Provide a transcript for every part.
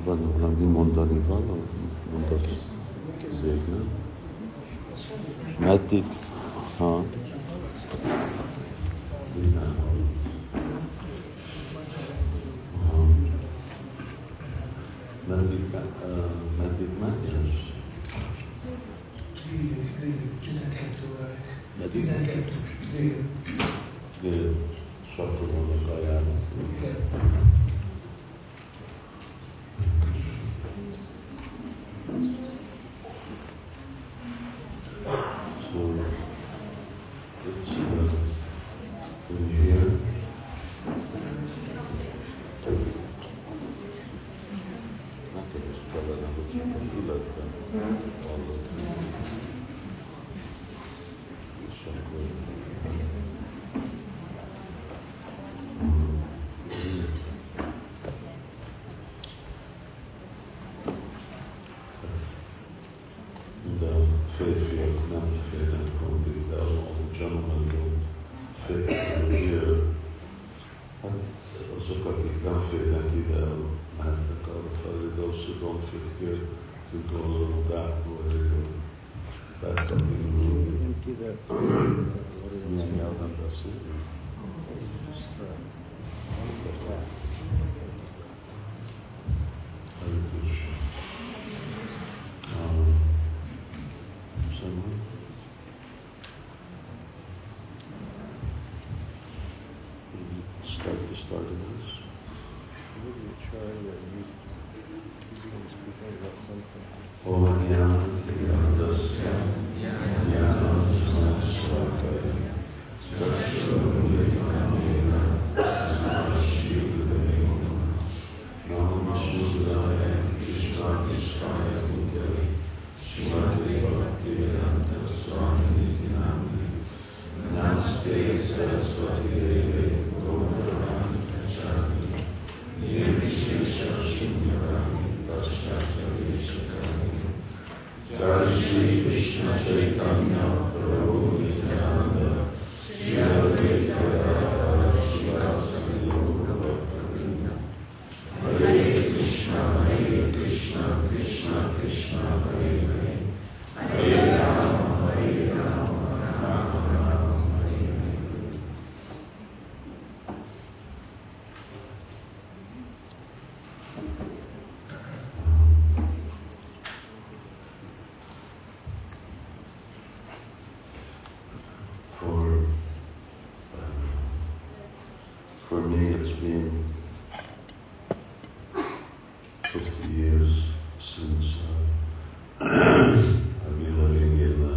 Van valami mondani való? Mondod ez végül. Meddig? Ha? Meddig menjünk? 12 óráig. Meddig? 12 dél. Dél. És akkor vannak ajánlott. Igen. So it's in here. Nekem is kellene, hogy csak a fületben hallottam. És akkor de férfiak nem férnek mondjuk, de a gentlemen don't fit over here. Hát azok, akik nem férnek ide, mehetnek arra felé, those who don't fit here can go a little back way, or back up in the room. Milyen nyelven beszélünk? Hare Krishna. Someone? Starting this. Maybe you try that you begin speaking about something. Om Yanti Yanam Swakaya Chakshurudekana Shivadeva Nam Shivadaya Krishna Krishna Bhutale Shivate Bhaktivedanta Swami Niti Namani Namaste Saraswati Deve Gauravani Kachani Nirvishesha Shunyavani Paschatyavisakani Jai Shri Krishna Chaitanya Prabhu Nityananda Shri Advaita Gadadhara Shivasana Yoga Bhakta-vrinda Hare Krishna Krishna Krishna Hare Hare Hare Rama Rama Rama Hare Hare. For me, it's been 50 years since I've been living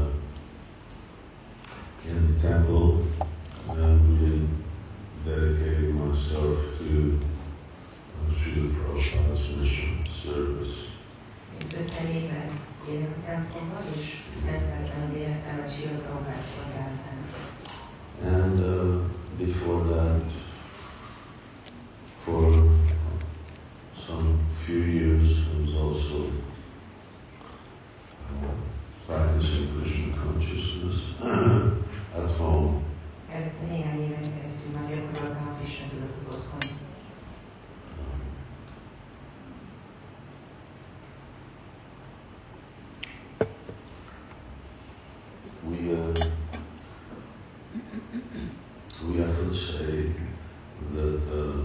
in the temple and been dedicating myself to Srila Prabhupada's mission service. 50 éve élek a templomban, és szenteltem az életemet Srila Prabhupád szolgálatának. And before that, for some few years, I was also practicing Krishna consciousness at home. Előtte néhány éven keresztül már gyakoroltam a Krishna tudatot otthon. We often say that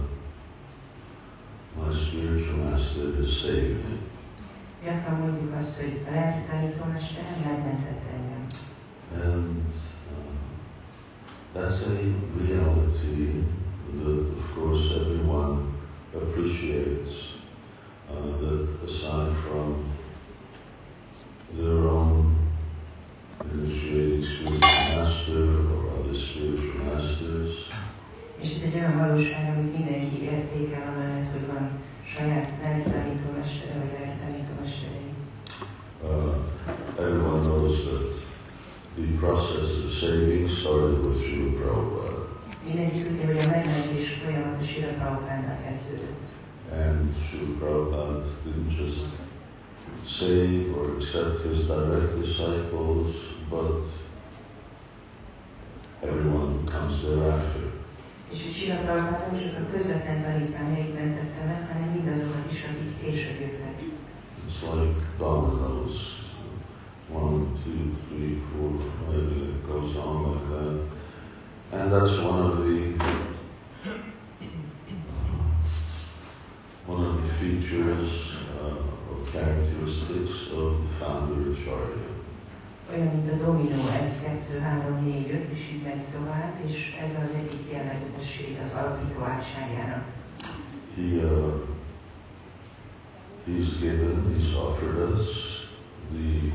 my spiritual master has saved me. Gyakran mondjuk azt, hogy a lelki tanítómesterem megmentett engem. And that's a reality that, of course, everyone appreciates. That aside from their own initiating spiritual master or other spiritual masters, És ez egy olyan valóság, amit mindenki értékel, amellett, hogy van saját lelki tanítómestere vagy lelki tanítómesterei. Everyone knows that the process of saving started with Srila Prabhupada. Mindenki tudja, hogy a megmentés folyamata Srila Prabhupádnál kezdődött. And Srila Prabhupada didn't just save or accept his direct disciples, but everyone who comes thereafter. És hogy Srila Prabhupád nem csak a közvetlen tanítványait mentette meg, hanem mindazokat is, akik később jöttek. It's like dominoes. 1, 2, 3, 4, 5, it goes on like that. And that's one of the features or characteristics of the founder Acharya. Olyan, mint a dominó, 1, 2, 3, 4, 5, és így megy tovább, és ez az egyik jellegzetesség az alapító ácsárjának. He's offered us the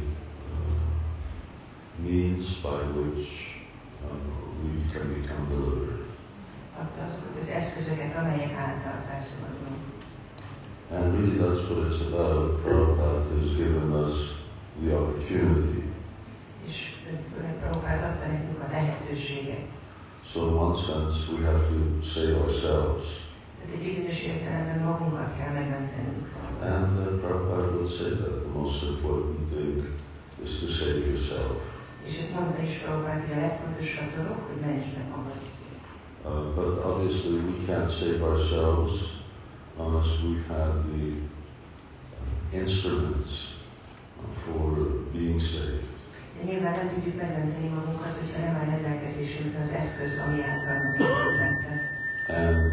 means by which we can become delivered. Adta azokat az eszközöket, amelyek által felszabadulunk. And really that's what it's about. Prabhupada has given us the opportunity. És főleg Prabhupád adta nekünk a lehetőséget. So in one sense we have to save ourselves. Tehát egy bizonyos értelemben magunkat kell megmentenünk. And Prabhupada would say that the most important thing is to save yourself. És ezt mondta is Prabhupád, hogy a legfontosabb dolog, hogy mentsd meg magad. But obviously we can't save ourselves unless we've had the instruments for being saved. De nyilván nem tudjuk megmenteni magunkat, hogyha nem áll rendelkezésünkre az eszköz, ami által magunkat mentve. And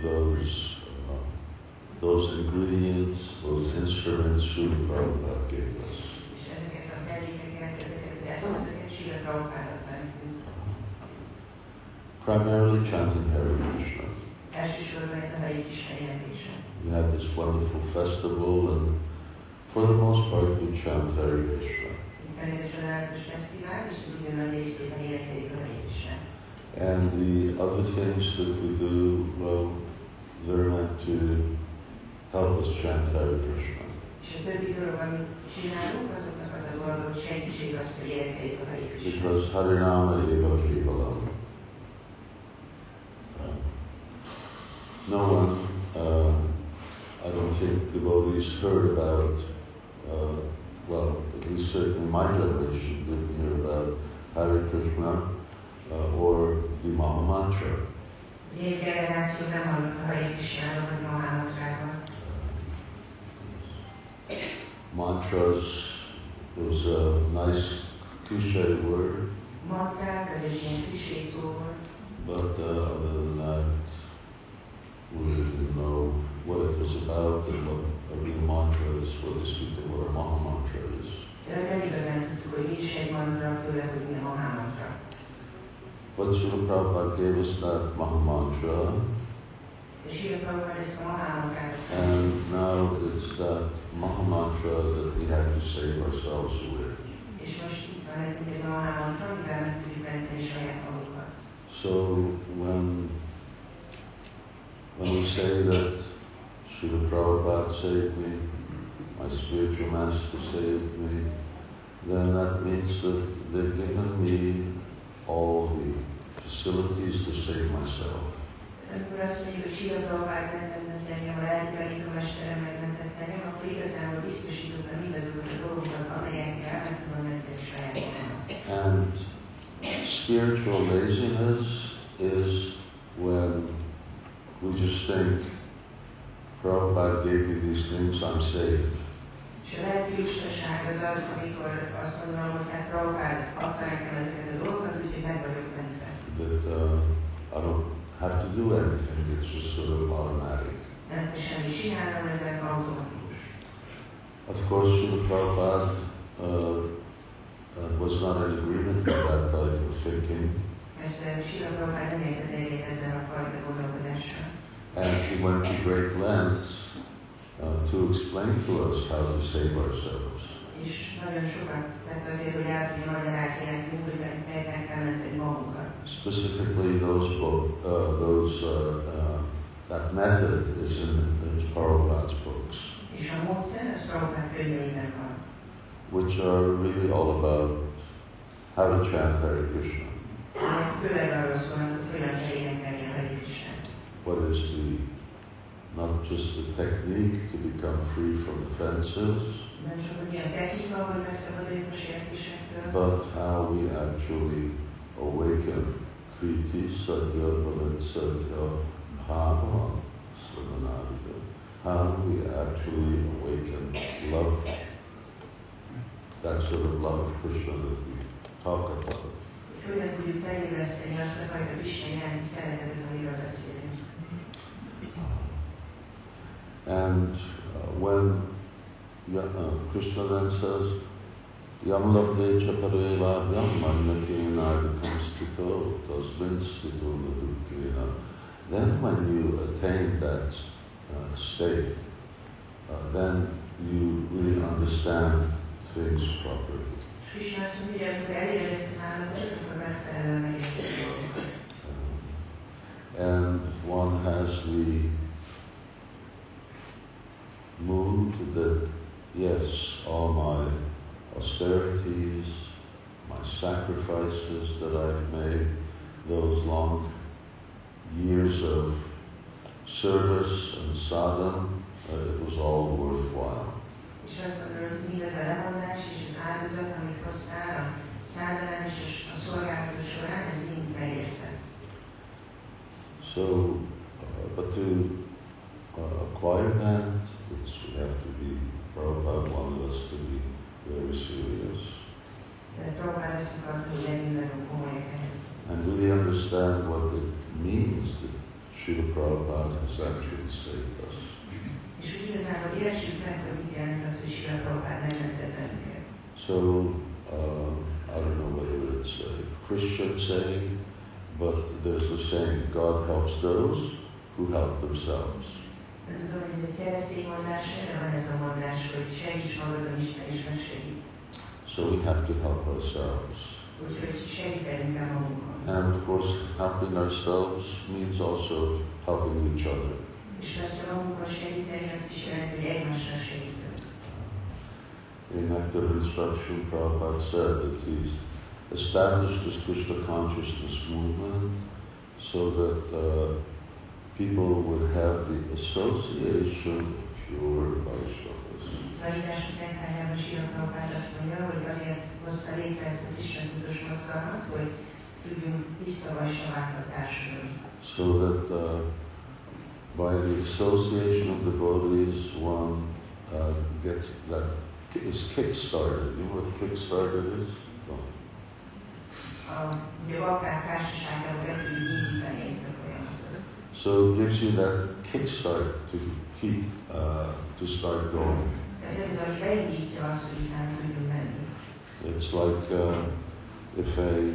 those ingredients, those instruments, Srila Prabhupada gave us. És ezeket a mellékeket, ezeket az eszközöket Srila Prabhupád adta nekünk. Primarily chanting Hare Krishna. Elsősorban ez a Hare Krishna jelentése. We had this wonderful festival, and for the most part we chant Hare Krishna. Itt van ez a csodálatos fesztivál, és az idő nagy részében énekeljük a Hare Krishnát. And the other things that we do, well, they're meant to help us chant Hare Krishna. És a többi dolog, amit csinálunk, azoknak az a dolga, hogy segítség azt, hogy énekeljük a Hare Krishnát. Because Harinama eva kevalam. No one, I don't think devotees heard about, well, at least certainly my generation didn't hear about Hare Krishna or the Maha Mantra. Az én generáció nem hallott a Hare Krishnáról, vagy Maha Mantráról. Mantras is a nice cliché word. Mantrák, az egy ilyen klisé szó volt. But other than that, we didn't know what it was about and what a real mantra is, what a Maha Mantra is. De nem igazán tudtuk, hogy mi is egy mantra, főleg, hogy mi a Maha Mantra. But Srila Prabhupada gave us that Maha Mantra, És Srila Prabhupád ezt a Maha Mantrát, and now it's that Maha Mantra that we have to save ourselves with. és most itt van nekünk ez a Maha Mantra, amivel meg tudjuk menteni saját magunkat. So when we say that Srila Prabhupada saved me, my spiritual master saved me, then that means that they've given me all the facilities to save myself. Amikor azt mondjuk, hogy Srila Prabhupád megmentett engem, a lelki tanítómesterem megmentett engem, akkor igazából biztosítottam mindazokat a dolgokat, amelyekkel meg tudom menteni saját magamat. And spiritual laziness is when we just think, Prabhupada gave me these things, I'm saved. És a lelki lustaság az az, amikor azt gondolom, hogy hát Prabhupád adta nekem ezeket a dolgokat, úgyhogy meg vagyok mentve. That I don't have to do anything, it's just sort of automatic. Nem kell semmit csinálnom, ezek automatikus. Of course, Srila Prabhupada was not in agreement with that type of thinking. Persze Srila Prabhupád nem értett egyet ezzel a fajta gondolkodással. And he went to great lengths to explain to us how to save ourselves. És nagyon sokat tett azért, hogy el tudja magyarázni nekünk, hogy meg kell menteni magunkat. Specifically, that method is in Prabhupada's books, És a módszer, az Prabhupád könyveiben van. which are really all about how to chant Hare Krishna. Főleg arról szólnak, hogy hogyan kell énekelni a Hare Krishnát. What is not just the technique to become free from offenses, Nem csak, hogy milyen technika, hogy megszabaduljunk a sértésektől, but how we actually awaken Priti Sadhya Bhavat Sadhya Bhava Svadanarika. How do we actually awaken love? That sort of love of Krishna that we talk about. Hogyan tudjuk felébreszteni azt a fajta Krishna iránti szeretetet, amiről beszélünk. And when Krishna then says, Yam labde chapareva yam manyakenadikam stito tasmin stito nadukena. Then when you attain that state, then you really understand things properly. Krishna azt mondja, hogy amikor eléred ezt az állapotot, akkor megfelelően megérteni dolgokat. And one has the mood that, yes, all my austerities, my sacrifices that I've made, those long years of service and sadhana, it was all worthwhile. És azt gondolod, hogy mindaz a lemondás és az áldozat, amit hoztál a szádalán és a szolgálatot során, ez mind megérte. So, but to acquire that, we have to be, Prabhupada wanted us to be very serious. De Prabhupada azt akarta, hogy legyünk nagyon komolyak ehhez. And really understand what it means that Srila Prabhupada has actually saved us. És úgy igazából értsük meg, hogy mit jelent az, hogy Srila Prabhupada megmentett bennünket. So, I don't know whether it's a Christian saying, but there's a saying, God helps those who help themselves. Nem tudom, hogy ez egy keresztény mondás, de van ez a mondás, hogy segíts magadon, Isten is megsegít. So we have to help ourselves. Úgyhogy segítenünk kell magunkon. And of course, helping ourselves means also helping each other. És persze magunkon segíteni azt is jelenti, hogy egymásra segítünk. In Nectar of Instruction, Prabhupada said that he's established this Krishna consciousness movement so that people would have the association of pure Vaishnavas. Tanítások nektájában Srila Prabhupada azt mondja, hogy azért hozta létre ezt a Krishna tudatos mozgalmat, hogy tudjunk tiszta Vaisnavákkal társulni. So that by the association of devotees, one gets that is kick-started. You know what kick-started is? No. Ugye a bakták társaságában be tudjuk indítani ezt a folyamatot. So it gives you that kickstart to keep, to start going. Tehát ez az, ami beindítja azt, hogy utána tudjunk menni. It's like if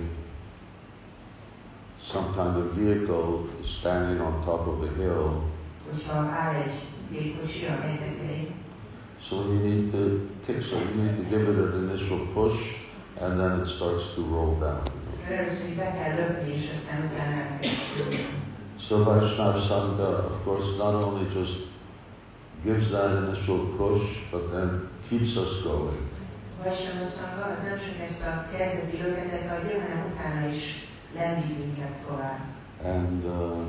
some kind of vehicle is standing on top of the hill. Hogyha áll egy gépkocsi a hegy tetején, So you need to kickstart. You need to give it an initial push, and then it starts to roll down. először be kell lökni, és aztán utána el kell. So Vaishnava Sangha, of course, not only just gives that initial push, but then keeps us going. Vaishnava Sangha az nem csak ezt a kezdeti löketet adja, hanem utána is lendít minket tovább. And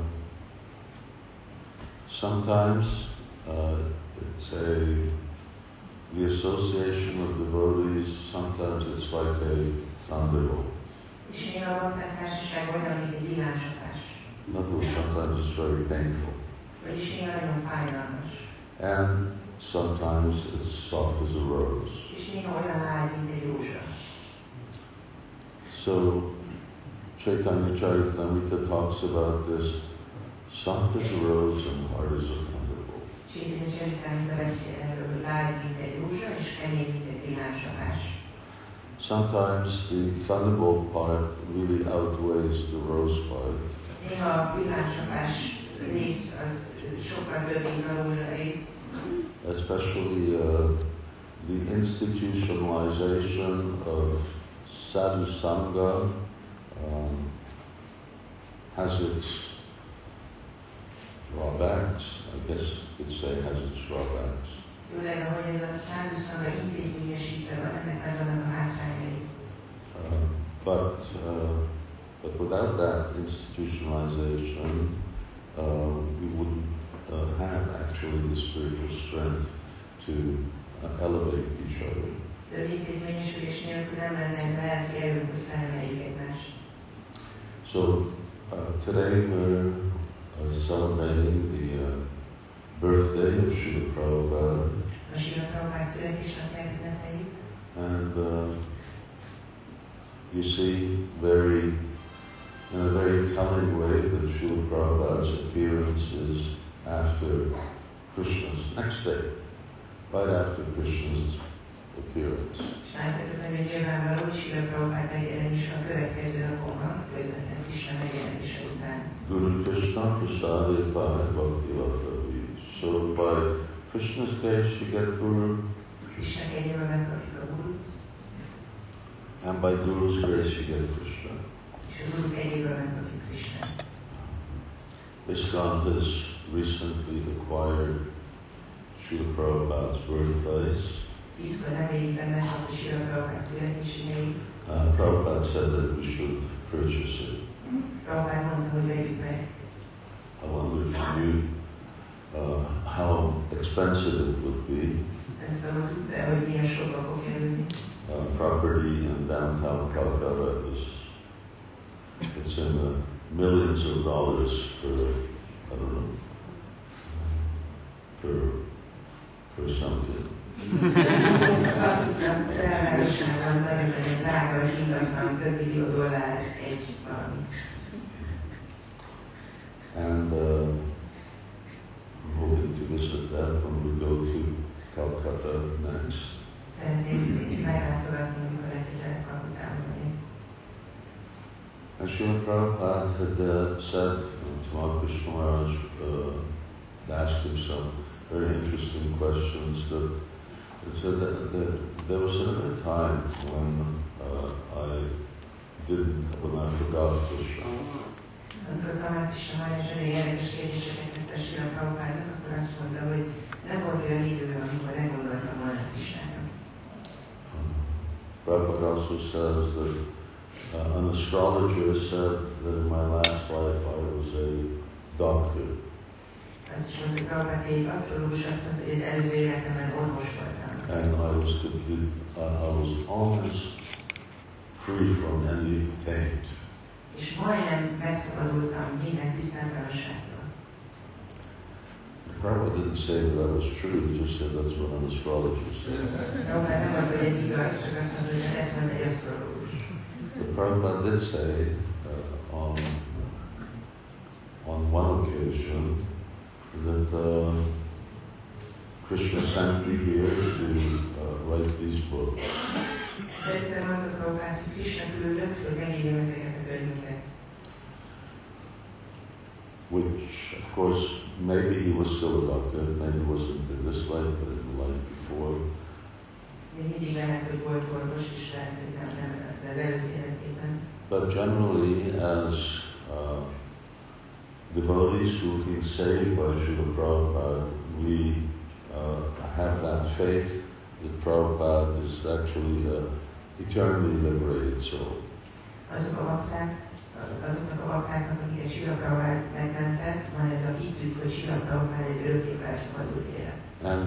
sometimes it's the association of devotees, sometimes it's like a thunderbolt. És néha a bakták társaság olyan, mint egy villámcsapás. In other words, sometimes it's very painful. Vagyis néha nagyon fájdalmas. And sometimes it's soft as a rose. És néha olyan lágy, mint egy rózsa. So Chaitanya Charitamrita talks about this, soft as a rose and hard as a thunderbolt. Chaitanya Charitamrita beszél erről, hogy lágy, mint egy rózsa, és kemény, mint egy villámcsapás. Sometimes the thunderbolt part really outweighs the rose part. Néha a villámcsapás rész az sokkal több, mint a rózsa rész. Especially the institutionalization of sadhu sangha has its drawbacks. I guess you could say has its drawbacks. Főleg, ahogy ez a sadhu sangha intézményesítve van, ennek megvannak a hátrányai. But without that institutionalization, we wouldn't have actually the spiritual strength to elevate each other. De az intézményesülés nélkül nem lenne ez a lelki erőnk, hogy felemeljük egymást. So Today we're celebrating the birthday of Srila Prabhupada. A Srila Prabhupada születésnapját ünnepeljük. And you see in a very telling way that Srila Prabhupada's appearance is after Krishna's next day, right after Krishna's appearance. És láthatjuk, hogy nyilvánvaló, hogy Srila Prabhupada megjelenés a következő napon van, közvetlen Krishna megjelenése után. Guru Krishna prasaded by Bhakti Vatavi. So by Krishna's day she get Guru. Krishna kegyéből megkapjuk a Gurut, And by Guru's grace she gets Krishna. és a Guru kegyéből megkapjuk Krishnát. ISKCON has recently acquired Srila Prabhupada's birthplace. Az ISKCON nemrégiben megkapta Srila Prabhupada születésnapjait. Prabhupada said that we should purchase it. Prabhupada mondta, hogy vegyük meg. I wonder if you knew how expensive it would be. Nem tudom, hogy tudta, hogy milyen sokba fog kerülni. Property in downtown Calcutta it's in the millions of dollars for, I don't know, for something. Azt hiszem, belvárosában nagyon drága az ingatlan, több millió dollár egy valami. And I'm hoping to visit that when we go to Calcutta next. Szeretnék meglátogatni, amikor legközelebb Kalkutában vagyok. And Srila Prabhupada had said, Tamal Krishna Maharaj asked him some very interesting questions. That there was a time when I forgot Krishna. Amikor Tamal Krishna Maharaj elég érdekes kérdéseket tett a Srila Prabhupádnak, akkor azt mondta, hogy nem volt olyan idő, amikor nem gondoltam volna Krishnára. Prabhupada also says that an astrologer said that in my last life I was a doctor. Azt is mondta, Prabhupada, hogy egy asztrológus azt mondta, hogy az előző életemben orvos voltam. And I was almost free from any taint. És majdnem megszabadultam minden tisztántalanságtól. Prabhupada didn't say that was true, he just said that's what an astrologer said. Prabhupada nem mondta, hogy ez igaz, csak azt mondta, hogy ezt mondta egy asztrológus. But Prabhupada did say on one occasion that Krishna sent me here to write these books. Egyszer mondta Prabhupada, hogy Krishna küldött, hogy megírjam ezeket a könyveket. Which, of course, maybe he was still a doctor, maybe it wasn't in this life, but in the life before. Még mindig lehet, hogy volt orvos, és lehet, hogy nem az előző életében. But generally, as devotees who've been saved by Srila Prabhupada, we have that faith that Prabhupada is actually an eternally liberated soul. Azoknak a baktáknak, akiket Srila Prabhupada megmentett, van ez a hitük, hogy Srila Prabhupada egy örökké felszabadult élet. And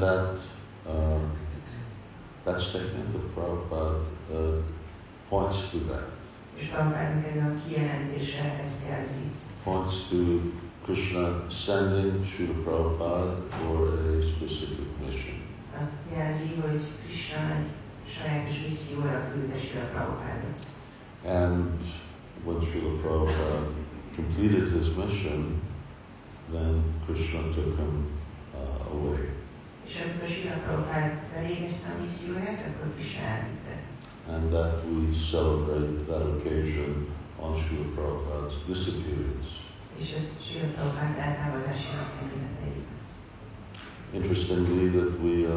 that statement of Prabhupada points to that. És Prabhupádnak ez a kijelentése ezt jelzi. Points to Krishna sending Srila Prabhupada for a specific mission. Azt jelzi, hogy Krishna egy sajátos misszióra küldte Srila Prabhupádot. And when Srila Prabhupada completed his mission, then Krishna took him away. És amikor Srila Prabhupada elvégezte a misszióját, akkor Krishna elvitte. And that we celebrate that occasion on Srila Prabhupada's disappearance. És ezt Srila Prabhupada eltávozási napján ünnepeljük. Interestingly, that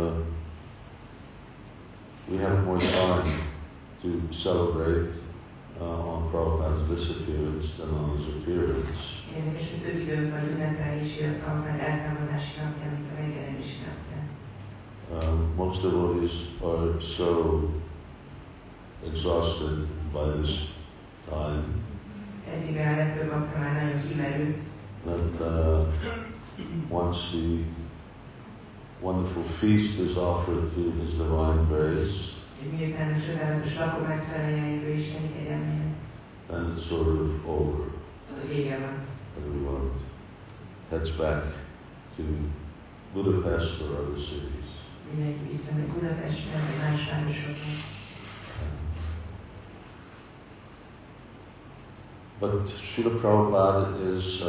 we have more time to celebrate on Prabhupada's disappearance than on his appearance. Érdekes, hogy több időnk van ünnepelni Srila Prabhupada eltávozási napján, mint a megjelenési napján. Most devotees are so exhausted by this time Eddigre a legtöbb bakta már nagyon kimerült, that once the wonderful feast is offered to His Divine Grace, miután a csodálatos lakomát felajánljuk ő Isteni kegyelmének, then it's sort of over. vége van. Everyone heads back to Budapest or other cities. Mindenki visszamegy Budapestre, vagy más városokra. But Srila Prabhupada is,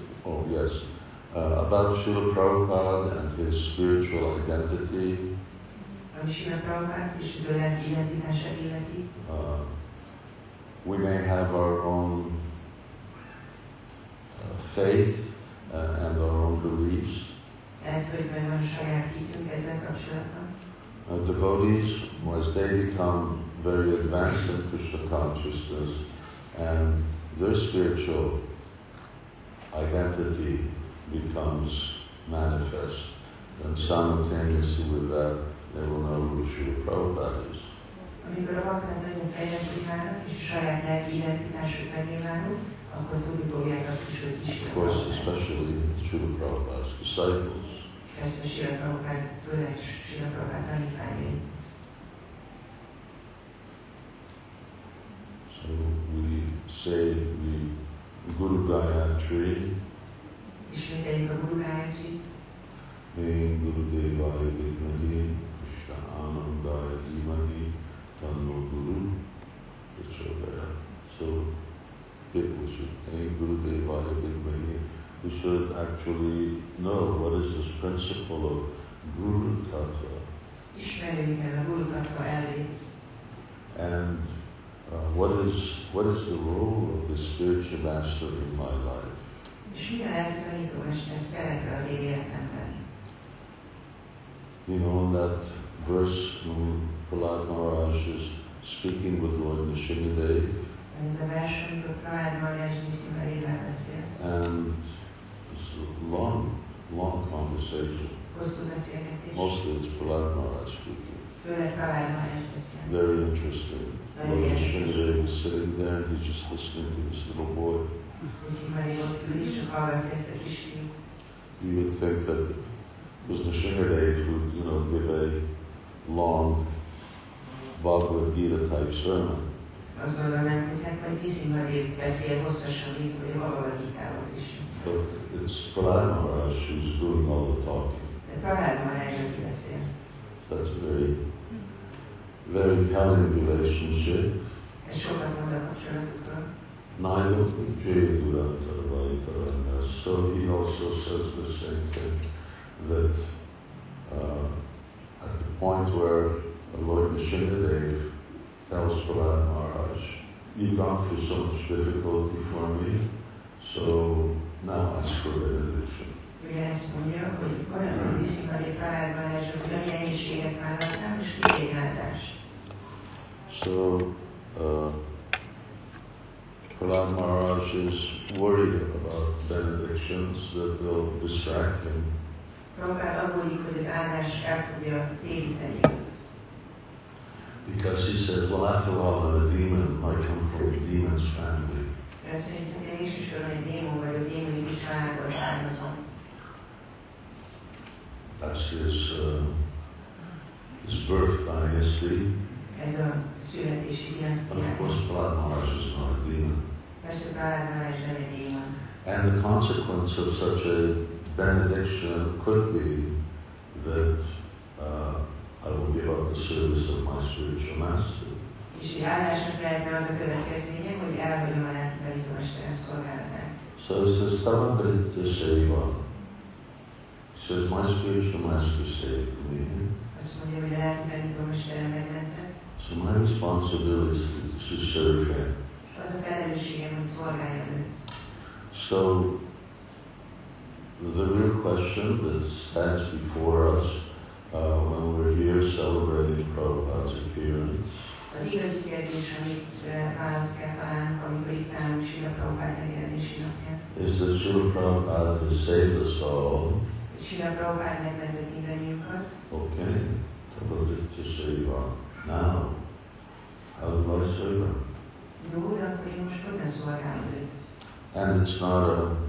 about Srila Prabhupada and his spiritual identity. Ami Srila Prabhupát és az ő lelki identitását illeti. We may have our own faith and our own beliefs. Lehet, hogy megvan a saját hitünk ezzel kapcsolatban. Devotees, as they become very advanced in Krishna consciousness and their spiritual identity becomes manifest, then simultaneously with that they will know who Srila Prabhupada is. Amikor a bakták nagyon fejlettük válnak, és a saját lelki identitásuk megnyilvánul, akkor tudni fogják azt is, hogy is. Of course, especially Srila Prabhupada's disciples. Ezt a Srila Prabhupád, főleg Srila Prabhupád tanítványai. So we say the Guru Gayatri, Ismételjük a Guru Gayatrit. Hey Gurudevaya Vidmahi, Krishna Anandaya Dhimahi, Tanno Guru Prachodayat. So we should, Hey Gurudevaya Vidmahi, we should actually know what is this principle of Guru Tattva. Ismerjük el a Guru Tattva elvét. And what is the role of the spiritual master in my life? És mi a lelki tanítómester szerepe az én életemben? You know, in that verse when Prahlad Maharaj is speaking with Lord Nrsimhadev, Ez a vers, amikor Prahlad Maharaj Nrsimhadevvel beszél. and it's a long conversation. Hosszú beszélgetés. Mostly it's Prahlad Maharaj speaking. Főleg Prahlad Maharaj beszél. Very interesting. Lord Nrsimhadev is sitting there and he's just listening to this little boy. Nrsimhadev ott ül és csak hallgatja ezt a kisfiút. You would think that it was Nrsimhadev who would, give a long Bhagavad Gita type sermon. Azt gondolnánk, hogy hát majd Nrsimhadev beszél hosszasan, mint hogy a Bhagavad Gitával is. But it's Prahlad Maharaj who's doing all the talking. De Prahlad Maharaj, aki beszél. That's a very telling relationship. Ez sokat mond a kapcsolatukról. Nailoki Jayadurantara. So he also says the same thing, that at the point where Lord Nrsimhadev tells Prahlad Maharaj, you've gone through so much difficulty for me, so now ask for benediction. Ugye ezt mondja, hogy olyan Nrsimhadev Prahlad Maharaj, hogy olyan nehézséget vállaltam, és kérjék áldást. So Prahlad Maharaj is worried about benedictions, that they'll distract him. Prabhupád aggódik, hogy az áldás el fogja téríteni őt. Because he says, well, after all, I'm a demon. I come from a demon's family. Azt mondja, hogy én végsősorban egy démon vagyok, démoni családból származom. That's his birth dynasty. Ez a születési And dinasztia. of course, Prahlad Maharaj is not a demon. Persze Prahlad Maharaj nem egy démon. And the consequence of such a benediction could be that I will give up the service of my spiritual master. És egy áldásnak lehetne az a következménye, hogy elhagyom a lelki tanítómester szolgálatát. So it says, Tavangaditya Seva. He says, my spiritual master saved me. Azt mondja, hogy a lelki tanítómestere megmentett. So my responsibility is to serve him. Az a felelősségem, hogy szolgáljam őt. So the real question that stands before us when we're here celebrating Prabhupada's appearance Az igazi kérdés, amire választ kell találnunk, amikor itt állunk Srila Prabhupád megjelenési napján. is that Srila Prabhupada has saved us all. Srila Prabhupád megmentett mindannyiunkat. Okay, Tavangaditya Seva. Now, how do I serve him? Jó, de akkor én most hogyan szolgálom őt? And it's not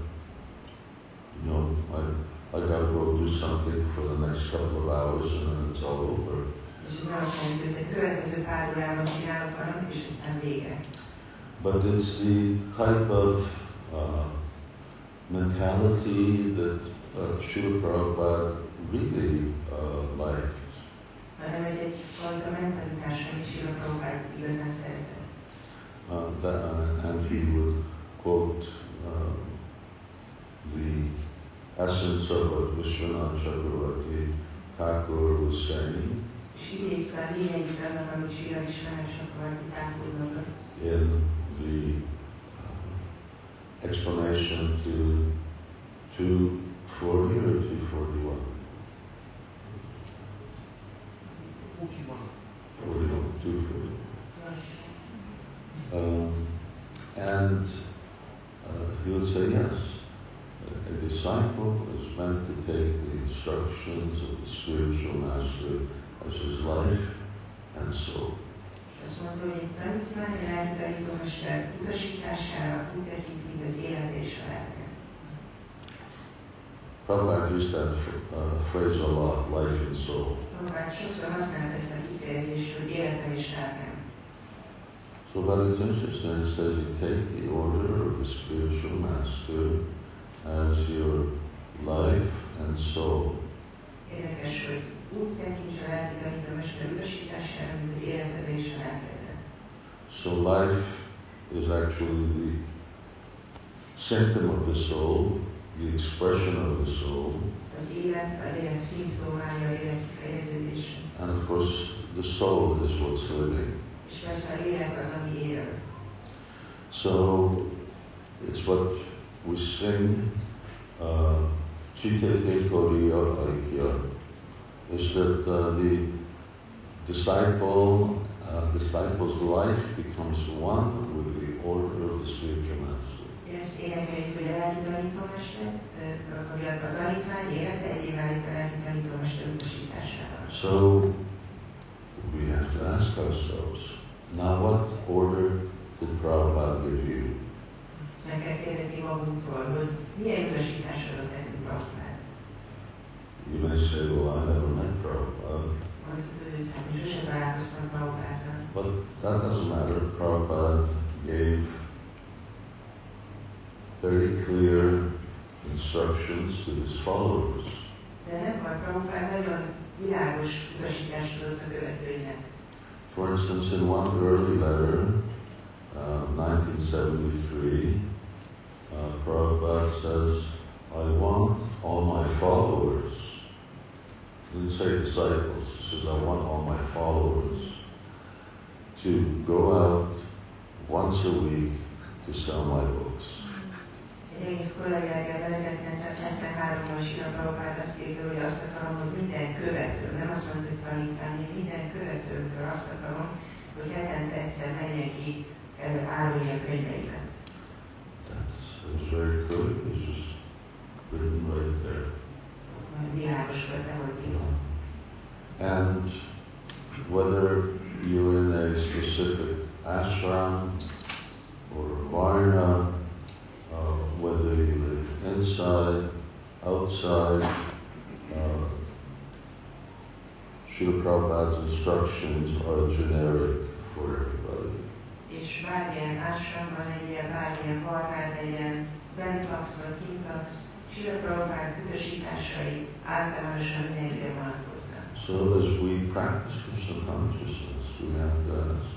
I gotta go do something for the next couple of hours and then it's all over. És ez nem azt jelenti, hogy a következő pár órában csinálok valamit, és aztán vége. But it's the type of mentality that Srila Prabhupada really liked. Hanem ez egyfajta mentalitás, amit Srila Prabhupada igazán szeretett. And he would quote the essence of what Vishwanath Chakravarti Thakur was saying in the explanation to 240 or 241? 240. And he would say, yes, a disciple is meant to take the instructions of the spiritual master as his life and soul. Azt mondta, hogy egy tanítvány, egy lelki tanítómester utasítására úgy tekint, mint az élet és a lelke. Prabhupada used that phrase a lot, life and soul. Prabhupada sokszor használt ezt a kifejezést, hogy életem és lelkem. So, but it's interesting, it says you take the order of the spiritual master as your life and soul. Érdekes, hogy úgy tekints a lelki tanítómester utasítására, mint az életedre és a lelkedre. So life is actually the symptom of the soul, the expression of the soul. Az élet, a lélek szimptomája, a lélek kifejeződése. And of course, the soul is what's living. És persze a lélek az, ami él. So, it's what we sing, Chitete Koriya Aikya, is that the disciple's life becomes one with the order of the spiritual master. Ezt énekeljük, hogy a lelki tanítómester, a tanítvány élete egyé válik a lelki tanítómester utasításával. So, we have to ask ourselves, now what order did Prabhupada give you? Meg kell kérdezni magunktól, hogy milyen utasítást adott nekünk Prabhupada. You may say, well, I never met Prabhupada. Mondhatod, hogy hát én sosem találkoztam Prabhupádnál. But that doesn't matter. Prabhupada gave very clear instructions to his followers. De nem baj, Prabhupada nagyon világos utasítást adott a követőinek. For instance, in one early letter, 1973, Prabhupada says, I want all my followers, he didn't say disciples, he says, I want all my followers to go out once a week to sell my books. Egy egész kollégájában 1973-ban Srila Prabhupada azt írta, hogy azt akarom, hogy minden követőm, nem azt mondta, hogy tanítvány, minden követőmtől azt akarom, hogy hetente egyszer menjen ki árulni a könyveimet. That's very clear. It's just written right there. Világos volt, ahogy írom. And whether you're in a specific ashram or varna, whether you live inside, outside, Srila Prabhupada's instructions are generic for everybody. És bármilyen ashramban legyen, bármilyen varnád legyen, bent laksz vagy kint laksz, Srila Prabhupada utasításai általánosan mindenkire vonatkoznak. So as we practice Krishna consciousness, we have to ask,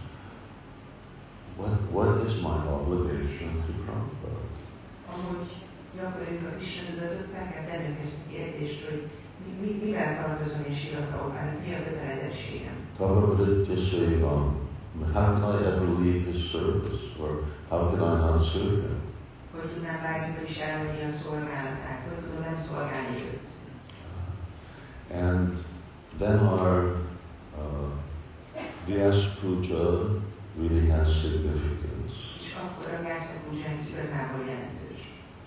what is my obligation to Prabhupada? Ahogy gyakoroljuk a Krishna tudatot, fel kell tennünk ezt a kérdést, hogy mivel tartozom én Srila Prabhupának, mi a kötelezettségem? Prabhupada just say, how can I ever leave his service, or how can I not serve him? Hogy tudnám bármikor is elhagyni a szolgálatát, hogy tudom nem szolgálni őt. And then our Vyas Puja really has significance. És akkor a Vyasa Pujánk igazából jelentős.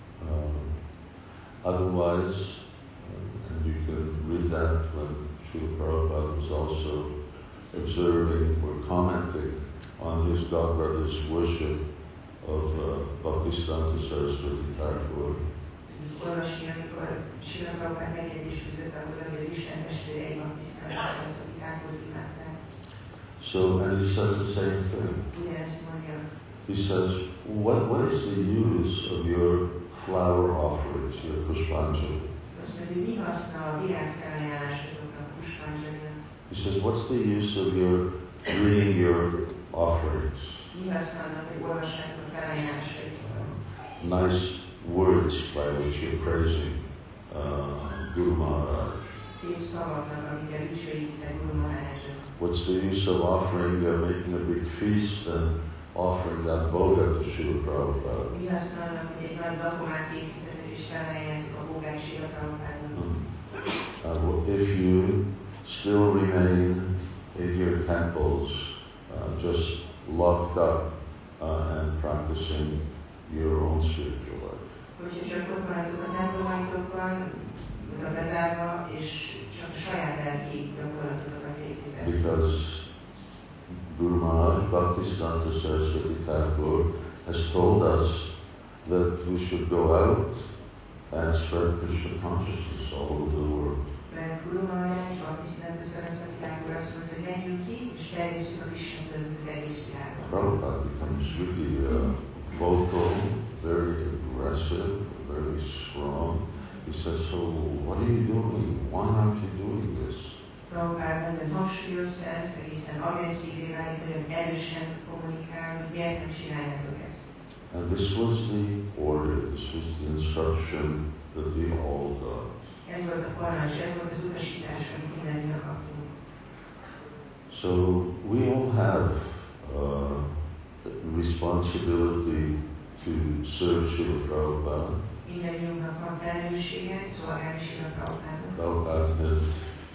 Otherwise, and you can read that when Srila Prabhupada was also observing or commenting on his godbrother's worship of Bhaktisiddhanta Saraswati Thakur. Olvasni, amikor Srila Prabhupada megjegyzést fűzött ahhoz, hogy az Isten testvérei Bhaktisiddhanta Saraswati Thakurt imádták. So, and he says the same thing. Ugyanezt mondja. He says, what is the use of your flower offerings, your pushpanjali? Azt mondja, hogy mi haszna a virágfelajánlásoknak, pushpanjalinak? He says, what's the use of your reading your offerings? Mi haszna annak, hogy olvassák a felajánlásaitokat? Nice words by which you're praising Guru Maharaj. Szép szavaknak, amikkel dicsőítitek Guru Maharajot. What's the use of offering, making a big feast and offering that bhoga to Srila Prabhupada? Mi haszna annak, hogy egy nagy lakomát készítetek és felajánljátok a bhogát Srila Prabhupádnak? If you still remain in your temples, just locked up and practicing your own spiritual life. Hogyha csak ott maradtok a templomaitokban, oda bezárva, és csak a saját lelki gyakorlatokat végzitek. Because Guru Maharaj Bhaktisiddhanta Saraswati Thakur has told us that we should go out and spread Krishna consciousness all over the world. Mert Guru Maharaj Bhaktisiddhanta Saraswati Thakur azt mondta, hogy menjünk ki, és terjesszük a Krishna tudatot az egész világon. Prabhupada becomes really vocal, very aggressive, very strong. He says, so what are you doing? Why aren't you doing this? Prabhupád nagyon hangsúlyozta ezt, egészen agresszívé válik, nagyon erősen kommunikál, hogy miért nem csináljátok ezt. And this was the order, this was the instruction that we all got. Ez volt a parancs, ez volt az utasítás, amit mindannyian kaptunk. So we all have responsibility to serve Srila Prabhupada. Mindannyiunknak van felelőssége, szolgálni Srila Prabhupádot. Prabhupada had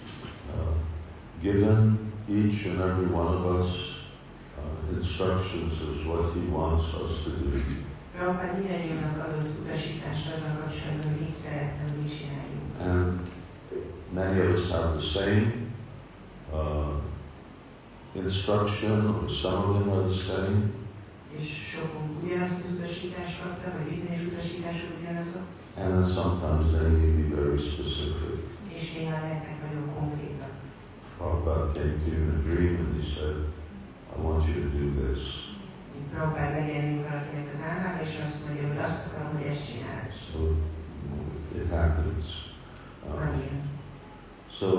given each and every one of us instructions as what he wants us to do. Prabhupád mindannyiunknak adott utasítást azzal kapcsolatban, hogy mit szeretne, hogy mit csináljunk. And many of us have the same instruction, or some of them are the same. És sokunk ugyanazt az utasítást kapta, vagy bizonyos utasítások ugyanazok. And then sometimes they may be very specific. És néha lehetnek nagyon konkrétak. Prabhupada came to you in a dream and he said, I want you to do this. Prabhupád megjelenik valakinek az álmába, és azt mondja, hogy azt akarom, hogy ezt csináld. So it happens. Van ilyen. So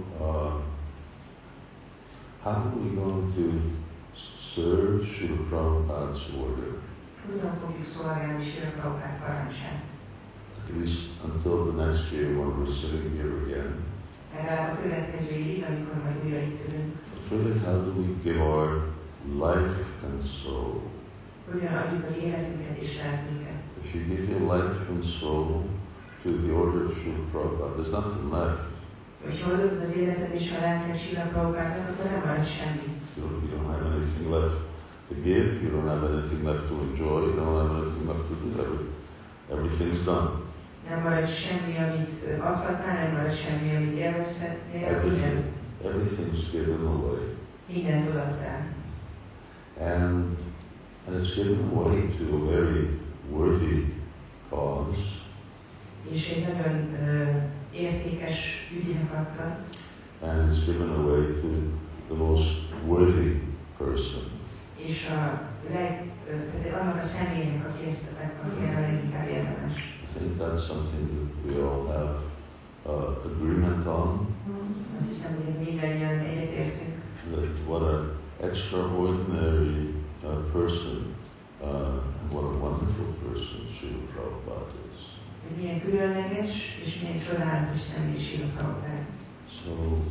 how are we going to serve Srila Prabhupada's order? Hogyan fogjuk szolgálni Srila Prabhupád parancsát? At least until the next year when we're sitting here again. Legalább a következő évig, amikor majd újra itt ülünk. Really, how do we give our life and soul? Hogyan adjuk az életünket és lelkünket? If you give your life and soul to the order of Srila Prabhupada, there's nothing left. Hogyha adod az életed és a lelked Srila Prabhupádnak, akkor nem marad semmi. You don't have anything left to give, you don't have anything left to enjoy, you don't have anything left to do. Everything's done. Nem marad semmi, amit adhatnál, nem marad semmi, amit élvezhetnél. Everything's given away. Mindent odaadtál. And it's given away to a very worthy cause. És egy nagyon értékes ügynek adta. And it's given away to the most worthy person. És tehát annak a személynek, aki erre leginkább érdemes. I think that's something that we all have agreement on. Azt hiszem, hogy mindannyian egyetértünk. That what an extraordinary person and what a wonderful person Srila Prabhupada is. Hogy milyen különleges és milyen csodálatos személy Srila Prabhupád. So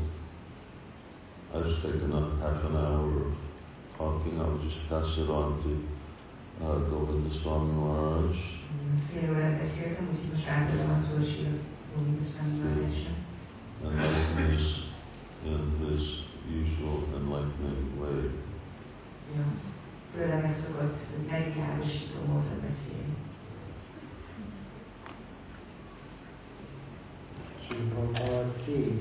I've taken up half an hour of talking. I'll just pass it on to Govinda Swami Maharaj. Fél órát beszéltem, úgyhogy most átadom a szót Srila Govinda Swami Maharajnak. Enlighten us in his usual enlightening way. Ja, tőle megszokott megvilágosító módon beszélni. Srila Prabhupada ki.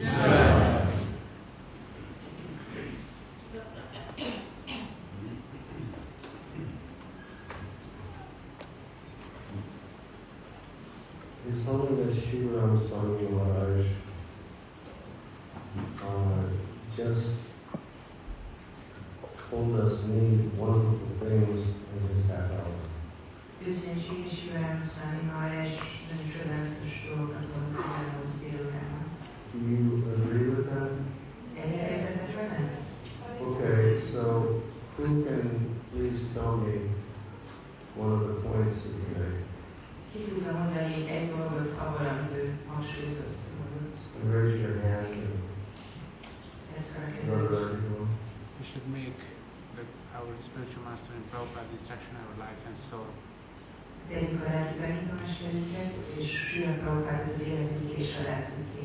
It's only that Srila Ramaswami Maharaj just told us many wonderful things in his half hour. Őszintén és jövően számomra és nagyon csodálatos dolgokat mondott az elmúlt délutánban. Do you agree with that? Egyetértetek vele? Okay, so who can please tell me one of the points that you made? Ki tudna mondani egy dolgot abban, amit ő hangsúlyozott, mondott? And raise your hand and Brother Arjuna. We should make our spiritual master and Prabhupada instruction our life and soul. Tegyük a lelki tanítomáskerünket, és Srila Prabhupád az életünk és a lelkünké.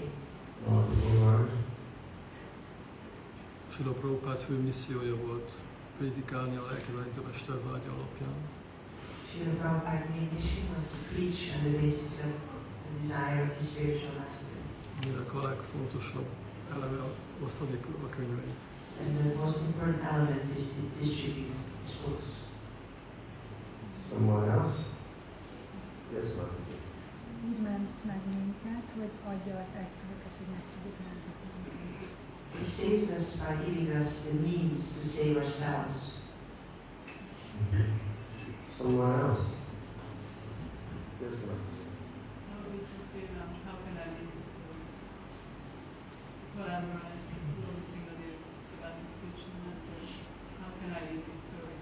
Srila Prabhupád fő missziója volt prédikálni a lelki tanítómester vágya alapján. Srila Prabhupád's main mission was to preach on the basis of the desire of his spiritual master. Aminek a legfontosabb eleme osztani a könyveit. And the most important element is to distribute his books. Someone else? Yes, Mother. Úgy ment meg minket, hogy adja az eszközöket, hogy meg tudjuk menteni. He saves us by giving us the means to save ourselves. Someone else? Yes, Mother. How can I lead this service? Whatever I'm focusing on the spiritual master, how can I lead this service?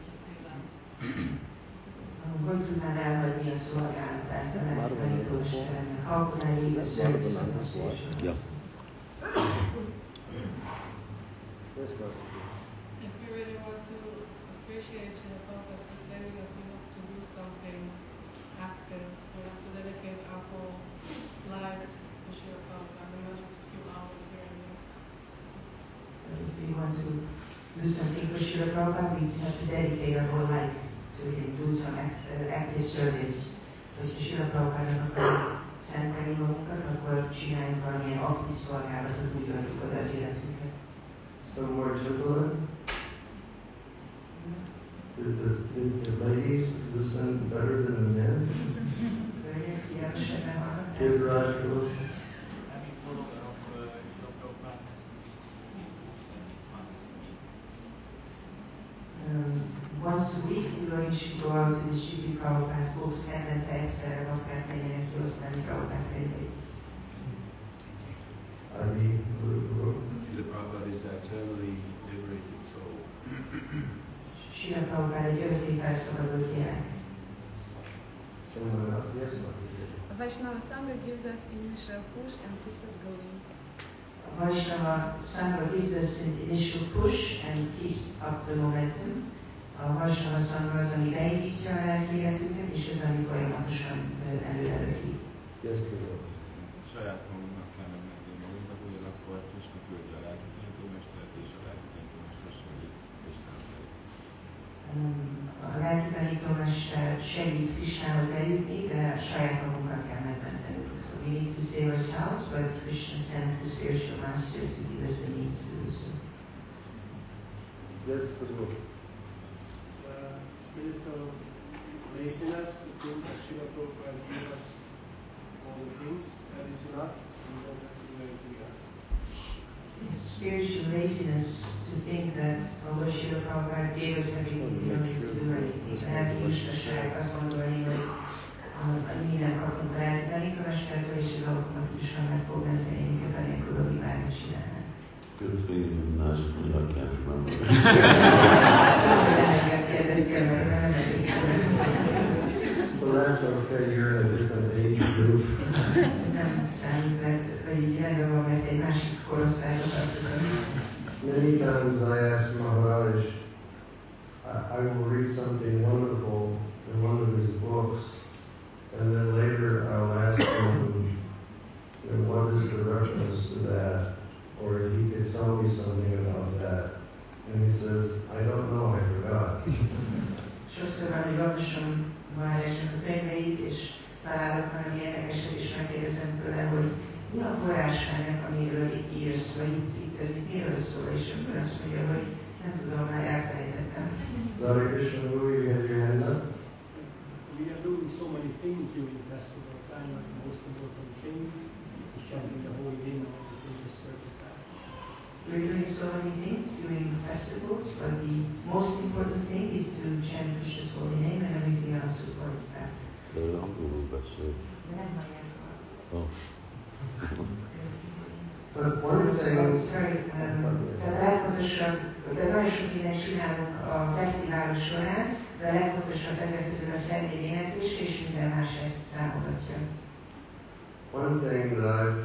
Hogy tudnám elhagyni a szolgálatást a lelki tanítómesteremnek? How can I lead the service of the spiritual master? Yes, Mother. If we really want to appreciate Srila Prabhupada for saving us, we have to do something active. We have to dedicate our whole lives to Srila Prabhupada, and not just a few hours here and there. So if we want to do something for Srila Prabhupada, we have to dedicate our whole life to him, do some active service. Hogyha Srila Prabhupádnak akarjuk szentelni magunkat, akkor csináljunk valamilyen aktív szolgálatot, úgy adjuk oda az életünket. Some more gentlemen? The ladies listen better than the men? Hölgyek, figyelmesebben hallgatnak? Givrajul. Having follower of Srila Prabhupada has to be at least once a week. Once a week, we're going to go out to distribute Prabhupád's books, hetente egyszerre vakát menjenek kiosztani Prabhupád könyveit. Adi Guru. The Prabhupada is eternally liberated soul. Srila Prabhupád egy örökké felszabadult lélek. Someone else? Yes, Mother. Vaishnava Sangha gives us initial push and keeps us going. A Vaishnava Sangha gives us an initial push and keeps up the momentum. A Vaishnava Sangha az, ami beindítja a lelki életünket, és az, ami folyamatosan előrelöki. Yes, Guru. Saját magunknak kell megmenni magunkat, hogy akkor Krishna küldi a lelki tanítómestert, és a lelki tanítómester segít Krishnához eljutni. A lelki tanítómester segít Krishnához eljutni, de saját magunkat kell megmentenünk. So we need to save ourselves, but Krishna sends the spiritual master to give us the means to do so. Yes, Guru. Spiritual laziness to think that Srila Prabhupada gave us all the things, that is enough, and we don't have to do anything else. It's spiritual laziness to think that although Srila Prabhupada gave us everything, we don't need to do anything. Lelki lustaság azt gondolni, hogy mindent kaptunk a lelki tanítómestertől, és ez automatikusan meg fog menteni minket anélkül, hogy mi bármit csinálnánk. Good thing you didn't ask me, I can't remember. Well, that's okay. You're in a different age group. Many times I ask Maharaj, I will read something wonderful in one of his books, and then later I'll ask him, what is the reference to that? Or he could tell me something about that. And he says, I don't know, I forgot. Sokszor van, hogy olvasom Maharajnak a könyveit, és találok valami érdekeset, és megkérdezem tőle, hogy mi a forrássának, amiről itt írsz, vagy itt ez itt miről szól, és akkor azt mondja, hogy nem tudom, már elfelejtettem. Hare Krishna, Guru, you have your hand up? We are doing so many things during the festival time, like the most important thing is chanting the holy hymn of the previous service time. We're doing so many things during festivals, but the most important thing is to chant Krishna's holy name and everything else supports that. De angolul beszél. De nem hallják a... Oh. But one thing, Sorry, tehát a legfontosabb, de nagyon sok mindent csinálunk a fesztiválok során, de a legfontosabb ezek közül a szentély éneklése, és minden más ezt támogatja. one thing that I've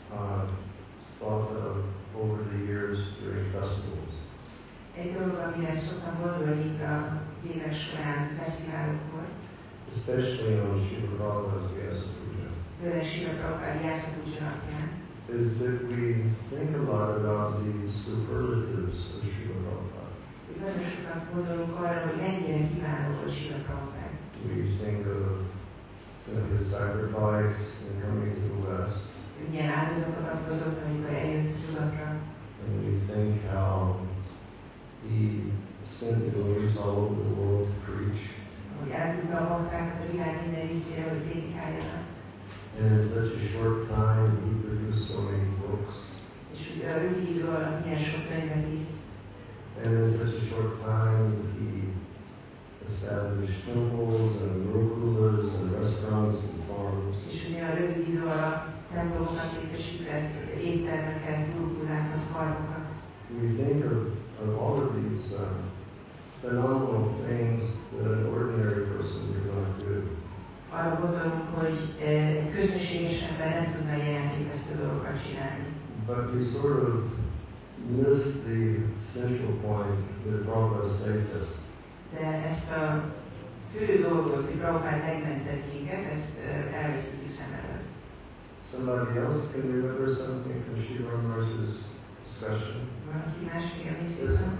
thought of over the years during festivals Egy dolog, amire szoktam gondolni itt az évek során fesztiválokon, especially on Srila Prabhupada's Vyasa Puja, főleg Srila Prabhupada Vyasa Puja napján, is that we think a lot about the superlatives of Srila Prabhupada. nagyon sokat gondolunk arra, hogy mennyire kiváló volt Srila Prabhupada. We think of his sacrifice in coming to the West, Milyen áldozatokat hozott, amikor eljött nyugatra, and we think how he sent devotees all over the world to preach. hogy elküldte a baktákat a világ minden részére, hogy prédikáljanak. And in such a short time, he produced so many books. És ugye a rövid idő alatt milyen sok könyvet írt. And in such a short time, he established temples and gurukulas and restaurants and farms. És ugye a rövid idő alatt templomokat létesített, éttermeket, gurukulákat, farmokat. We think of all of these phenomenal things that an ordinary person would not do. Arra gondolunk, hogy egy közönséges ember nem tudna ilyen elképesztő dolgokat csinálni. But we sort of miss the central point that Prabhupada saved us. De ezt a fő dolgot, hogy Prabhupád megmentett minket, ezt elveszítjük szem előtt. Somebody else can remember something from Srila Maharaj's discussion? Valaki más még emlékszik?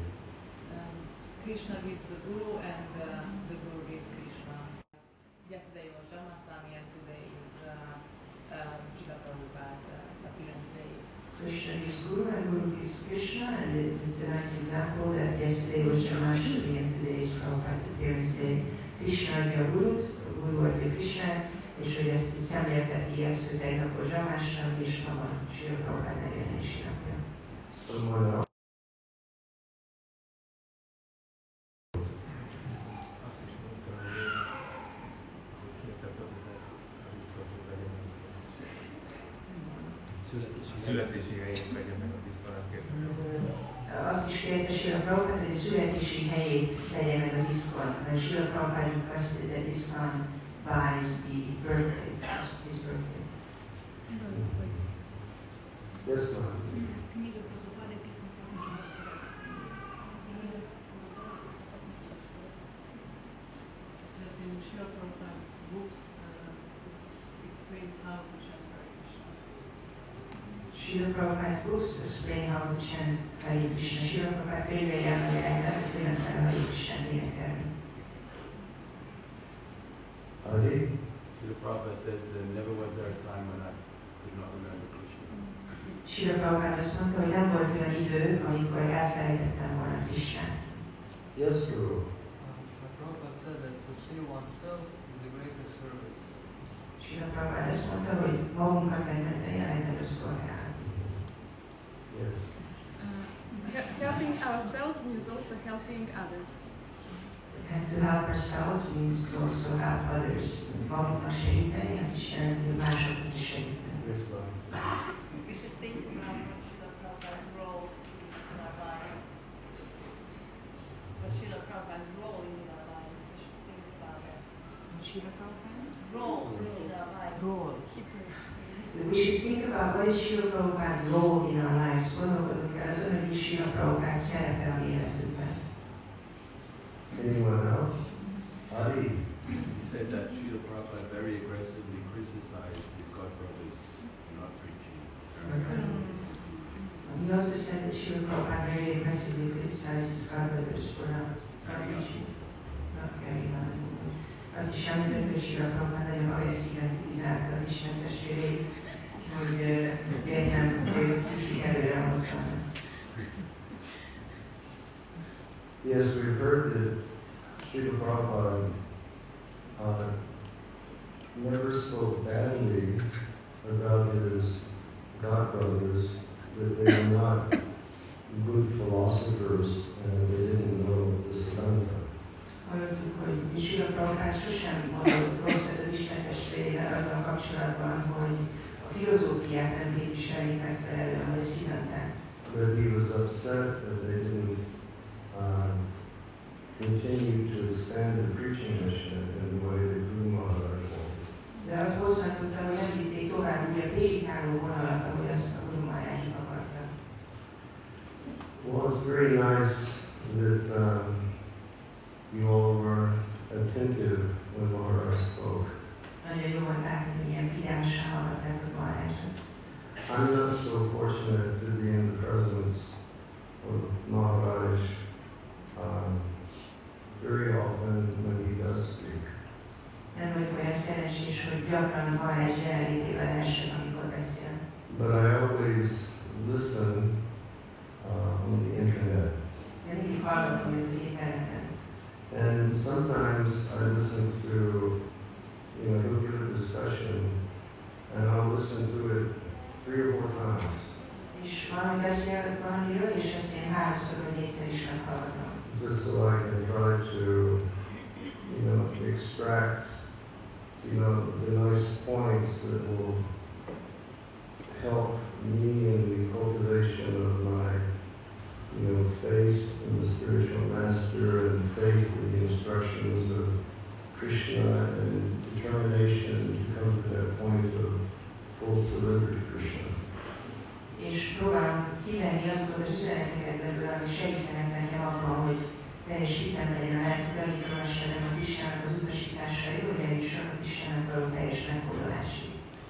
Krishna gives the Guru and the Guru gives Krishna. Yesterday was Janmashtami and today is Srila Prabhupada appearance day. Krishna gives Guru and Guru gives Krishna, and it's a nice example that yesterday was Janmashtami and today is Prabhupada's appearance day. Krishna adja a Gurut, a Guru adja Krishnát, és hogy ezt itt szemlélteti ezt, hogy tegnap volt Janmashtami, és ma van Srila Prabhupada megjelenési napja. Someone else? Azt is mondta, hogy kérte az iszkolatot vegye meg a születési helyét vegye meg az iszkolát kérte. Azt is kérte Srila Prabhupada, hogy a születési helyét vegye meg az ISKCON, mert Srila Prabhupada requested that ISKCON buys the birthplace, his birthplace. Yes, ma'am. In Srila Prabhupada's books explain how to chant Hare Krishna. Srila Prabhupada's books explain how to chant Hare Krishna. Srila Prabhupada könyvei elmagyarázzák, hogy hogyan kell Hare Krishnát énekelni. Hari? Srila Prabhupada says, never was there a time when I could not remember Krishna. Srila Prabhupada azt mondta, hogy nem volt olyan idő, amikor elfelejtettem volna Krishnát. Yes, Guru. Prabhupada said that to see oneself is the greatest service. Srila Prabhupada azt mondta, hogy magunkat megmenteni a legnagyobb szolgálat. Yes. Helping ourselves means also helping others. And to help ourselves means to also help others. Magunknak segíteni, az is jelenti, hogy másoknak is segíteni. Yes, ma'am. We should think about what Srila Prabhupada's role is in our lives. What Srila Prabhupada's role is in our lives. We should think about it. Srila Prabhupada? Role in our lives. Role. We should think about what is Srila Prabhupada's role in our lives. Gondolkodunk el azon, hogy is Srila Prabhupada szerepe a mi életünkben. Anyone else? Hari? He said that Srila Prabhupada very aggressively criticized his god brothers for not preaching. He also said that Srila Prabhupada very aggressively criticized his god brothers for not preaching. Not carrying on the movement. Azt is említett, hogy Srila Prabhupada nagyon agresszíven kritizálta az Isten testvéreit, hogy miért nem viszik előre a mozgalmat. Yes, we've heard that Srila Prabhupada never spoke badly about his godbrothers, that they were not filozófiát nem képviselik megfelelően, vagy a Siddhantát. But he was upset that they didn't continue to expand the preaching mission in the way that Guru Maharaj wanted. De az bosszantottam, hogy nem vitték tovább úgy a prédikáló vonalat, ahogy azt a Guru Maharaj akarta. Well, it's very nice that you all were attentive when Maharaj spoke. Nagyon jó volt látni, hogy ilyen figyelmesen hallgatnátok Maharajot. I'm not so fortunate to be in the presence of Maharaj very often when he does speak. Nem vagyok olyan szerencsés, hogy gyakran Maharaj jelenlétével elsők, amikor beszél. But I always listen on the internet. De mindig hallgatom őt az interneten. And sometimes I listen to, he'll give a discussion, and I'll listen to it 3 or 4 times. És valami beszél valamiről, és ezt én 3-szor vagy 4-szer is meghallgatom. Just so I can try to, extract, the nice points that will help me in the cultivation of my, faith in the spiritual master and faith in the instructions of Krishna and determination to come to that point of full surrender to Krishna. És próbálom kivenni azokat az üzeneteket belőle, ami segítenek nekem abban, hogy teljes hitem legyen a lelki tanítómesterem a Krishnának az utasításai, hogy eljussak a Krishnának való teljes meghódolásig.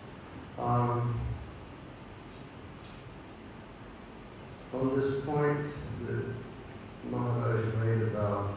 On this point that Maharaj made about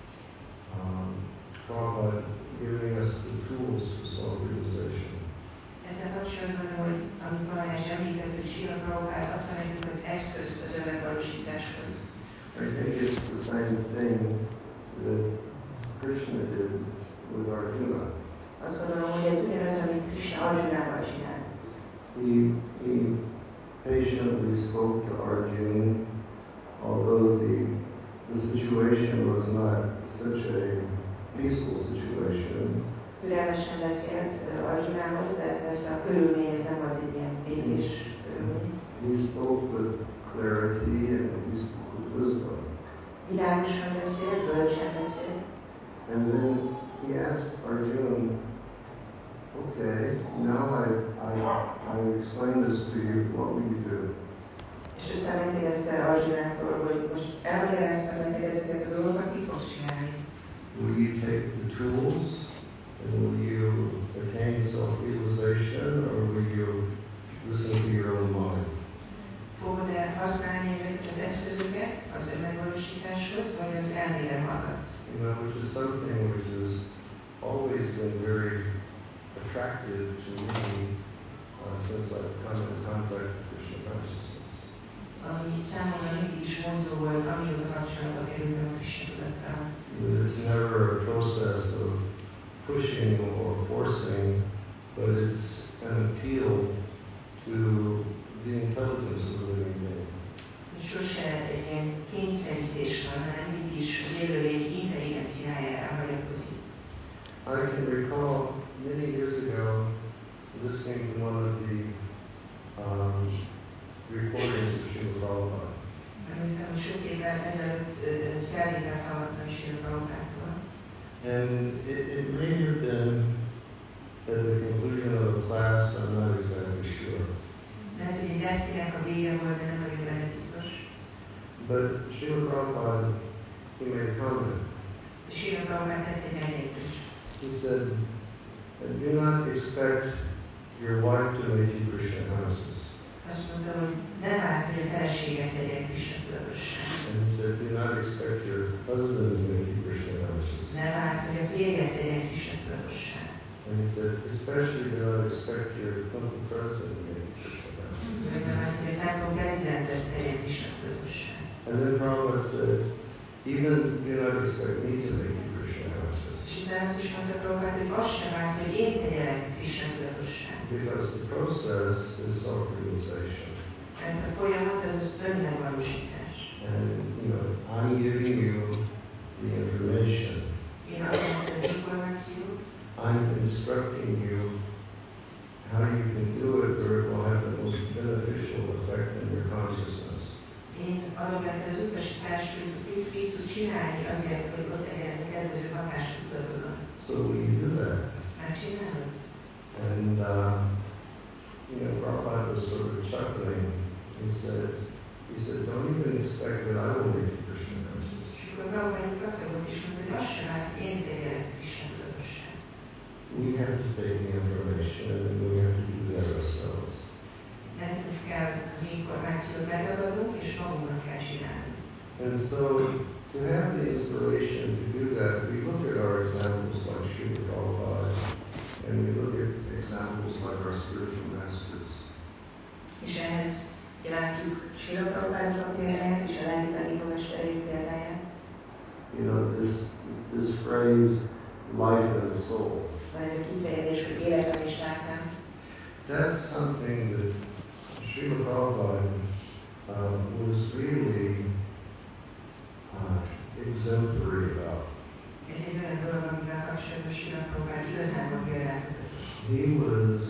Prabhupada giving us the tools for self-realization. Ezzel kapcsolatban, hogy amit Maharaj említett, hogy Srila Prabhupada adta nekünk az eszközt az önmegvalósításhoz. I think it's the same thing that Krishna did with Arjuna. Azt gondolom, hogy ez ugyanaz, amit Krishna Arjunával csinál. He patiently spoke to Arjuna, although the situation was not such a peaceful situation. Türelmesen beszélt Arjunához, de persze a körülmény ez nem volt egy ilyen békés körülmény. He spoke with clarity and he spoke with wisdom. Világosan beszélt, bölcsen beszélt. And then he asked Arjuna, okay, now I explained this to you, what will you do? És aztán megkérdezte Arjunától, hogy most elmagyaráztam neked ezeket a dolgokat, mit fogsz csinálni? Will you take the tools and will you attain self-realization or will you listen to your own mind? Fogod-e használni ezeket az eszközöket az önmegvalósításhoz, vagy az elmére hallgatsz? Which is something which has always been very attractive to me since I've come in contact with Krishna consciousness. Ami számomra mindig is vonzó volt, amióta kapcsolatba kerültem a Krishna tudattal. It's never a process of pushing or forcing, but it's an appeal to the intelligence of the living being. Sose egy ilyen kényszerítés van, hanem mindig is az élőlény intelligenciájára hagyatkozik. I can recall many years ago listening to one of the recordings of Srila Prabhupada. Emlékszem, hogy sok évvel ezelőtt felvételt hallgattam Srila Prabhupádtól. And it may have been at the conclusion of a class, I'm not exactly sure. Lehet, hogy egy beszédnek a vége volt, de nem vagyok benne biztos. But Srila Prabhupada, he made a comment. Srila Prabhupada tett egy megjegyzést. He said, do not expect your wife to make you Krishna conscious. Azt mondta, hogy nem várt, hogy a feleséget tegye Krishna tudatossá. And he said, do not expect your husband to make you Krishna conscious. Nem várt, hogy a férjet tegye Krishna tudatossá. And he said, especially do not expect your temple president to make you Krishna conscious. Nem várt, hogy a templom prezidentet tegye Krishna tudatossá. And then Prabhupada said, even do not expect me to make you Krishna conscious. És aztán azt is mondta Prabhupada, hogy azt sem várt, hogy én tegyelek Krishna tudatossá. Because the process is self-realization. Mert a folyamat az önmegvalósítás. And, I'm giving you the information. Én adom az információt. I'm instructing you how you can do it or it will happen So will you do that? Megcsinálod? And, Prabhupada was sort of chuckling. He said, don't even expect that I will lead you Krishna consciousness. És akkor Prabhupada gazdagot is mondta, hogy azt sem vár, hogy én tegyelek Krishna tudatosság. We have to take the information and we have to do that ourselves. Nekünk kell az információt megragadnunk, és magunknak kell csinálni. And so, to have the inspiration to do that, we look at our examples like Srila Prabhupada, and we look at examples like our spiritual masters. És ehhez látjuk Srila Prabhupád példáját, és a lelki tanítómestereik példáját. This phrase, life and soul. Van ez a kifejezés, hogy életem és lelkem. That's something that Srila Prabhupada was really exemplary about. Ez egy olyan dolog, amivel kapcsolatban Srila Prabhupada igazából példát mutatott. He was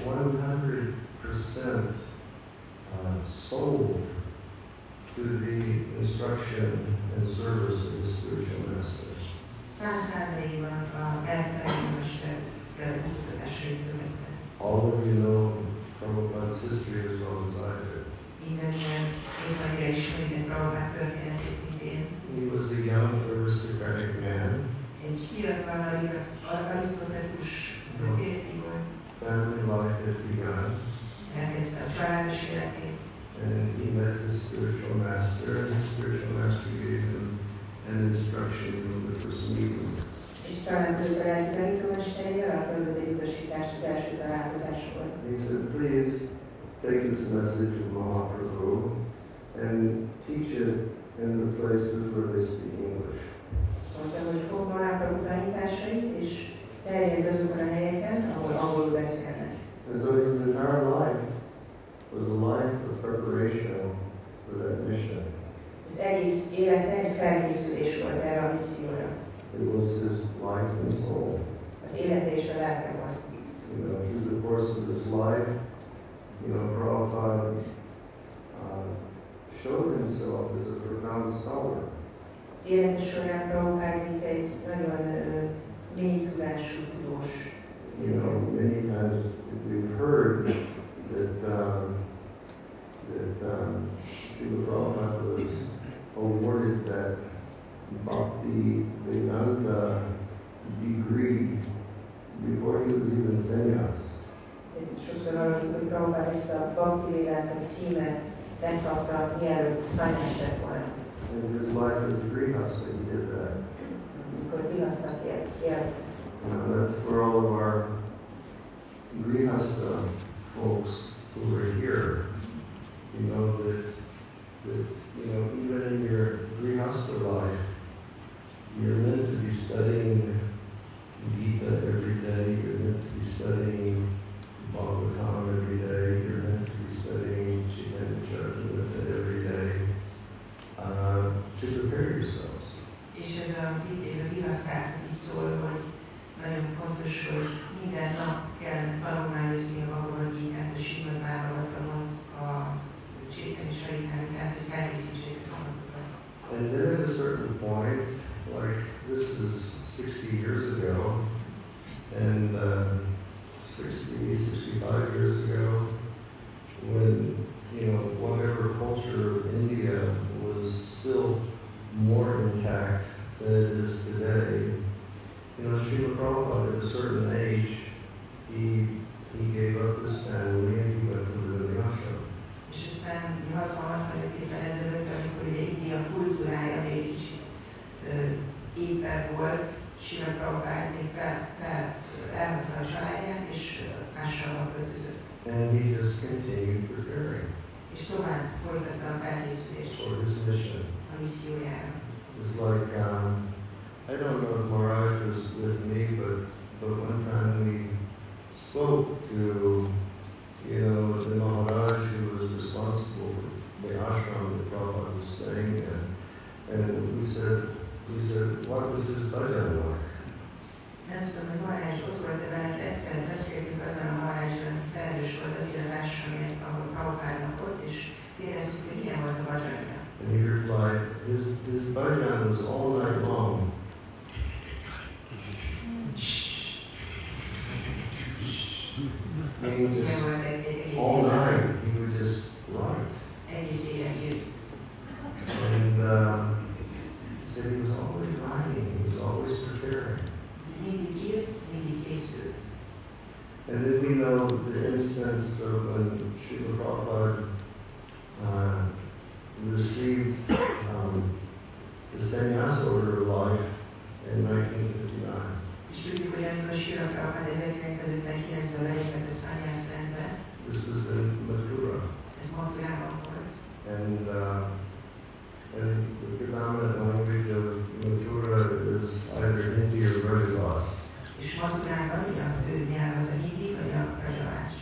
100% sold to the instruction and service of the spiritual master. 100%-ban a lelki tanítómester kutatásait követte. All of you know Prabhupada's history as well as I do. Mindannyian annyira ismeritek Prabhupád történetét, mint én. He was a young aristocratic man. Egy fiatal, arisztokratikus férfi volt. Family life had begun. Elkezdte a családos életét. And he met his spiritual master, and his spiritual master gave him an instruction from the first meeting. És találkozott a lelki tanítómesterével, aki adott egy utasítást az első találkozáskor. He said, please take this message of Mahaprabhu and teach it in the places where they speak English. Mondta, hogy fog Mahaprabhu tanításait, és terjedz azokon a helyeken, ahol angolul beszélnek. And so his entire life was a life of preparation for that mission. Az egész élete egy felkészülés volt erre a misszióra. It was his life and soul. Az élete és a lelke volt. Through the course of his life, Prabhupada showed himself as a profound scholar. Az élete során Prabhupád mint egy nagyon mély tudású tudós. Many times we've heard that Srila Prabhupada was awarded that Bhakti Vedanta degree before he was even sannyas. Sokszor hallottuk, hogy Prabhupád ezt a Bhakti Vedanta címet megkapta, mielőtt szanyás lett volna. In his life as a grihastha, he did that. Mikor grihasznak élt. That's for all of our grihastha folks who are here. That even in your grihastha life, you're meant to be studying Gita every day. You're meant to be studying Bhagavatam every day. You're meant to be studying Chaitanya Charitamrita every day to prepare yourselves. És ez az itt élő grihasztáknak is szól, hogy nagyon fontos, hogy minden nap kell tanulmányozni a Bhagavad Gitát, a Srimad Bhagavatamot, a Chaitanya Charitamritát, hogy felkészítsék a magatokat. And then at a certain point, like this is 60 years ago, and 65 years ago, when whatever culture of India was still more intact than it is today. Srila Prabhupada at a certain age, he gave up his family and he went to live in the ashram. És aztán 60-65 évvel ezelőtt, amikor ugye India kultúrája még kicsit éppen volt, Srila Prabhupád még elhagyta a családját, és ásramba költözött. And he just continued preparing. És tovább folytatta a felkészülést for his mission. A missziójára. It's like, I don't know if Maharaj was with me, but one time we spoke to, the Maharaj who was responsible for the ashram that Prabhupada was staying in, and we said, what was his bhajan like? Nem tudom, hogy Maharaj ott volt-e veled, de egyszer beszéltünk azon a Maharajról, aki felelős volt azért az ashramért, ahol Prabhupádnak ott, és kérdeztük, hogy milyen volt a bhajanja. And he replied, his bhajan was all night long. És meaning just all night he would just write. Egész éjjel írt. And he said he was always writing, he was always preparing. Mindig írt, mindig készült. And then we know the instance of when Srila Prabhupada received the sannyas order of life in 1959. És tudjuk, hogy amikor Srila Prabhupada 1959-ben lelépett a sannyas rendbe, This was in Mathura. ez Mathurában volt. And the predominant language of Mathura is either Hindi or Brajavas. És Mathurában ugye a fő nyelv az a hindi vagy a Brajavás.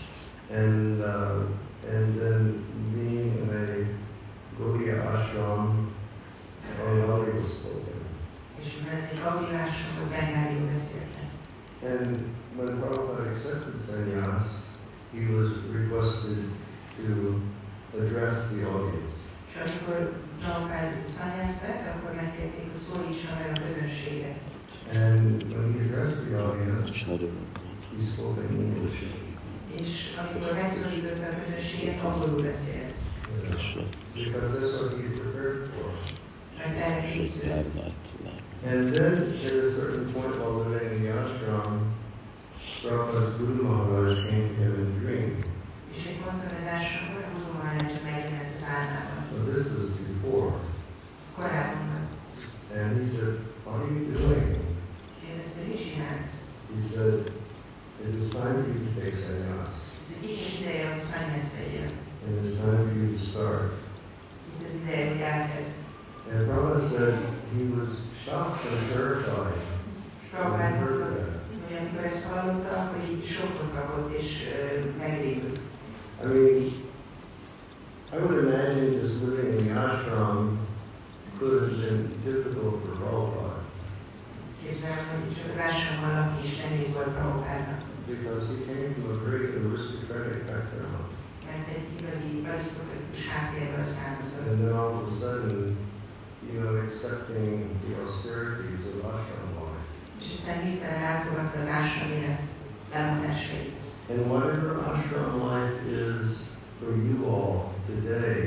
And then being in a Gaudiya ashram, Bengali was spoken. És mivel ez egy Gaudiya ashram, hogy Bengáliul beszéltek. And when Prabhupada accepted sannyas, he was requested to address the audience. És amikor Prabhupada sannyast vett, akkor megkérték, hogy szólítsa meg a közönséget. And when he addressed the audience, he spoke in English. És amikor megszólította a közönséget, angolul beszélt. Because that's what he prepared for. Mert erre készült. And then at a certain point while living in the ashram, Prabhupada's Guru Maharaj came to him in a dream. És egy ponton az ashramban a Guru Maharaj megjelent az álmában. Well, this was before. Ez korábban volt. And he said, what are you doing? Kérdezte, mit csinálsz? He said, it is time for you to take sannyas. Itt az ideje, hogy sannyast vegyél. And it's time for you to start. Itt az ideje, hogy elkezd. And Prabhupada said he was shocked and terrified. Prabhupada mondta, hogy amikor ezt hallotta, hogy így sokkot kapott és megrémült. I mean, I would imagine just living in the ashram could have been difficult for Prabhupada. Képzelem, hogy csak az ashramban lakni is nehéz volt Prabhupádnak. Because he came from a very aristocratic background. Mert egy igazi arisztokratikus háttérből származott. And then all of a sudden, accepting the austerities of ashram life. És aztán hirtelen elfogadta az ashram élet lemondásait. And whatever ashram life is for you all today,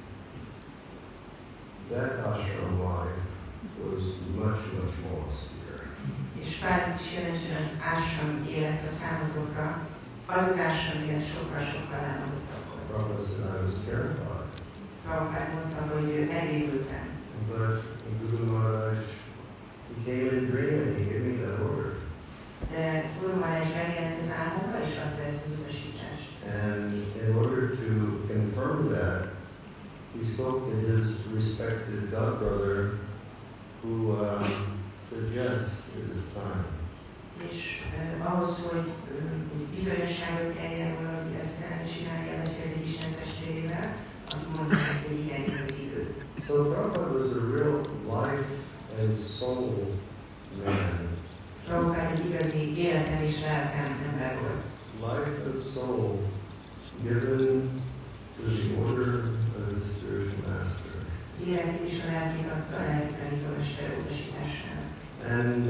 that ashram life was much, much more austere. És bármit is jelentsen az ashram élet a számotokra, az ashram élet sokkal lemondottabb volt. Prabhupada said I was terrified. Prabhupada mondta, hogy megrémültem. But Guru Maharaj, he came in a dream and he gave me that order. De Guru Maharaj megjelent az álmomra és adta ezt az utasítást. And in order to confirm that, he spoke to his respected godbrother who said, yes, it is time. És ahhoz, hogy bizonyosságot nyerjen róla, hogy ezt kellene csinálni, beszélt egy Isten testvérével, aki mondta neki, hogy igen, az idő. So Prabhupada was a real life and soul man. Prabhupada egy igazi életem és lelkem ember volt. Life and soul given to the order of the spiritual master. Az életét és a lelkét adta a lelki tanítómester utasítására. And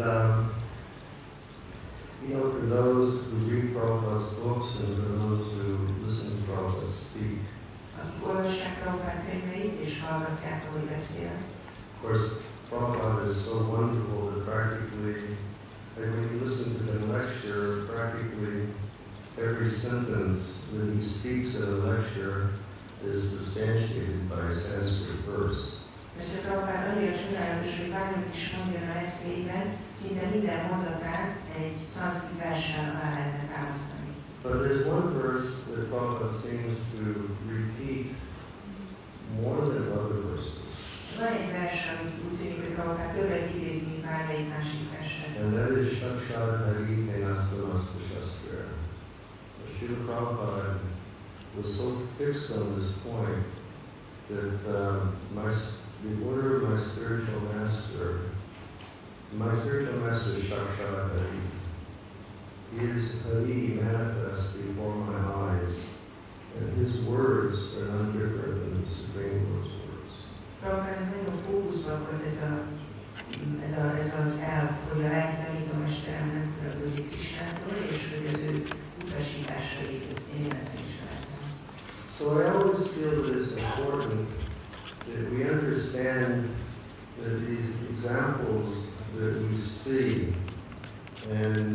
for those who read Prabhupada's books and for those who listen to Prabhupada speak, akik olvassák Prabhupada könyveit és hallgatják, ahogy beszél. Of course, Prabhupada is so wonderful that practically, like when you listen to the lecture, practically every sentence that he speaks in a lecture is substantiated by a Sanskrit verse. Persze Prabhupada annyira csodálatos, hogy bármit is mondjon a leckéiben, szinte minden mondatát egy szanszkrit verssel alá lehetne támasztani. But there's one verse that Prabhupada seems to repeat more than other verses. Van egy vers, amit úgy tűnik, hogy Prabhupada többet idéz, mint bármelyik másik verset. And that is Shakshad Hari Tenastamasta Shastra. Srila Prabhupada was so fixed on this point that the order of my spiritual master is Shakshad Hari. His Hari manifest before my eyes, and his words are none different than the Supreme Lord's words. Prabhupada nagyon fókuszban volt ez az elv, hogy a lelki tanítómesterem nem különbözik Krisnától, és hogy az ő utasításait always feel that it's important that we understand that these examples that we see, and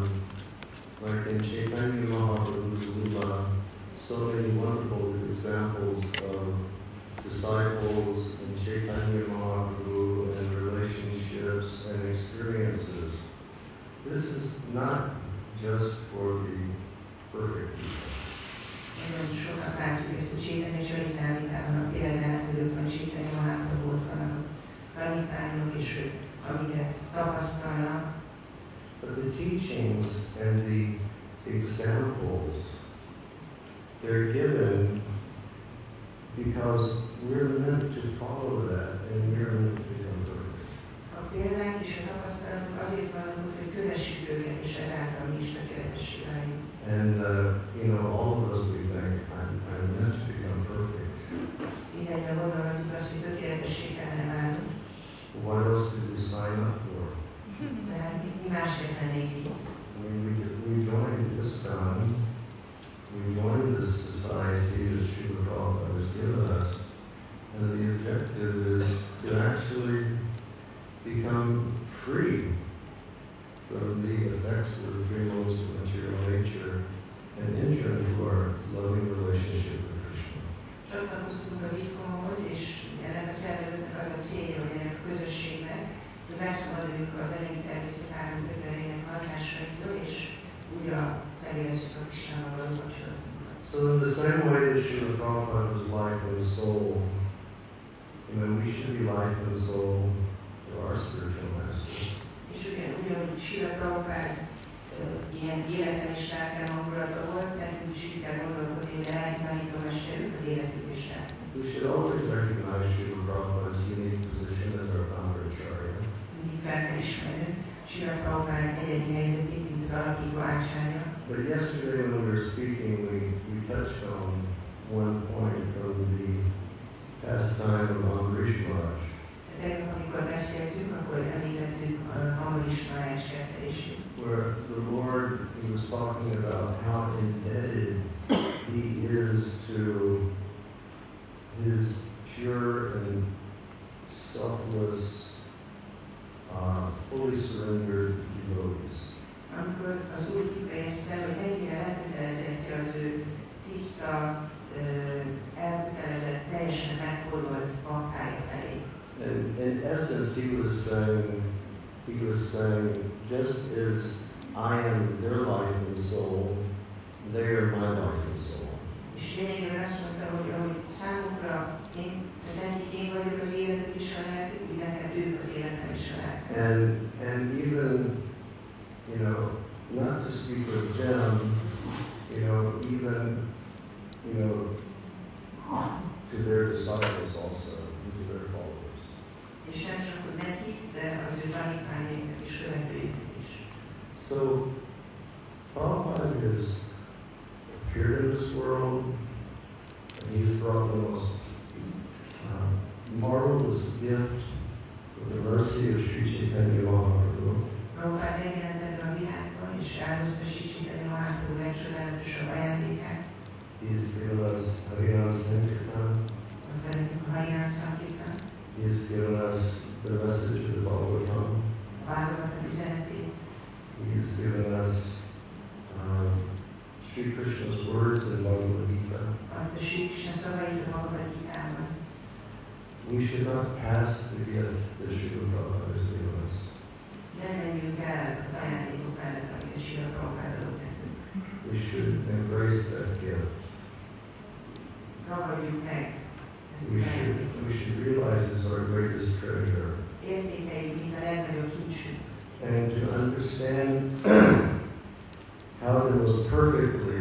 like in Chaitanya Mahaprabhu's Lila, so many wonderful examples of disciples in Chaitanya Mahaprabhu and relationships and experiences. This is not just for the perfect people. Nagyon sokat látjuk ezt a Chaitanya Charitamritában, a példát, hogy ott van Chaitanya Mahaprabhu, ott vannak a tanítványok, és ők amiket tapasztalnak. But the teachings and the examples, they're given because we're meant to follow that and we're meant to become perfect. A példák és a tapasztalatok azért vannak ott, hogy kövessük őket, és ezáltal mi is tökéletessé váljunk. And all of us, we think, I'm meant to become perfect. Mindennyian gondolhatjuk azt, hogy tökéletessé kellene válnunk. What else did we sign up for? De hát mi másért lennénk itt? We joined ISKCON, we joined this society that Srila Prabhupada has given us, and the objective is to actually become free from the effects of the three modes of material nature and enter into our loving relationship with Krishna. Csatlakoztunk az ISKCON-hoz, és ennek a szervezetnek az a célja, hogy ennek a közösségnek, hogy megszabaduljunk az anyagi természet három kötelének hatásaitól, és újra felérezzük a Krisnával való kapcsolatunkat. So in the same way that Srila Prabhupada was life and soul, we should be life and soul to our spiritual masters. És ugyanúgy Srila Prabhupada ilyen életen és lelken hangulata volt, nekünk is így kell gondolkodni, hogy a lelki tanítómesterünk az életünk és lelkünk. We should always recognize Srila Prabhupada's unique position as our founder acharya. Mindig fel kell ismernünk Srila Prabhupada egyedi helyzetét, mint az alapító ácsárja. But yesterday when we were speaking, we touched on one point from the pastime of Ambarish Maharaj. Tegnap, amikor beszéltünk, akkor említettük Ambarish Maharaj kettelését. Where the Lord, he was talking about how indebted he is to his pure and selfless, fully surrendered devotees. Amikor az Úr kifejezte, hogy mennyire elkötelezettje az ő tiszta, elkötelezett, teljesen meghódolt baktája felé. And in essence, he was saying, just as I am their life and soul, they are my life and soul. És lényegében azt mondta, hogy ahogy számukra én vagyok az életük és a lelkük, úgy nekem ők az életem és a lelkem. And even, not to speak with them, even, to their disciples also, to their followers. És nem csak hogy nekik, de az ő tanítványaiknak és követőiknek is. So, Prabhupada has appeared in this world, and he's brought the most marvelous gift of the mercy of Sri Chaitanya Mahaprabhu. Prabhupada megjelent ebben a világban, és elhozta Sri Chaitanya Mahaprabhu legcsodálatosabb ajándékát. He has given us Harinam Sankirtan. Adta nekünk a Harinam Sankirtan. He has given us the message of the Bhagavatam. A Bhagavatam üzenetét. He has given us Sri Krishna's words in Bhagavad Gita. Adta Sri Krishna szavait a Bhagavad Gitában. We should not pass the gift that Srila Prabhupada has given us. Nem menjünk el az ajándékok mellett, amit Srila Prabhupada adott nekünk. We should embrace that gift. Ragadjuk meg ezt az We ajándékot. should realize it's our greatest treasure. Értékeljük, mint a legnagyobb kincsünk. And to understand how to most perfectly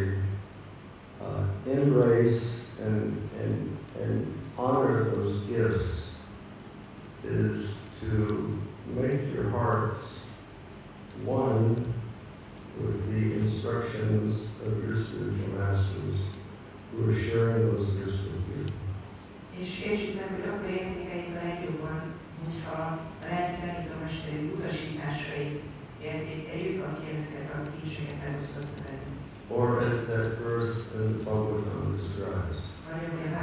embrace and honor those gifts is to make your hearts one with the instructions of your spiritual masters who are sharing those gifts with you. És értsük meg, hogy akkor értékeljük a legjobban, hogyha a lelki tanítómesterünk utasításait értékeljük, aki ezeket a kincseket megosztotta velünk. Or as that verse in the Bhagavatam describes. Vagy ahogy a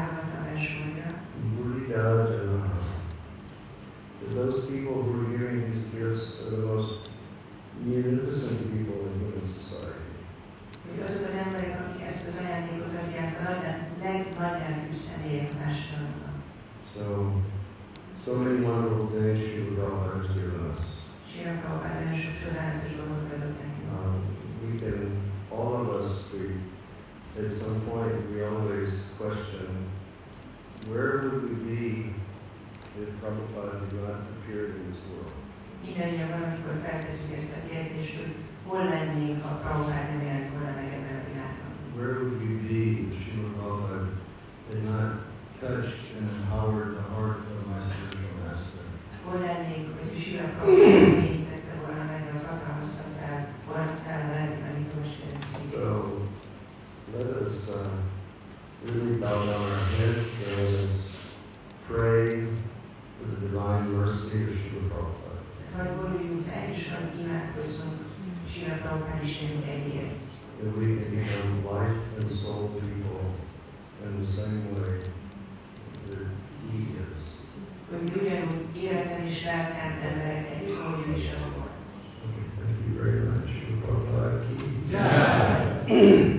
személyek a társadalomban. So many wonderful things Srila Prabhupada has given us. Srila Prabhupada nagyon sok csodálatos dolgot adott nekünk. We can, all of us, at some point we always question, where would we be if Prabhupada did not appear in this world? Mindannyian valamikor feltesszük ezt a kérdést, hogy hol lennénk, ha Prabhupada nem jelent volna meg ebben a világban. Where would we be if Srila Prabhupada did not touch and empower the heart of my spiritual master? Hol lennénk, hogy Srila Prabhupada mélyítette volna meg, vagy hatalmazta volna fel a lelki tanítómesterek szívét. So, let us really bow down our heads and let us pray for the divine mercy of Srila Prabhupada. Vagy boruljunk le, és imádkozzunk Srila Prabhupada Istenünk egyért. That we can become life and soul people in the same way that He is. Hogy mi ugyanúgy életem és lelkem emberek együtt, ahogy ő is az volt. Okay, thank you very much. Srila Prabhupada ki jai.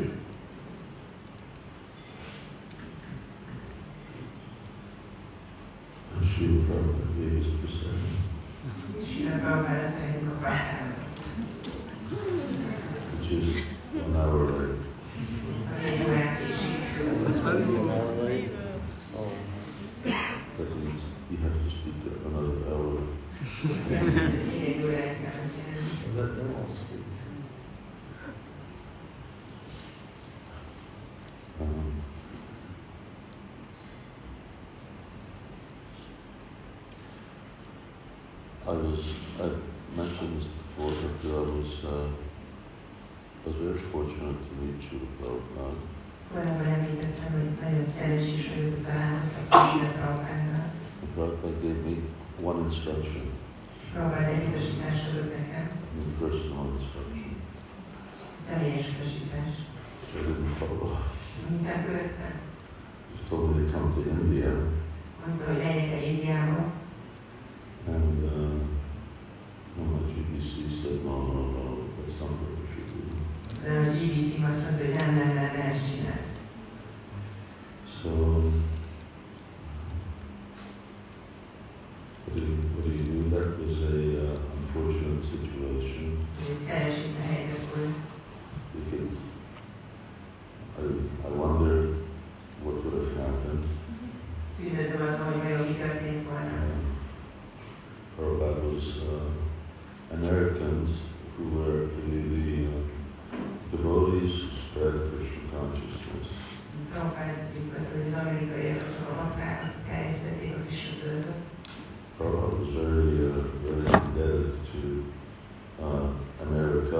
Srila Prabhupada gave us prasadam. Srila Prabhupada nekünk a prasadam. Which is 1 hour late. It's very good. late. Oh. That means you have to speak another hour. Let them all speak. I mentioned this before, but I was very fortunate to meet Srila Prabhupada. Korábban említettem, hogy nagyon szerencsés vagyok, hogy találkoztam Srila Prabhupádnál. Prabhupada gave me one instruction. Prabhupada egy utasítást adott nekem. Personal instruction. Személyes utasítás. Which I didn't follow. Nem követtem. He told me to come to India. Mondta, hogy menjek el Indiába. And my GBC said, no, that's not what we should do. De a GBC azt mondta, hogy nem ezt csinálni. So, what do you do? That was a unfortunate situation. Szerencsétlen helyzet volt. Because I wonder what would have happened. Tűnődöm azon, hogy vajon mi történt volna. Prabhupada was Americans who were really the devotees who spread Krishna consciousness. Prabhupada az amerikaiak azok a bakták, akik terjesztették a Krishna tudatot. Prabhupada was very indebted to America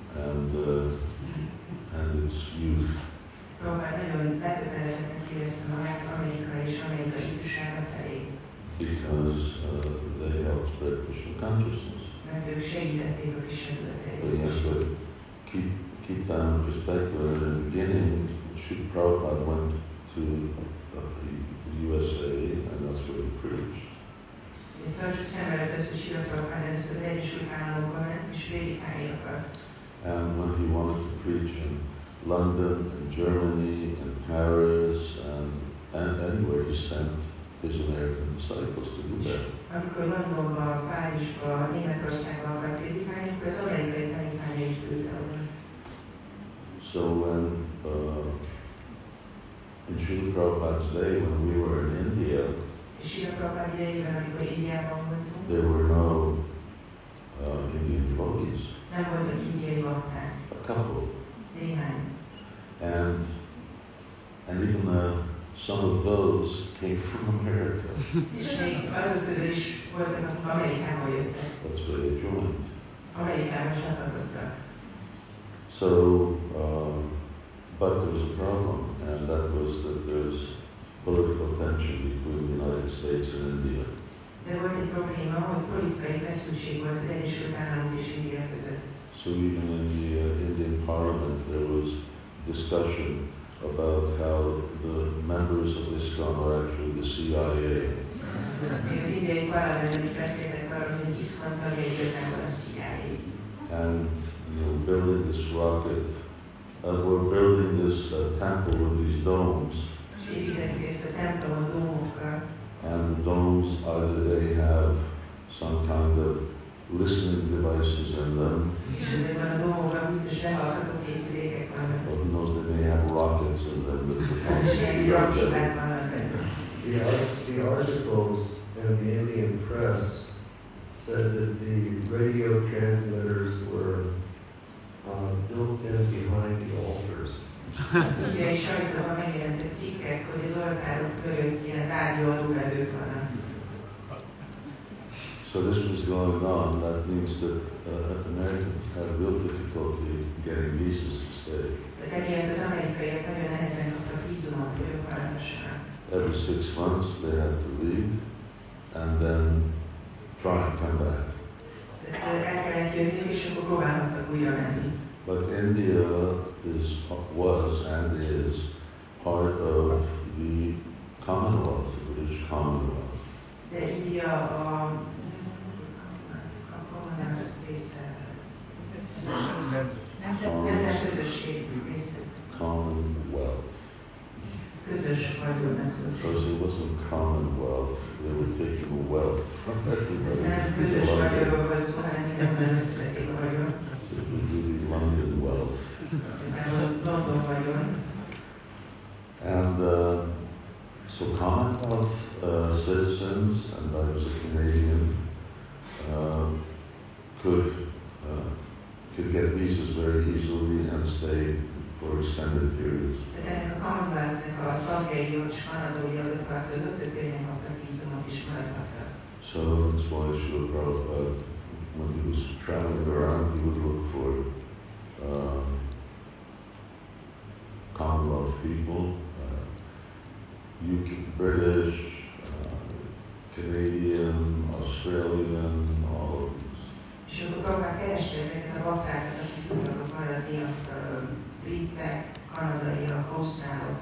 and its youth. Prabhupada nagyon lekötelezetten érezte magát Amerika és amerikai ifjúsága felé. Because they helped spread Krishna consciousness. Mert ők segítették a Krishna tudat But you have terjesztését. to keep that in perspective. In the beginning, Srila Prabhupada went to the USA, and that's where he preached. Tartsuk szem előtt azt, hogy Srila Prabhupada először az Egyesült Államokba ment, és prédikálni akart. And when he wanted to preach in London and Germany and Paris and anywhere, he sent his American disciples to do that. Amikor Londonba, Párizsba, Németországba akart prédikálni, akkor az amerikai tanítványait küldte oda. So when in Srila Prabhupada's day, when we were in India, Srila Prabhupada idejében, amikor Indiában voltunk, there were no Indian devotees. nem voltak indiai bakták. A couple. Néhány. And even some of those came from America. És még azok közül is voltak, akik Amerikából jöttek. That's where they joined. Amerikában csatlakoztak. So, but there was a problem, and that was that there's political tension between the United States and India. De volt egy probléma, hogy politikai feszültség volt az Egyesült Államok és India között. So even in the Indian Parliament, there was discussion about how the members of ISKCON are actually the CIA. Az indiai parlamentben is beszéltek arról, hogy az ISKCON tagja igazából a CIA. And building this rocket, we're building this temple with these domes. És építettük ezt a templomot rakjéták vannak benne. The articles in the Indian press said that the radio transmitters were built in behind the altars. Ugye és sajtóban megjelentek cikkek, hogy az oltárok mögött ilyen rádióadórevők vannak. So this was going on. That means that Americans had real difficulty getting visas to stay. Tehát emiatt az amerikaiak nagyon nehezen kaptak vízumot, hogy ott maradhassanak. Every 6 months they had to leave and then try and come back. El kellett jönnünk, és akkor próbálhattak újra menni. But India was and is part of the Commonwealth, the British Commonwealth. De India a része. Nemzetközösség része. Commonwealth. Közös vagyon, ez az. Because it wasn't Commonwealth, they were taking wealth from everybody. Nem közös vagyonról volt szó, hanem mindenben összeszedik a vagyon. So it was really London wealth. Ez nem London vagyon. And so Commonwealth citizens, and I was a Canadian, could get visas very easily and stay for extended periods. Tehát ennek a Commonwealth-nek a tagjai ott is kanadai előtt tartozott, ők könnyen kaptak vízumot is maradhattak. So that's why Srila Prabhupada, when he was traveling around, he would look for Commonwealth people, UK, British, Canadian, Australian, all of these. És akkor Prabhupád kereste ezeket a baktákat, akik tudtak maradni, a britek, kanadaiak, ausztrálok.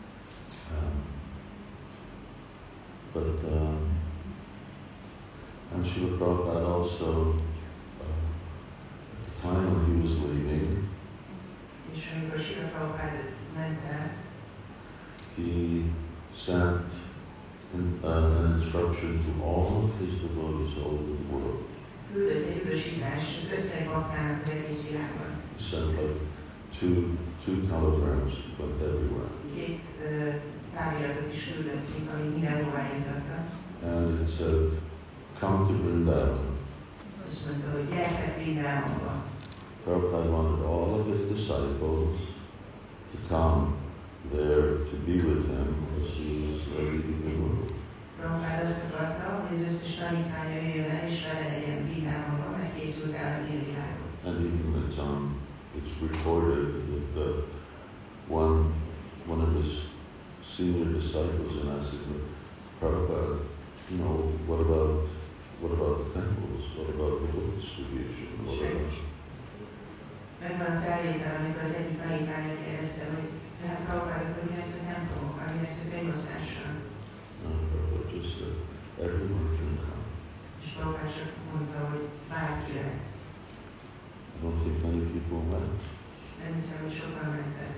And Srila Prabhupada also, at the time when he was leaving, és amikor Srila Prabhupád ment el, he sent an instruction to all of his devotees all over the world. Küldött egy utasítást az összes baktának az egész világon. He sent like two telegrams that went everywhere. Két táviratot is küldött, ami mindenhová jutatta. And it said, come to Vrindavan. Azt mondta, hogy gyertek Vrindavanba. Prabhupada wanted all of his disciples to come there to be with him as he was leaving the world. Prabhupada azt akarta, hogy az összes tanítványa jöjjön el, és vele legyen Vrindavanba, mert készült el a világot. And even it's recorded that one of his senior disciples in Asika, Prabhupada, what about the temples? What about the book distribution? What about? Megvan a felvétel, amikor az egyik tanítványa kérdezte, hogy tehát Prabhupada, hogy mi lesz a templomokkal, mi lesz a könyvosztással. Prabhupada just said, everyone can come. És Prabhupada csak mondta, hogy bárki jöhet. I don't think many people went. Nem hiszem, hogy sokan mentek.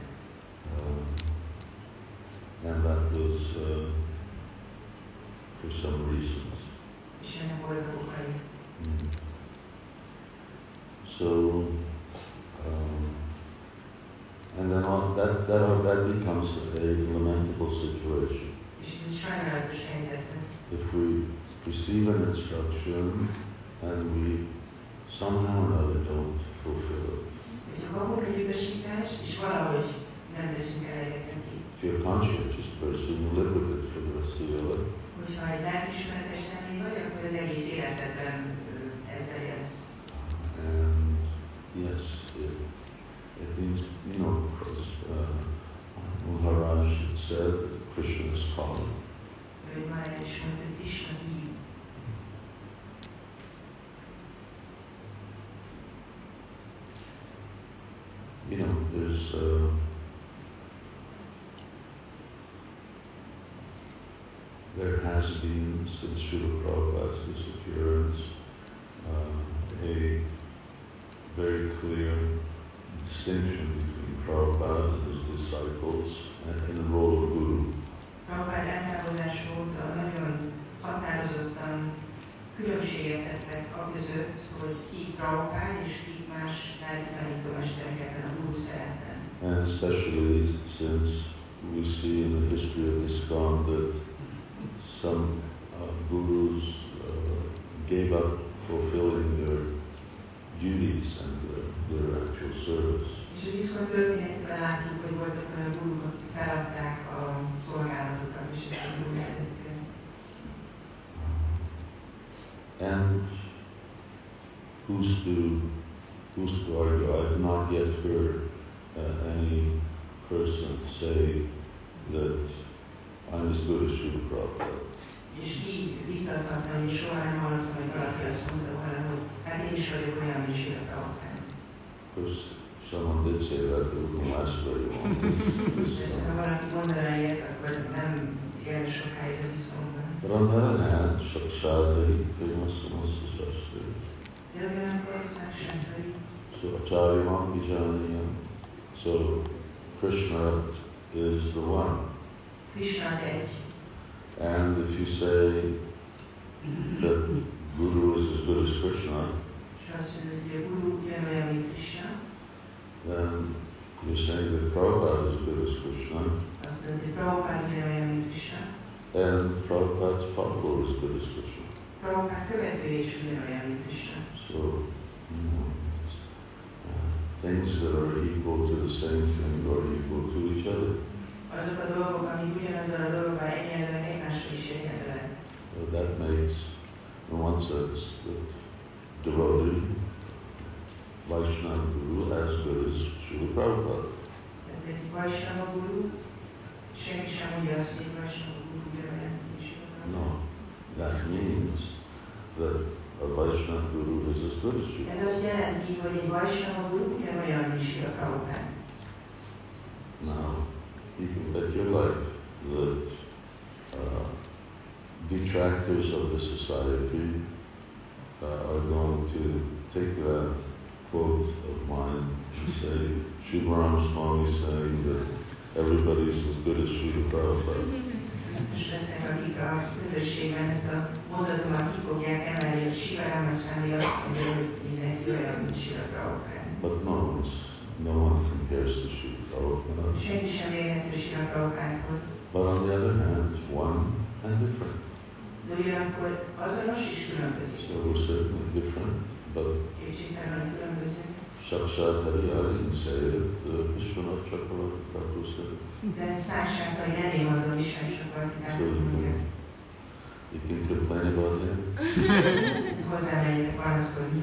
And that was for some reasons. És ennek voltak okai. So, and then that becomes a lamentable situation. És ez egy sajnálatos helyzet. If we receive an instruction and we somehow or another don't fulfill it. Hogyha kapunk egy utasítást, és valahogy nem teszünk eleget neki. If you're a conscientious person, you live with it for the rest of your life. Hogyha egy lelkiismeretes személy vagy, akkor az egész életedben ezzel élsz. And yes, it means, Maharaj had said that Krishna is calling. Ő már el is mondta, hogy Krishna hív. There has been, since Srila Prabhupada's disappearance, a very clear distinction between Prabhupada and his disciples and the role of Guru. Prabhupád eltávozás óta nagyon határozottan különbséget tettek a között, hogy ki Prabhupád és ki más lelki tanítómesterek ebben a Guru szerepben. And especially since we see in the history of ISKCON that some gurus gave up fulfilling their duties and their actual service. És az ISKCON történetében látjuk, hogy voltak olyan guruk, akik feladták a szolgálatukat és ezt a gyógyszerüket. And who's to argue? I've not yet heard any person say that I'm as good as Srila Prabhupada. És ki vitathatna, hogy soha nem hallottam, hogy valaki azt mondta volna, hogy hát én is vagyok olyan, mint Srila Prabhupada. Of course, someone did say that, but it wouldn't last very long. Persze, ha valaki mondaná ilyet, akkor nem él sokáig az iszomban. But on the other hand, Shakshadhari Trimastamasa Shastri. De ugyanakkor Shakshadhari. So Acharyamam Vijaniyam. So Krishna is the one. Krishna az egy. And if you say that Guru is as good as Krishna, then you're saying that Prabhupada is as good as Krishna, and Prabhupada's follower is as good as Krishna. So, things that are equal to the same thing are equal to each other. Azok a dolgok, amik ugyanazzal a dologgal egyenlőek, egymással is egyenlőek. That makes, in one sense, that devotee Vaishnava Guru as good as Srila Prabhupada. Tehát egy Vaishnava Guru, senki sem mondja azt, hogy egy Vaishnava Guru ugyanolyan, mint Srila Prabhupada. No, that means that a Vaishnava Guru is as good as Srila Prabhupada. Ez azt jelenti, hogy egy Vaishnava Guru ugyanolyan, mint Srila Prabhupada. Now, you can bet your life that detractors of the society are going to take that quote of mine and say, Srila Ramaswamy saying that everybody's as good as Srila Prabhupada. Biztos lesznek, akik a közösségben ezt a mondatomat ki fogják emelni, hogy Srila Ramaswamy azt mondja, hogy mindenki olyan, mint Srila Prabhupada. But no one compares to Srila Prabhupada. Senki sem érhető Srila Prabhupádhoz. But on the other hand, one and different. De ugyanakkor azonos és különbözik. So we're certainly different, but kétségtelenül különbözünk. Shakshadhari, I didn't say it, Vishwanath Chakravarti Thakur said it. De Shakshadhari nem én mondom, Vishwanath Chakravarti Thakur mondja. You can complain about him. Hozzámenjetek panaszkodni.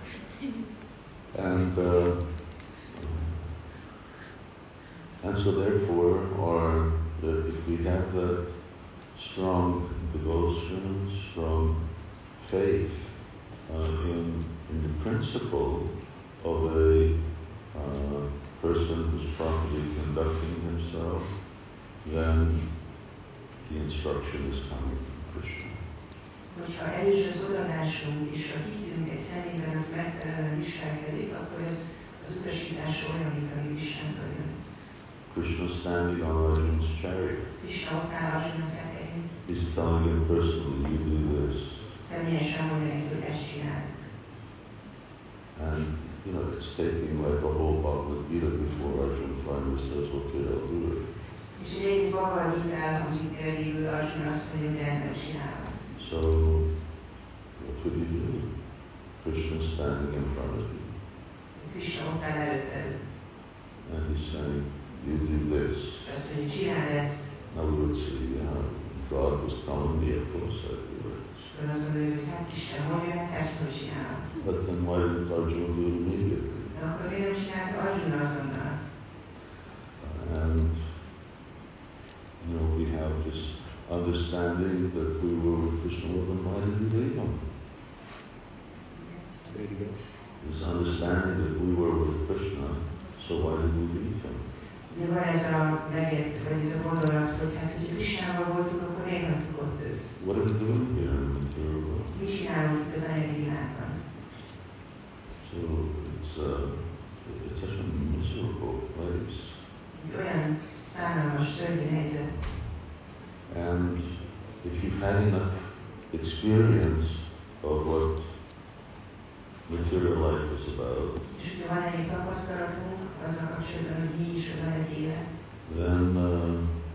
And so therefore, if we have that strong devotion, strong faith in the principle of a person who's properly conducting himself, then the instruction is coming from Krishna. Hogyha erős az odadásunk és a hitünk egy személyben, aki megfelelően viselkedik, akkor ez az utasítása olyan, mint ami Isnentől jön. Krishna standing on Arjuna's chariot. Krishna ott áll Arjuna szekerén. He's telling him personally, you do this. Személyesen mondja neki, hogy ezt csinál. And it's taking like a whole Bhagavad Gita before Arjuna finally says, okay, I'll do it. És egy egész Bhagavad Gita elhangzik végül, Arjuna azt mondja, hogy rendben csinálom. So, what would you do? Krishna standing in front of you. Krishna ott áll előtted. And he's saying, you do this. Azt mondja, csináld ezt. Now we would say, yeah, God was telling me, of course I do it. Azt mondja, hogy hát Isten mondja, hát ezt hogy csinálom. But then why didn't Arjuna do it immediately? De akkor miért nem csinálta Arjuna azonnal? And, we have this understanding that we were with Krishna, well, then why did we leave him? This understanding that we were with Krishna, so why did we leave him? De van ez a megért, vagy ez a gondolat, hogy hát, hogy Krishnával voltunk, akkor miért hagytuk ott őt? What are we doing here in the material world? Mit csinálunk itt az anyagi világban? So it's such a miserable place. Egy olyan szánalmas, szörnyű helyzet. And if you've had enough experience of what material life is about, és hogyha van egy tapasztalatunk azzal kapcsolatban, hogy mi is az anyagi élet, then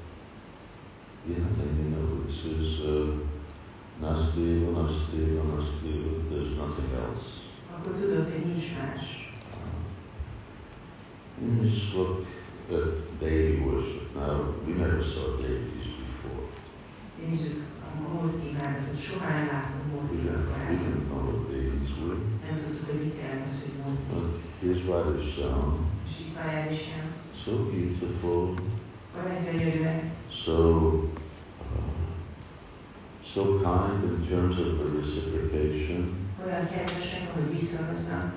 You just look at deity worship. Now, we never saw deities before. Nézzük a múlti imádatot. Soha nem láttam We múltikat didn't korábban. know what deities were. Nem tudtuk, hogy mit jelent az, hogy múlti. But here's Radhesham, És itt van Radhesham. so beautiful, Olyan gyönyörűen, so kind in terms of the reciprocation. olyan kedvesek, ahogy viszonoznak.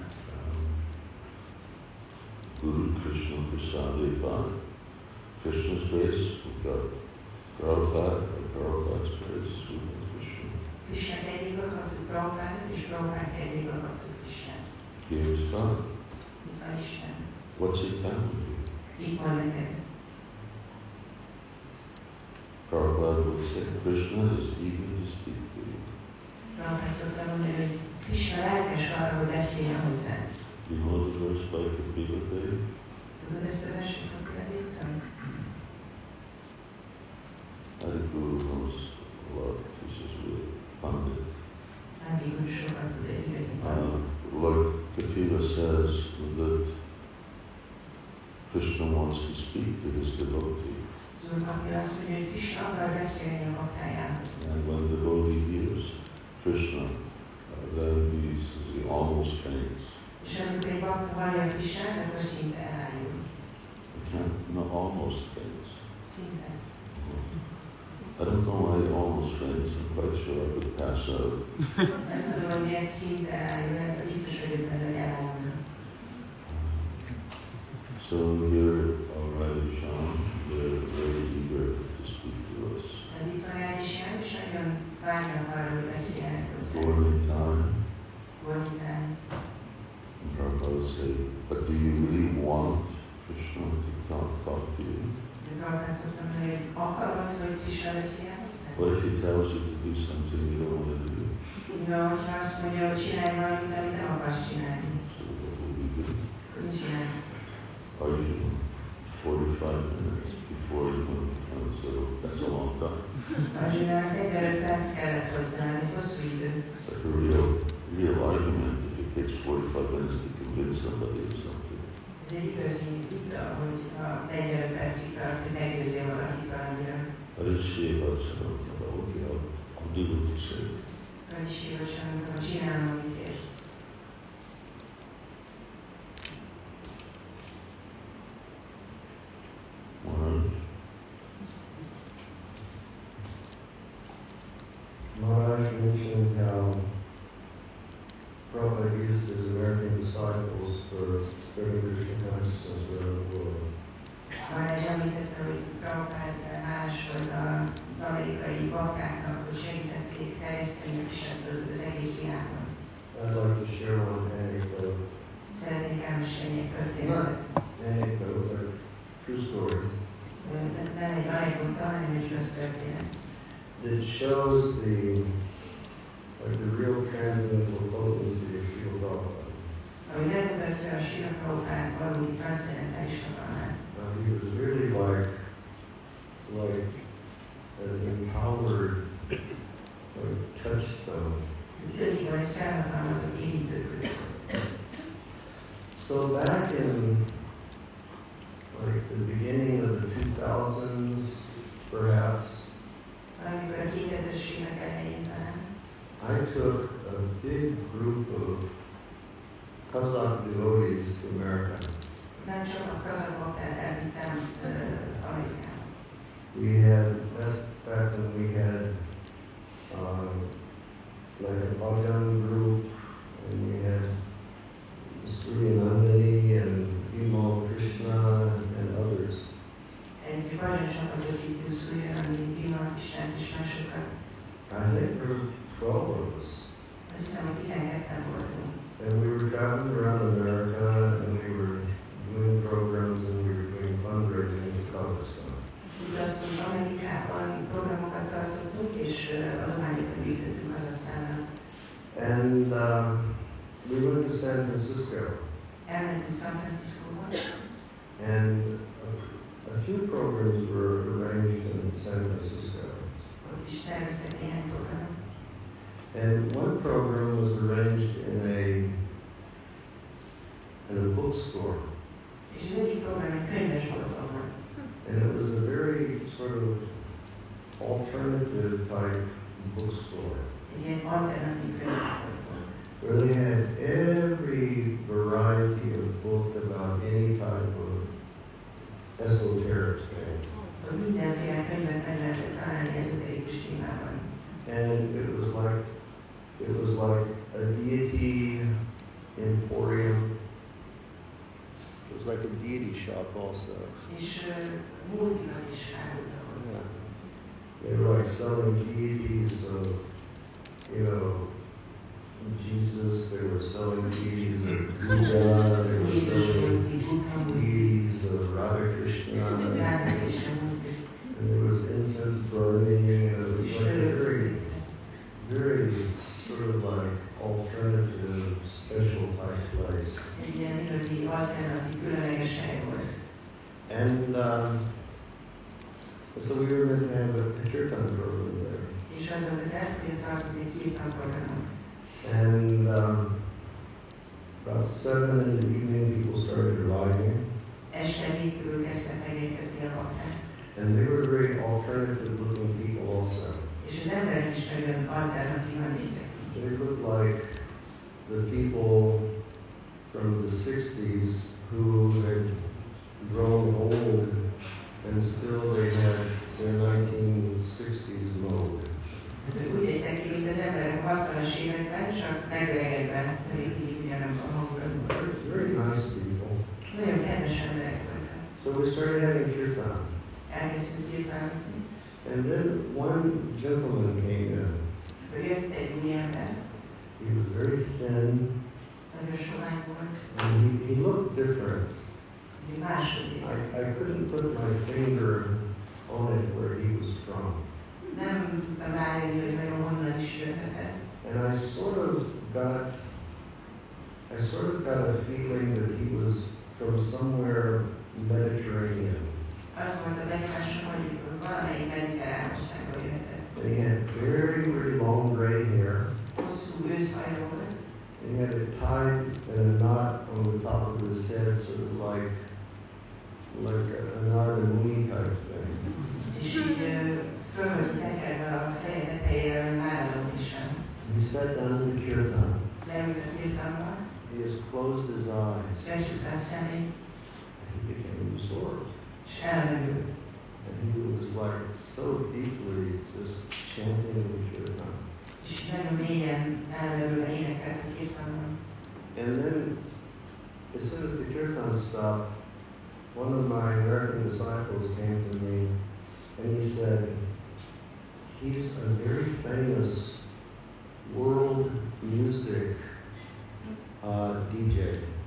Guru Krishna Prasadeva, Krishna's grace, we got Prabhupada, and Prabhupada's grace, we got Krishna. Krishna kegyéből kaptuk Prabhupádot, és Prabhupád kegyéből kaptuk Krisnát. Here's God. Itt van Isten. What's he telling you? Itt van neked. Prabhupada would say, Krishna is eager to speak to you. Prabhupád szokta mondani, hogy Krishna lelkes arra, hogy beszéljen hozzád. You know the verse by Kapila Dev? Tudod ezt a verset, akkor elértem? Adi Guru knows a lot. He's just really pandit. Adi Guru sokat tud, egy igazi pandit. Like Kapila says that Krishna wants to speak to his devotee. Szóval Kapila azt mondja, hogy Krishna akar beszélni a baktájához. And when the devotee hears Krishna, then he almost faints. És amikor egy bakta hallja Krisnát, akkor szinte elájul. No, almost faints. Szinte. I don't know why he almost faints. I'm quite sure I would pass out. Nem tudom, hogy miért szinte elájul, de biztos vagyok benne, hogy elájulna. So here, Radhesham, they're very eager to speak to us. Itt van Radhesham, és nagyon vágynak arra, hogy beszéljenek hozzá. Gormitán. And Prabhupada would say, but do you really want Krishna to talk to you? What if he tells you to do something you don't want to do? So what will we do? Are you 45 minutes before you can come? So that's a long time. It's like a real argument if it takes 45 minutes to convince somebody of something. Ez egy igazi vita, hogy ha 45 percig tart, hogy meggyőzzél valakit valamiről. Okay, I'll do what you say. Csinálom, amit érsz. Maharaj mentioned how Prabhupada used his American disciples for spreading Krishna consciousness around the world. Maharaj említette, hogy Prabhupád hálás volt az amerikai baktáknak, hogy segítették terjeszteni a Krisnátot az egész világon. I'd like to share one anecdote. Szeretnék elmesélni egy történetet. Anecdote, but a true story. Nem egy anekdota, hanem egy igaz történet. It shows the real transcendental potency of Srila Prabhupada. Ami megmutatja a Srila Prabhupád valódi transzcendentális hatalmát. He was really like an empowered touchstone. Igaziból egy felhatalmazott érintőkő. So back in like the beginning of the 2000s, perhaps, Valamikor a 2000-es évek elején talán. I took a big group of Kazakh devotees to America. Nem csak a kazakh baktákat elvittem Amerikába. We had, that's back when we had like a Bhagwan group, and we had Surya Nandini and Bhima Krishna and others. Egy bajnokságot ötítő Surya Nandini, Bhima Krishnát és másokat. I think there were 12 of us. Azt hiszem, hogy 12-en voltunk. And we were traveling around America, and we were doing programs, and we were doing fundraising in Kazakhstan. Utaztunk Amerikában, programokat tartottunk, és adományokat gyűjtöttünk Kazahsztánnak. And we went to San Francisco. Elmentünk San Franciscóba. And a few programs were arranged in San Francisco. Ott is szerveztek néhány programot. And one program was arranged in a bookstore. És az egyik alternative type bookstore Egy ilyen alternatív könyvesbolt volt. where they had every variety of book about any type of esoteric thing. Szóval mindenféle könyvet meg lehetett találni ezoterikus témában. And it was like a deity emporium. It was like a deity shop also. És múltikat is árultak ott. Yeah. They were like selling deities of, Jesus. They were selling deities of Buddha. They were selling deities of Radha Krishna. And there was incense burning, and it was like a very, very sort of like alternative, special type place. Egy ilyen igazi alternatív, különleges hely volt. And so we were meant to have a kirtan program there. És az volt a terv, hogy tartott egy kirtan programot. And about 7 in the evening, people started arriving. Este 7 körül kezdtek megérkezni a bakták. And they were very alternative looking people also. És az emberek is nagyon alternatívan néztek. They looked like the people from the 60s who had grown old and still they had their 1960s mode. Úgy néztek ki, mint az emberek a 60-as években, csak megöregedve, pedig mindig ugyanabban a hangulatban. Very nice people. Nagyon kedves emberek voltak. So we started having kirtan. Elkezdtünk kirtánozni. And then one gentleman came in. Jött egy új ember. He was very thin. Nagyon sovány volt. And he looked different. Máshogy nézett. I couldn't put my finger on it where he was from. Nem tudtam rájönni, hogy nagyon honnan is jöhetett. And I sort of got a feeling that he was from somewhere Mediterranean. Azt volt a benyomásom, hogy valamelyik mediterrán országból jöhetett. And he had very, very long gray hair. Hosszú őszhaja volt. And he had it tied in a knot on the top of his head, sort of like an Narada Muni type thing. És így fölött tekerve a feje tetejére Nárada Munisán. He sat down in the kirtan. Leült a kirtanba. He just closed his eyes. Becsukta a szemét. He became absorbed. És elmerült. And he was like so deeply just chanting the kirtan. És nagyon mélyen elmerülve énekelt a kirtanban. And then, as soon as the kirtan stopped, one of my American disciples came to me and he said, he's a very famous world music DJ.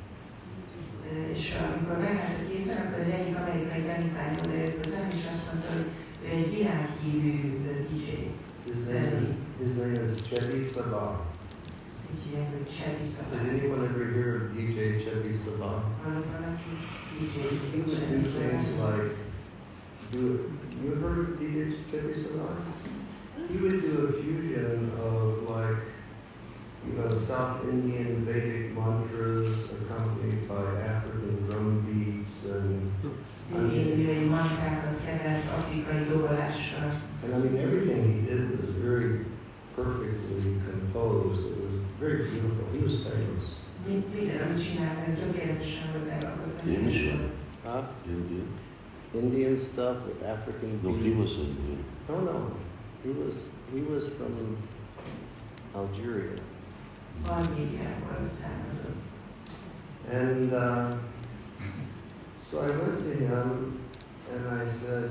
És amikor megállt a kirtan, akkor az egyik amerikai tanítvány oda jött hozzám, és azt mondta, hogy ő egy világhírű DJ. His name is Chebi Sabah. Így hívják, hogy Chebi Sabah. Did anyone ever hear of DJ Chebi Sabah? Hallott valaki? DJ He would do things like, you heard of DJ Chebi Sabah? He would do a fusion of like, South Indian Vedic mantras accompanied by African drum beats and indiai mantrákat kevert afrikai dobolással. And I mean, everything he did was very perfectly composed. It was very beautiful. He was famous. Minden, amit csinált, tökéletesen volt megalkotva. Indian? Indian stuff with African beats. No, he was Indian. No. He was from Algeria. Algériából származott. And so I went to him and I said,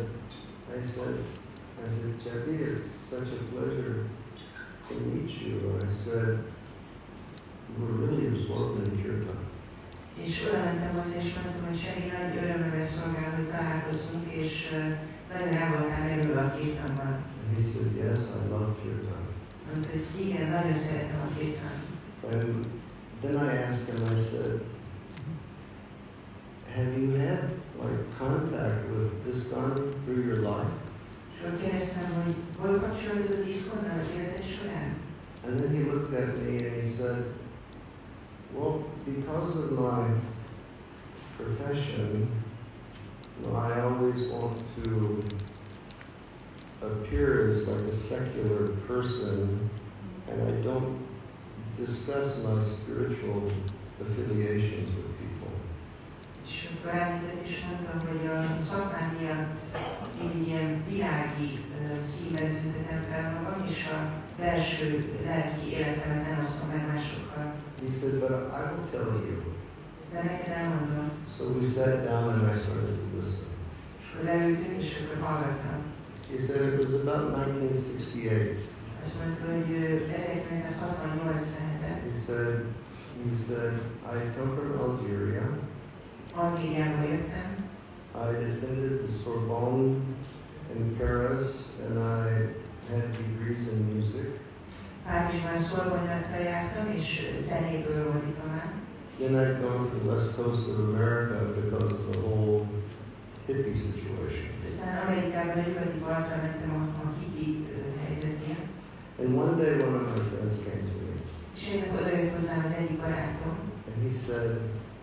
Chebi, it's such a pleasure to meet you. I said, we're really absorbed in kirtan. És oda mentem hozzá, és mondtam, hogy Chebi, nagy örömömre szolgál, hogy találkozunk, és nagyon el voltál merülve a kirtanban. And he said, yes, I love kirtan. Mondta, hogy igen, nagyon szeretem a kirtan. And then I asked him, I said, have you had like contact with ISKCON through your life? És akkor kérdeztem, hogy hol kapcsolódott az ISKCON-nal az életed során? And then he looked at me and he said, well, because of my profession, I always want to appear as like a secular person, and I don't discuss my spiritual affiliations with people. És akkor elnézett és mondta, hogy a szakmám miatt mindig ilyen világi színben tüntetem fel magam, és a belső lelki életemet nem osztom meg másokkal. He said, but I will tell you. De neked elmondom. So we sat down and I started to listen. És akkor leültünk, és akkor hallgattam. He said it was about 1968. Azt mondta, hogy 1968-ben. He said, I come from Algeria. Algériából jöttem. I attended the Sorbonne in Paris, and I had degrees in music. Párizsban Sorbonne-ra jártam, és zenéből volt diplomám. Then I'd gone to the west coast of America because of the whole hippie situation. Aztán Amerikában a nyugati partra mentem a hippie helyzet miatt. And one day one of my friends came to me. És egy nap odajött hozzám az egyik barátom. And he said,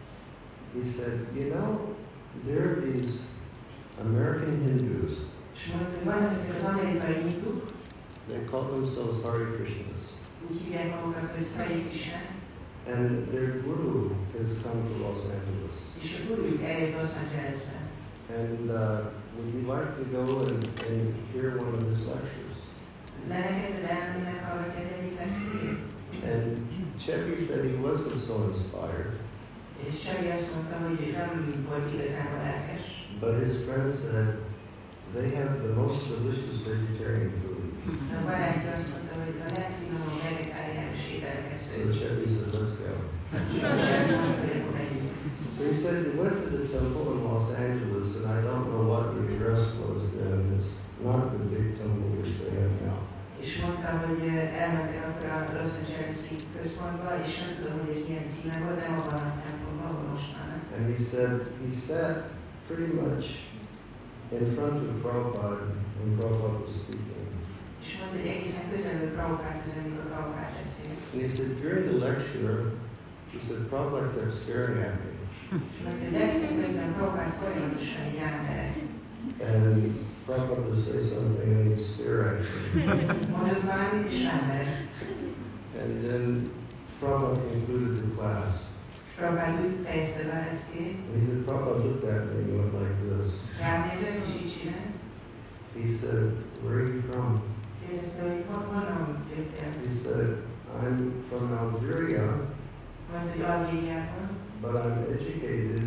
you know, there are these American Hindus. És mondta, hogy vannak ezek az amerikai hinduk. They call themselves Hare Krishnas. Úgy hívják magukat, hogy Hare Krishna. And their guru has come to Los Angeles. És a gurujuk eljött Los Angelesbe. And would you like to go and hear one of his lectures? Leneked elmenni meghallgatni az egyik lekcióját? And Cheppy said he wasn't so inspired. És Csabi azt mondta, hogy nem volt igazából lelkes. But his friend said they have the most delicious vegetarian food. A barátja azt mondta, hogy a legfinomabb vegetáriánus ételeket So szőtt. Cheppy said, let's go. Csabi mondta, hogy akkor megyünk. So he said he went to the temple in Los Angeles, and I don't know what the address was then. It's not the big temple which they have now. És mondta, hogy elmentek akkor a Los Angeles-i központba, és nem tudom, hogy ez milyen címe volt, nem abban a templomban, ahol most vannak. And he said he sat pretty much in front of Prabhupada when Prabhupada was speaking. És mondta, hogy egészen közelül Prabhupádhoz, amikor Prabhupád beszélt. And he said during the lecture, he said Prabhupada kept staring at me. És mondta, hogy lekció közben Prabhupád folyamatosan így rámerett. And Prabhupada would say something and he'd stare at me. Mondott valamit, és rámerett. And then Prabhupada concluded the class. Prabhupád úgy fejezte be a lekciót. And he said, Prabhupada looked at me and went like this. Ránézett, és így csinált. He said, where are you from? Kérdezte, hogy honnan jöttél? He said, I'm from Algeria, Mondta, hogy Algériában, but I'm educated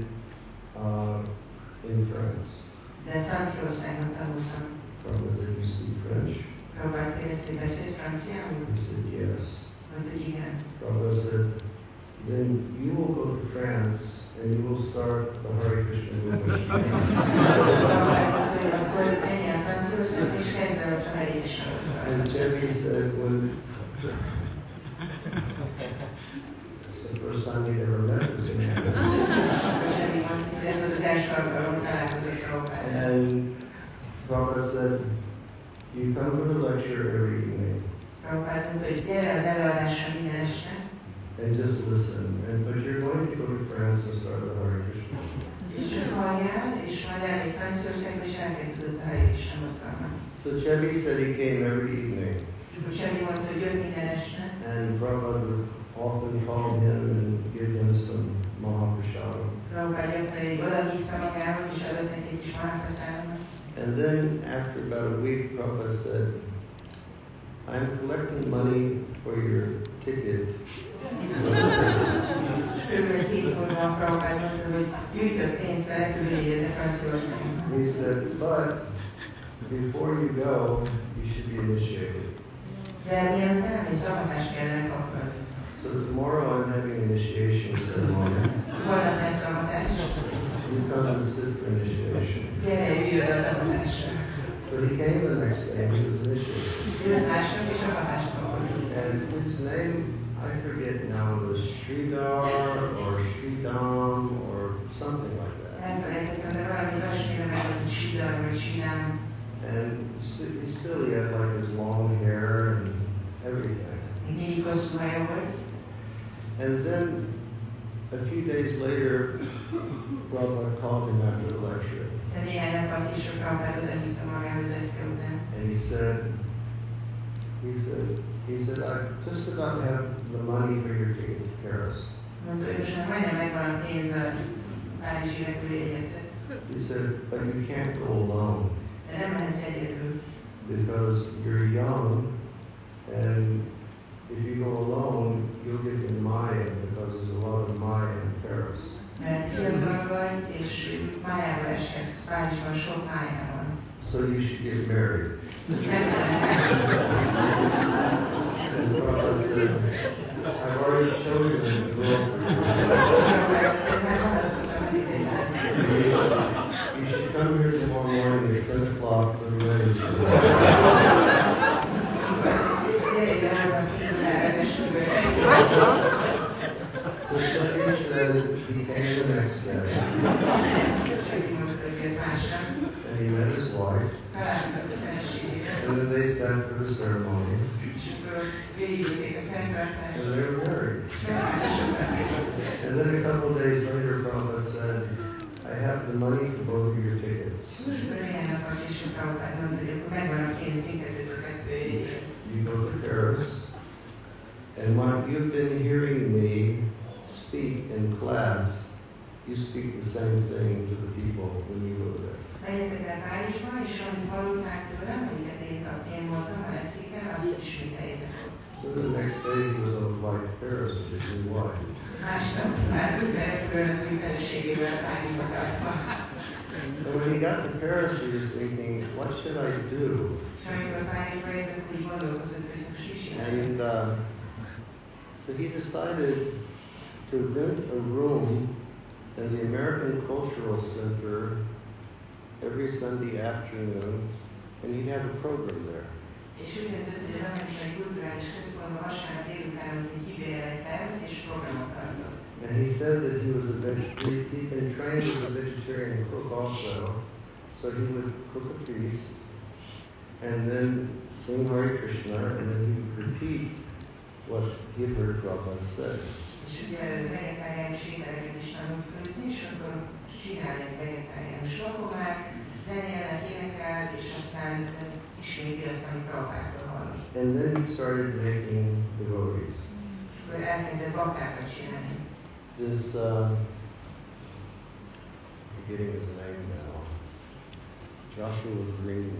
in France. de Franciaországban tanultam. Prabhupada said, you speak French? Prabhupád kérdezte, hogy beszélsz franciául? He said, yes. Mondta, hogy igen. Prabhupada said, then you will go to France and you will start the Hare Krishna movement. Prabhupád mondta, hogy akkor menjél Franciaországba, és kezd el a Hare Krishna mozgalmat. And Cheppy said, it's the first time he'd ever met this man. Csabi mondta, hogy ez volt az első alkalom, hogy találkozott Prabhupád. And Prabhupada said, you come for the lecture every evening Prabhupád mondta, hogy gyere az előadásra minden este, and just listen. But you're going to go to France and start the Hare Krishna. és csak halljál, és majd elmész Franciaországba, és elkezdődött a Hare Krishna mozgalmat. So Cheppy said he came every evening. És akkor Csabi mondta, hogy jött minden este, And Prabhupada would often call him and give him some Mahaprasada. Prabhupád gyakran odahívta magához, és adott neki egy kis Mahaprasadot. And then after about a week, Prabhupada said, I'm collecting money for your ticket. Körülbelül 7 hónapban Prabhupád mondta, hogy gyűjtött pénzt a repülőjegyedre Franciaországba. He said, but before you go, you should be initiated. De mielőtt elmész, avatást kellene kapnod. So tomorrow I'm having an initiation ceremony. Holnap lesz avatás. You come and sit for initiation. Gyere, jöjjön az avatásra. So he came the next day and he was initiated. Jött másnap, és avatást kapott. And his name, I forget now, was Sridhar or Sridham or something like that. Elfelejtettem, de valami olyasmire meg, hogy Sridhar vagy Sridham. And he had like his long hair and everything. Mindig hosszú haja volt. And then a few days later, Prabhupada called him after the lecture. De néhány nappal később Prabhupád odahívta magához lekció után. And he he said, I just about have the money for your ticket to Paris. Mondta, hogy most már majdnem megvan a pénz a Párizsi repülőjegyethez. He said, but you can't go alone. De nem mehetsz egyedül. Because you're young, and if you go alone, you'll get in Maya, because there's a lot of Maya in Paris. Mert fiatal vagy, és májába eshetsz. Párizsban sok mája van. So you should get married. And Prabhupada said, I've already chosen a girlfriend. You should come here tomorrow morning at 10 o'clock for the wedding So he said he came the next day. And he met his wife. And then they sat for the ceremony. And they were married. And then a couple of days later, Prabhupada said, I have the money for both of your tickets. You go to Paris, and while you've been hearing me speak in class, you speak the same thing to the people when you go there. Menjetek el Párizsba, és amit hallották tőlem, amiket én voltam a leszéken, azt ismételjétek. So the next day he was on flight to Paris with his new wife. Másnap már repülőn az új feleségével Párizsba tartva. And when he got to Paris, he was thinking, what should I do? És amikor Párizsba értünk, úgy gondolkozott, hogy most mit csináljuk. And so he decided to rent a room in the American Cultural Center every Sunday afternoon, and he'd have a program there. És úgy döntött, hogy az Amerikai Kulturális Központban vasárnap délutánonként kibérel egy termet és programot tartott. And he said that he was he'd been trained as a vegetarian cook also, so he would cook a feast and then sing Hare Krishna, and then he would repeat what he had heard Prabhupada say. És ugye vegetáriánus ételeket is tanult főzni, és akkor csinál egy vegetáriánus vakomát, zenélnek, énekel, és aztán isméti azt, amit Prabhupától hallott. And then he started making devotees. Akkor elkezdett baktákat csinálni. This, forgetting his name now, Joshua Green.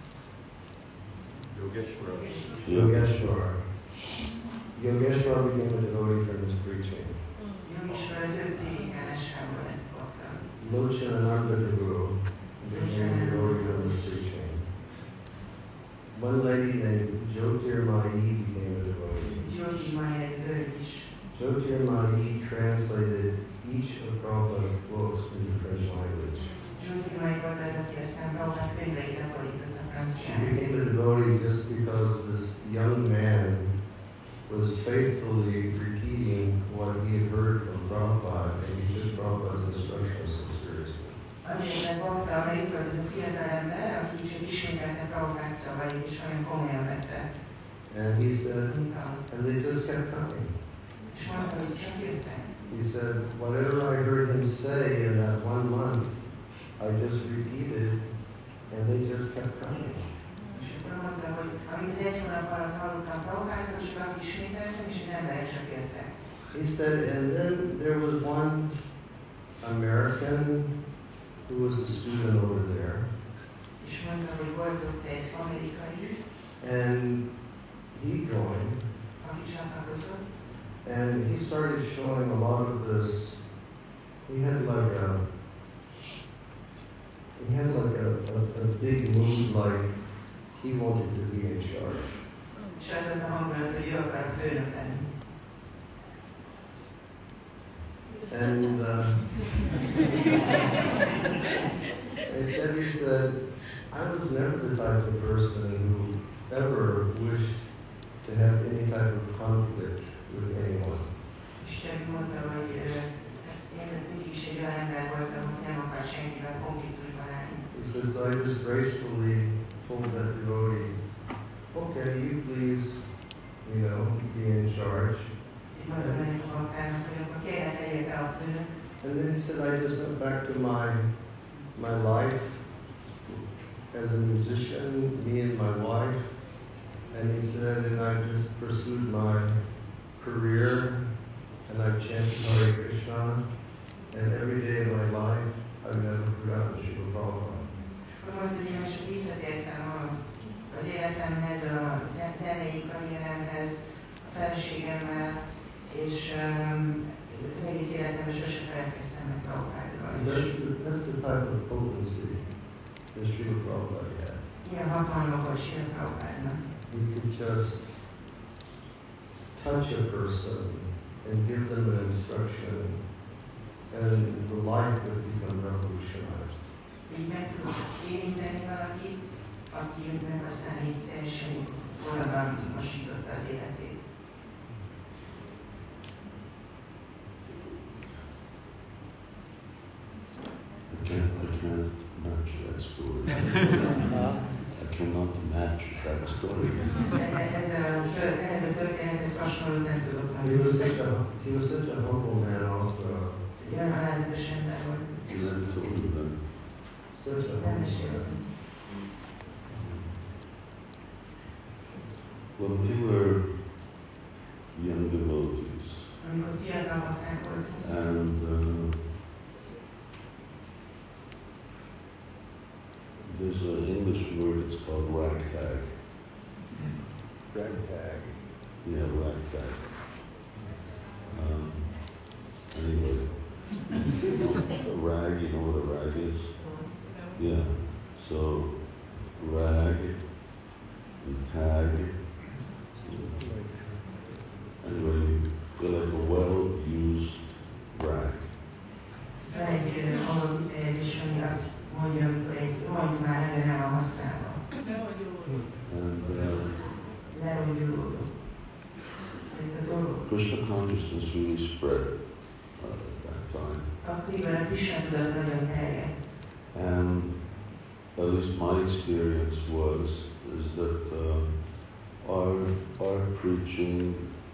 Yogeshwar. Yogeshwar became a devotee from his preaching. Yogeshwar az 5 délikánásából lett bakta. Lochanananda Guru became a devotee from his preaching. One lady named Jyotirmayi became a devotee. Jyotirmayi egy hölgy is. Jyotirmayi translated each of Prabhupada's books into French language. Jyotirmayi volt az, aki aztán Prabhupád könyveit lefordított a She franciára. became a devotee just because this young man was faithfully repeating what he had heard from Prabhupada, and he took Prabhupada's instructions so seriously. Azért, mert bakta, mert itt volt ez a fiatal ember, aki csak ismételte Prabhupád szavait, és olyan komolyan vette. And he said, and they just kept coming. És mondta, hogy csak jöttek. He said, whatever I heard him say in that 1 month, I just repeated, and they just kept coming. És akkor mondta, hogy amit az 1 hónap alatt hallottam Prabhupától, csak azt ismételtem, és az emberek csak jöttek. He said, and then there was one American who was a student over there. És mondta, hogy volt ott egy amerikai, and he joined. Aki csatlakozott. And he started showing a lot of this. He had like a big mood, like he wanted to be in charge. És az volt a hangulat, hogy ő akar a főnök lenni. And and he said, I was never the type of person who ever wished to have any type of conflict with anyone. És csak mondta, hogy én mindig is egy olyan ember voltam, hogy nem akar senkivel konfliktusban állni. He said, so I just gracefully told that devotee, okay, you please, be in charge. And then he said, I just went back to my life as a musician. Me feleségemmel, és az egész életemben sosem feledkeztem meg Prabhupádról. That's the type of potency that Srila Prabhupada had. Ilyen hatalma volt Srila Prabhupádnak. He could just touch a person and give them an instruction, and the life would become revolutionized. Így meg tudott érinteni valakit, akinek aztán így teljesen forradalmasította az életét. I can't match that story. I cannot match that story. He was such a humble man also. Such a humble man. When we were young devotees, and there's an English word, it's called ragtag. Ragtag. Yeah, ragtag. Anyway, a rag, you know what a rag is? Yeah, so rag and tag. Anyway, they're like a well-used rag. And Krishna consciousness really spread at that time. And at least my experience is that our preaching,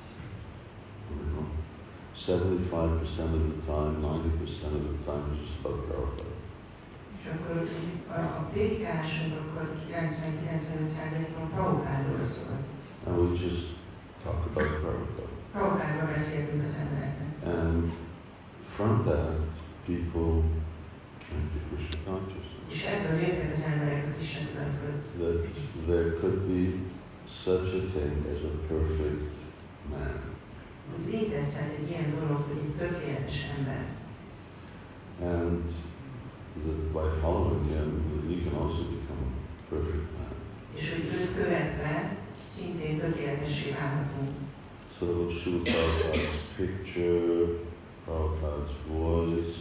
75% of the time, 90% of the time is just about Prabhupada. És akkor a prédikálásunk akkor 90-95%-ban Prabhupádról szól. And we just talk about Prabhupada. Prabhupádról beszéltünk az embereknek. And from that, people came to Krishna consciousness. És ebből jöttek az emberek a Krishna tudathoz. That there could be such a thing as a perfect man. Hogy létezhet egy ilyen dolog, hogy egy tökéletes ember. And that by following him, we can also become a perfect man. És hogy őt követve szintén tökéletessé válhatunk. So Srila Prabhupada's picture, Prabhupada's voice,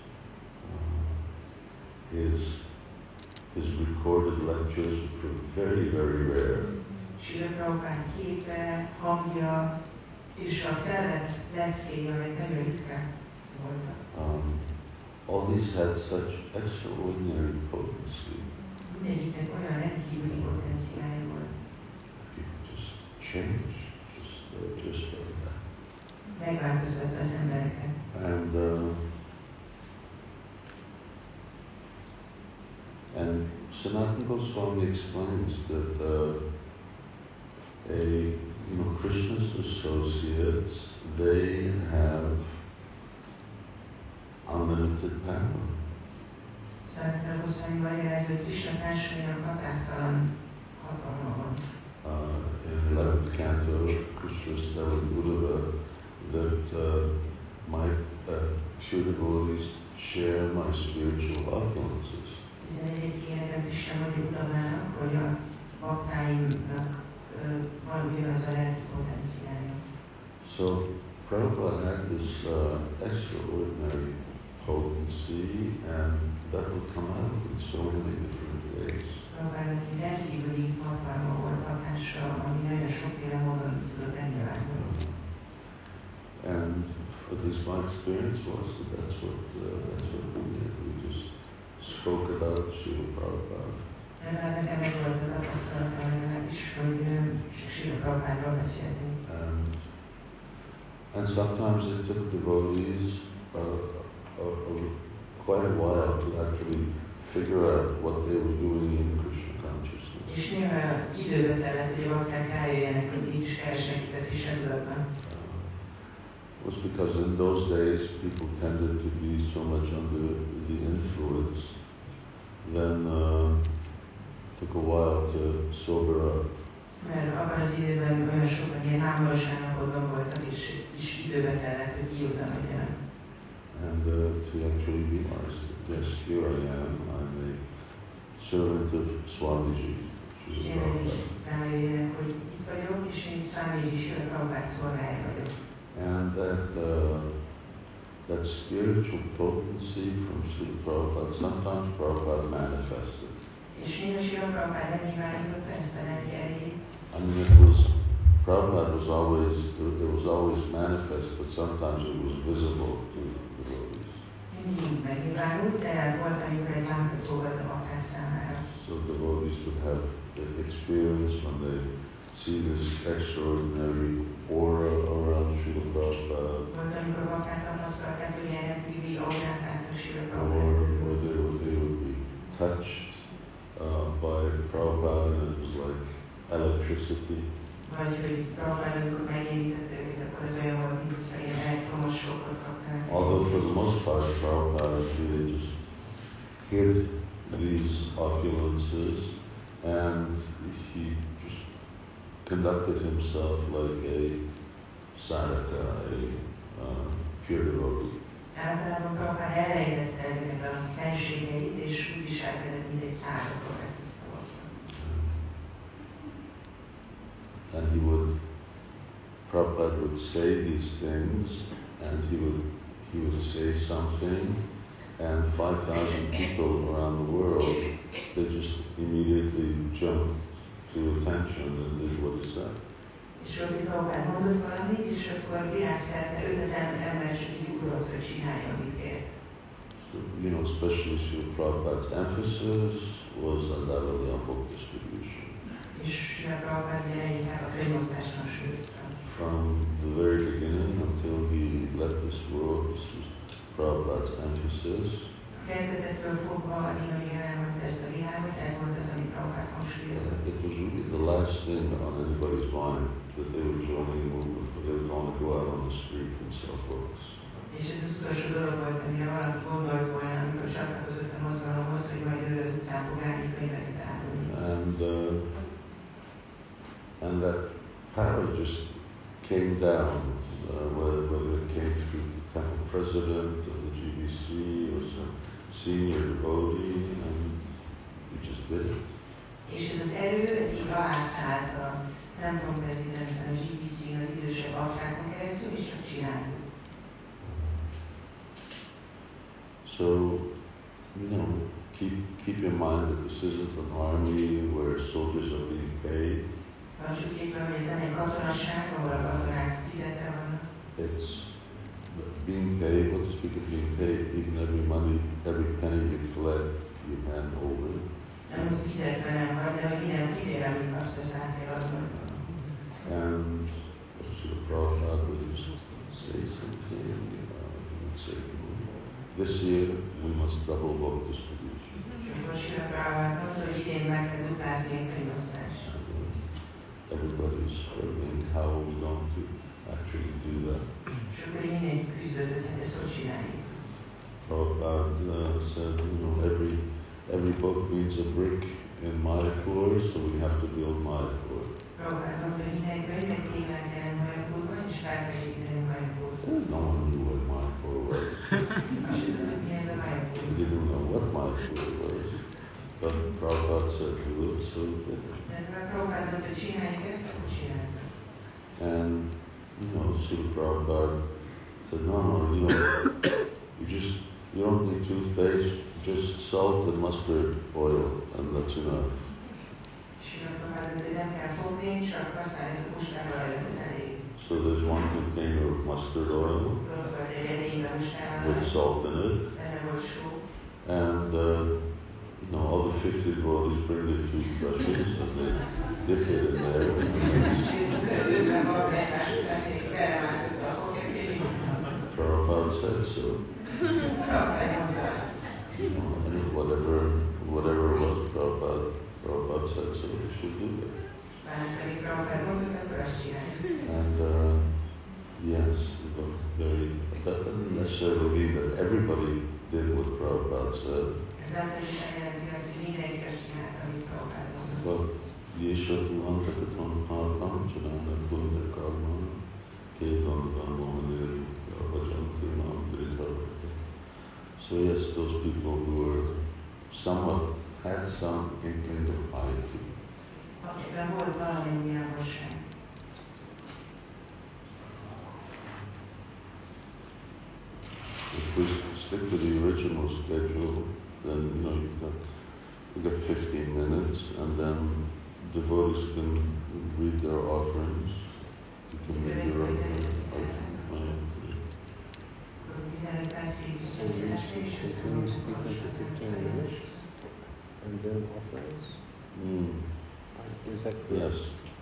his recorded lectures were very, very rare. Srila Prabhupád képe, hangja és a felvett leckéi, amelyek nagyon ritkán voltak. All these had such extraordinary potency. Mindegyiknek olyan rendkívüli potenciálja volt. People just change, just like that. Megváltoztatta az embereket. And Sanatana Goswami explains that Krishna's associates, they have unlimited power. Sanatana Goswami magyarázza, hogy Krishna társainak határtalan hatalma van. In 11th canto, Krishna is telling Uddhava that my pure devotees share my spiritual opulences. 11. énekben Krishna mondja Uddhavának, hogy a baktáimnak van ugyanaz a lelki potenciálja. So Prabhupada had this extraordinary potency, and that would come out in so many different ways. Prabhupának egy rendkívüli hatalma volt, hatása, ami nagyon sokféle módon tudott megnyilvánulni. And at least my experience was that that's what we did. We just spoke about Srila Prabhupada. Nekem ez volt a tapasztalatom legalábbis, hogy Srila Prabhupádról beszéltünk. And sometimes it took devotees quite a while to actually figure out what they were doing in Krishna consciousness. És néha időbe tellett, hogy a bakták rájöjjenek, hogy mit is keresnek itt a Krishna tudatban. Was because in those days people tended to be so much under the influence, then it took a while to sober up. Mert abban az időben olyan sokan ilyen mámoros állapotban voltak, és időbe tellett, hogy kiúzanodjanak. And to actually realize that yes, here I am, I'm a servant of Swamiji, which is a Prabhupada. Rájöjjenek, hogy itt vagyok, és én Swamiji Srila Prabhupada szolgája vagyok. And that spiritual potency from Srila Prabhupada, sometimes Prabhupada manifested. És néha Srila Prabhupada megnyilvánította ezt a lelki erejét. I mean, Prabhupada was always manifest, but sometimes it was visible to the devotees. Mindig megnyilvánult, de volt, amikor ez látható volt a bakták számára. So devotees would have the experience when they see this extraordinary aura around Srila Prabhupada. Volt, amikor bakták tapasztalták, hogy ilyen rendkívüli aurát láttak Srila Or Prabhupada. they would be touched by Prabhupada, and it was like electricity. Vagy hogy Prabhupada, amikor megérintette őket, akkor az olyan volt, mint hogyha ilyen elektromos sokkot kapnának. Although for the most part Prabhupada really just hid these opulences, and he just conducted himself like a sadhaka, a pure devotee. Általában Prabhupada elrejtette ezeket a fenségeit, és úgy viselkedett, mint egy szádaka, vagy tiszta volt. And Prabhupada would say these things, and he would say something, and 5,000 people around the world, they just immediately jumped to attention and did what he said. És Rodi Prabhupada mondott valamit, és akkor világszerte 5000 ember csak így ugrott, hogy csinálja, amit ért. So, especially Srila Prabhupada's emphasis was undoubtedly on book distribution. És Srila Prabhupada inkább a könyvosztáson hangsúlyozta. From the very beginning until he left this world, this was Prabhupada's emphasis. Kezdetettől fogva, amíg elhagyta ezt a világot, ez volt az, amit Prabhupada hangsúlyozott. It was really the last thing on anybody's mind that they were joining a movement, but they were going to go out on the street and sell books. És ez az utolsó dolog volt, amire valaki gondolt volna, amikor csatlakozott a mozgalomhoz, hogy majd ő az utcán fog állni könyveket árulni. And that power just came down, whether it came through the temple president of the GBC or some senior devotee, and we just did it. És ez az erő, ez így alászállt a templom prezidenten, a GBC-n, az idősebb aktákon keresztül, és csak csináltuk. So, keep in mind that this isn't an army where soldiers are being paid. Tartsuk észre, hogy ez nem egy katonaság, ahol a katonák fizetve vannak. It's being paid, what to speak of being paid, even every penny you collect, you hand over. Nem, hogy fizetve nem vagy, de hogy minden fillére, amit kapsz, az át kell adnod. And Srila Prabhupada would just say something, he would say, this year we must double book distribution. Everybody's struggling, how are we going to actually do that? Prabhupada said, every book needs a brick in Mayapur, so we have to build Mayapur. No one knew what Mayapur was. They didn't know what Mayapur was. But Prabhupada said do it, so we did it. And, Srila Prabhupada said, no, you don't need toothpaste, just salt and mustard oil, and that's enough. So there's one container of mustard oil with salt in it, and all the 50 devotees bring their toothbrushes and they dip it in there. Prabhupada said so. And whatever it was, Prabhupada said so. They should do it. And yes, that doesn't necessarily mean that everybody did what Prabhupada said. But ये शत्रुवंत कथन पापम चलाना पुण्य कर्म केवल ब्रह्मोनिर भजन्ते माम गिरिधर्मते. So yes, those people who were somewhat had some inkling of piety. Akikben volt valamennyi jánosság. If we stick to the original schedule, then you got 15 minutes, and then devotees can read their offerings. You can read your offering. Can we speak until 15 minutes and then offerings? Is that correct? Yes.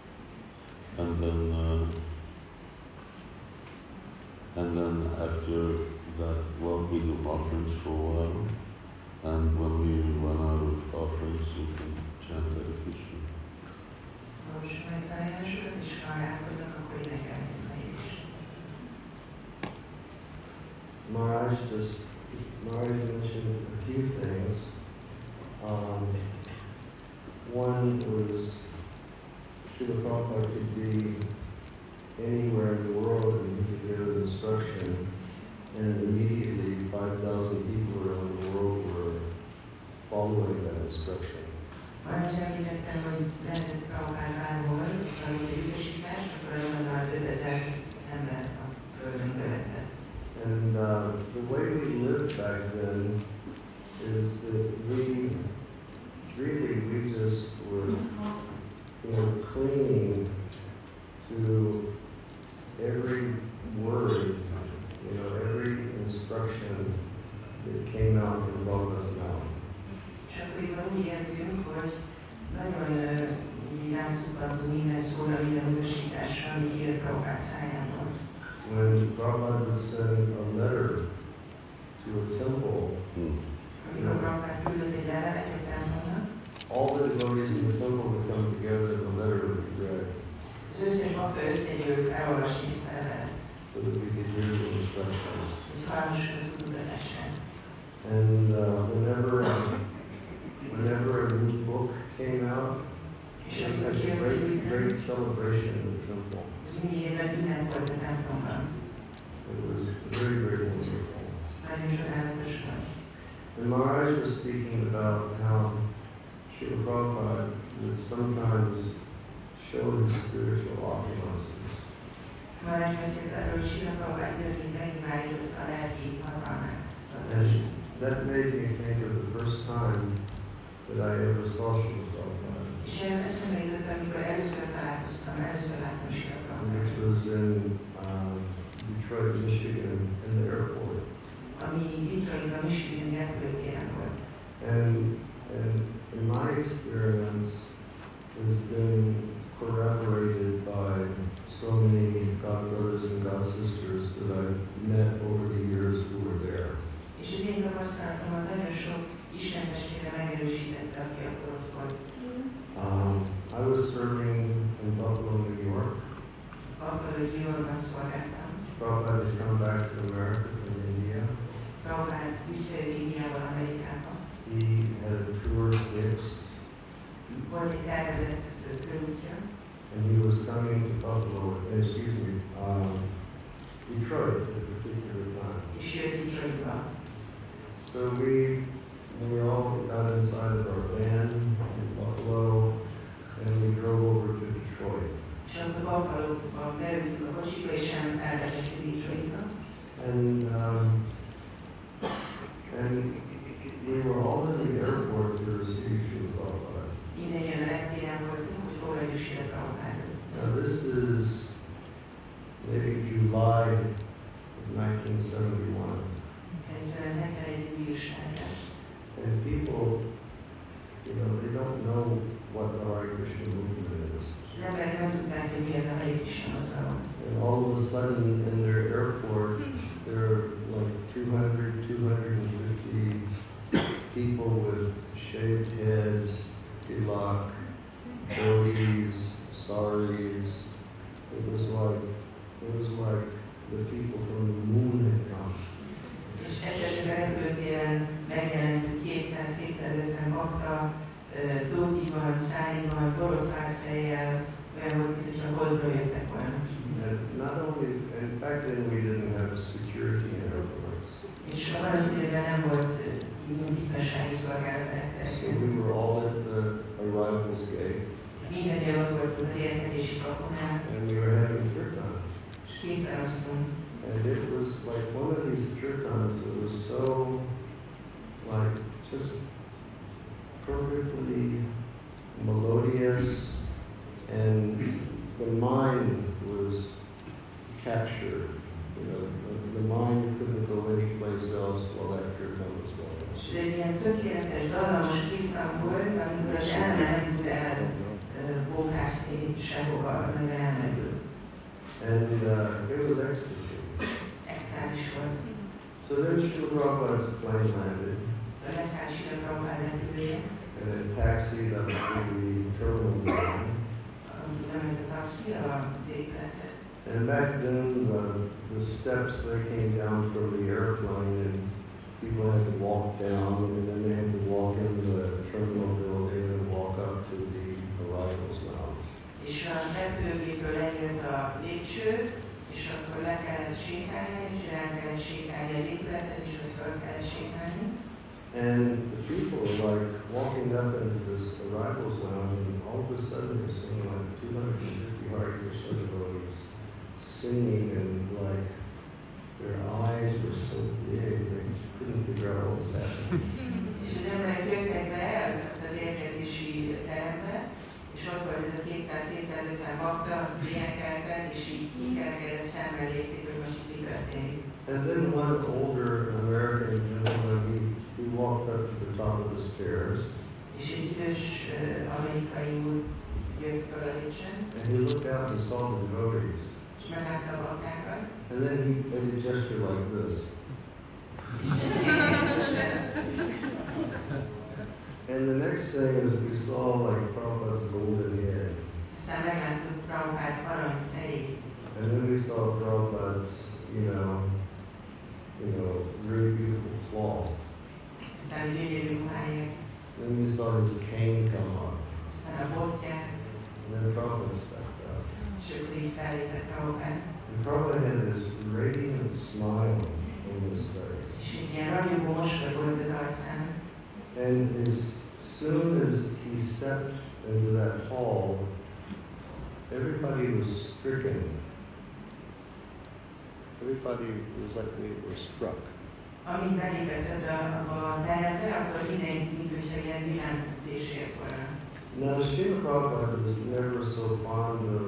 And then after that, well, we do offerings for a while, and when we run out of offerings, we can chant Hare Krishna. Maharaj mentioned a few things. One was Srila Prabhupada could be anywhere in the world and he could give an instruction, and immediately 5,000 people around the world were following that instruction. Maharaj említettem, hogy lehetett Prabhupád bárhol, tanult egy utasítást, akkor azonnal 5000 ember a földön követett. And the way we lived back then is that we just were, clinging to every word, every instruction that came out from Bhagava's mouth. És akkoriban úgy érzünk, hogy nagyon rászukadtunk minden szóra, minden utasításra, ami kijött Prabhupád szájából. When Prabhupada would send a letter to a temple, all the devotees in the temple would come together and the letter would be read. So that we could hear the instructions. And whenever a new book came out, it was a great celebration in the temple. It was very, very wonderful. And Maharaj was speaking about how Srila Prabhupada would sometimes show his spiritual opulences. And that made me think of the first time that I ever saw Srila Prabhupada. Which was in Detroit, Michigan, in the airport. And in my experience, has been corroborated by so many God brothers and God sisters that I've met over the years who were there. És az én tapasztalatomat nagyon sok Isten testvére megerősítette, aki akkor ott volt. I was serving in Buffalo, New York. Buffalo, New Yorkban szolgáltam. Prabhupada had come back to America from India. Prabhupada visszajött Indiából Amerikába. He had a tour fixed. Volt egy tervezett körútja. And he was coming to Buffalo, Detroit at a particular time. És jött Detroitba. So we all got inside of our van in Buffalo, and we drove over to Detroit. És akkor Buffalo-ba beültünk a kocsiba, és elvezettük Detroitba. And we were all in the airport to receive Srila Prabhupada. Mindegyen a reptéren voltunk, hogy fogadjuk Srila Prabhupádot. Now this is maybe July of 1971. Ez 71 júliusában. And people, they don't know what the Hare Krishna movement is. Az emberek nem tudták, hogy mi ez a Hare Krishna mozgalom. And all of a sudden in their airport, there are like 200, 250 people with shaved heads, tilak, dhotis, saris. It was like the people from the moon had come. És egyszerűen a repülőtéren megjelent 200-250 bakta, dótiban, száriban, borotváz az érkezési kapunál, and we were having kirtan. és kétfelosztunk. And it was like one of these kirtans that was so, like, just perfectly melodious, and the mind was captured. You know, the mind couldn't go anyplace else while that kirtan was going on. És egy ilyen tökéletes, dallamos kirtan volt, amikor az elme nem tud elbókászni sehova, meg elmerül. And it was ecstasy. Extázis volt. So then Srila Prabhupada's plane landed, Leszállt Srila Prabhupád repülője, and it taxied up to the terminal ground. lement a taxi a térépülethez. And back then, the steps, they came down from the airplane, and people had to walk down, and then they had to walk into the terminal building and walk up to the arrivals lounge. És a repülőgépről lejött a lépcső, és akkor le kellett sétálni, és el kellett sétálni az épülethez, és ott fel kellett sétálni. And the people were like walking up into this arrivals lounge, and all of a sudden they're seeing like 250 Hare Krishna devotees singing, and like their eyes were so big they couldn't figure out what was happening. És az emberek jöttek be az érkezési terembe, és ott volt ez a 200-250 bakta, énekeltek, és így kikerekedett szemmel nézték, hogy most itt mi történik. And then one older American gentleman, he walked up to the top of the stairs. És egy idős amerikai úr jött fel a lépcsőn. And he looked out and saw the devotees. És meglátta a baktákat. And then he made a gesture like this. And the next thing is we saw like Prabhupada's golden head. Aztán megláttuk Prabhupád arany fejét. And then we saw Prabhupada's, you know, very beautiful cloth. Aztán gyönyörű ruháját. Then we saw his cane come up. Aztán a botját. And then Prabhupada stepped out. És akkor így fellépett Prabhupád. And Prabhupada had this radiant smile on his face. És egy ilyen ragyogó mosoly volt az arcán. And as soon as he stepped into that hall, everybody was stricken. Everybody was like they were struck. Amint belépett ebbe a terembe, akkor mindenki, mint hogyha ilyen villámütés ért volna. Now, Srila Prabhupada was never so fond of,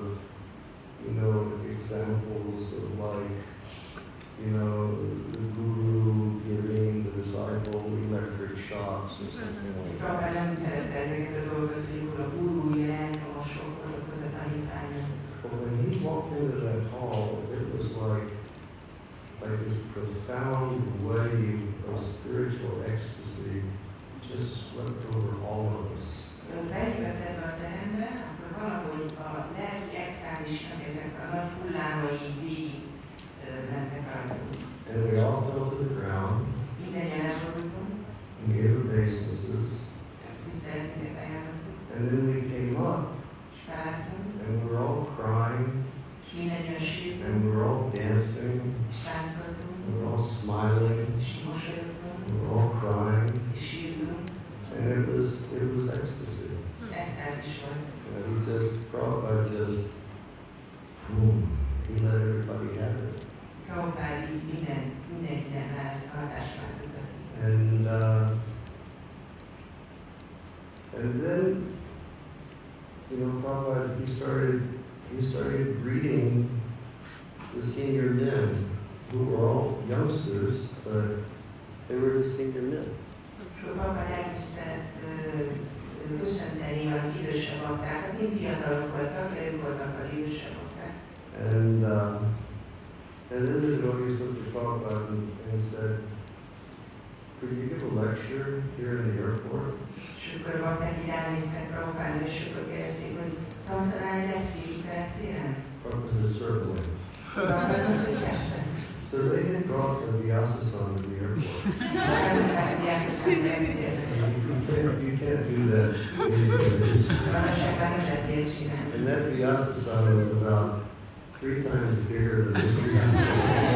examples of like, the guru giving the disciple electric shocks or something like that. Prabhupada nem szerette ezeket a dolgokat, hogy akkor a guru ilyen elektromosokat okoz a tanítványnak. But when he walked into that hall, it was like this profound wave of spiritual ecstasy just swept over all of us. Belépett ebbe a terembe, akkor valahogy a lelki extázisnak ezek a nagy hullámai végig mentek rajtunk. And we all fell to the ground. Mindennyian elborultunk. And gave obeisances. Tiszteletünket ajánlottuk. And then we came up. És felálltunk. And we were all crying. És mindannyian sírtunk. And we were all dancing. És táncoltunk. And we were all smiling. És mosolyogtunk. And we were all crying. És sírtunk. And it was ecstasy. Extázis volt. Prabhupada just, boom, he let everybody have it. Prabhupád így mindenkinek rá ezt a hatást váltottak. And then, Prabhupada, he started greeting the senior men, who were all youngsters, but they were the senior men. Prabhupád elkezdte köszönteni az idősebb baktákat, mind fiatalok voltak, de ők voltak az idősebb bakták. And then the devotees looked at Prabhupada and said, could you give a lecture here in the airport? És akkor bakták így ránéztek Prabhupádra, és akkor kérdezték, hogy tantanál egy lekciót itt a reptéren? Prabhupada said, certainly. Prabhupád mondta, hogy persze. So they had brought the Vyasa-san to the airport. You can't do that these days. And that Vyasa-san was about 3 times bigger than this Vyasa-san.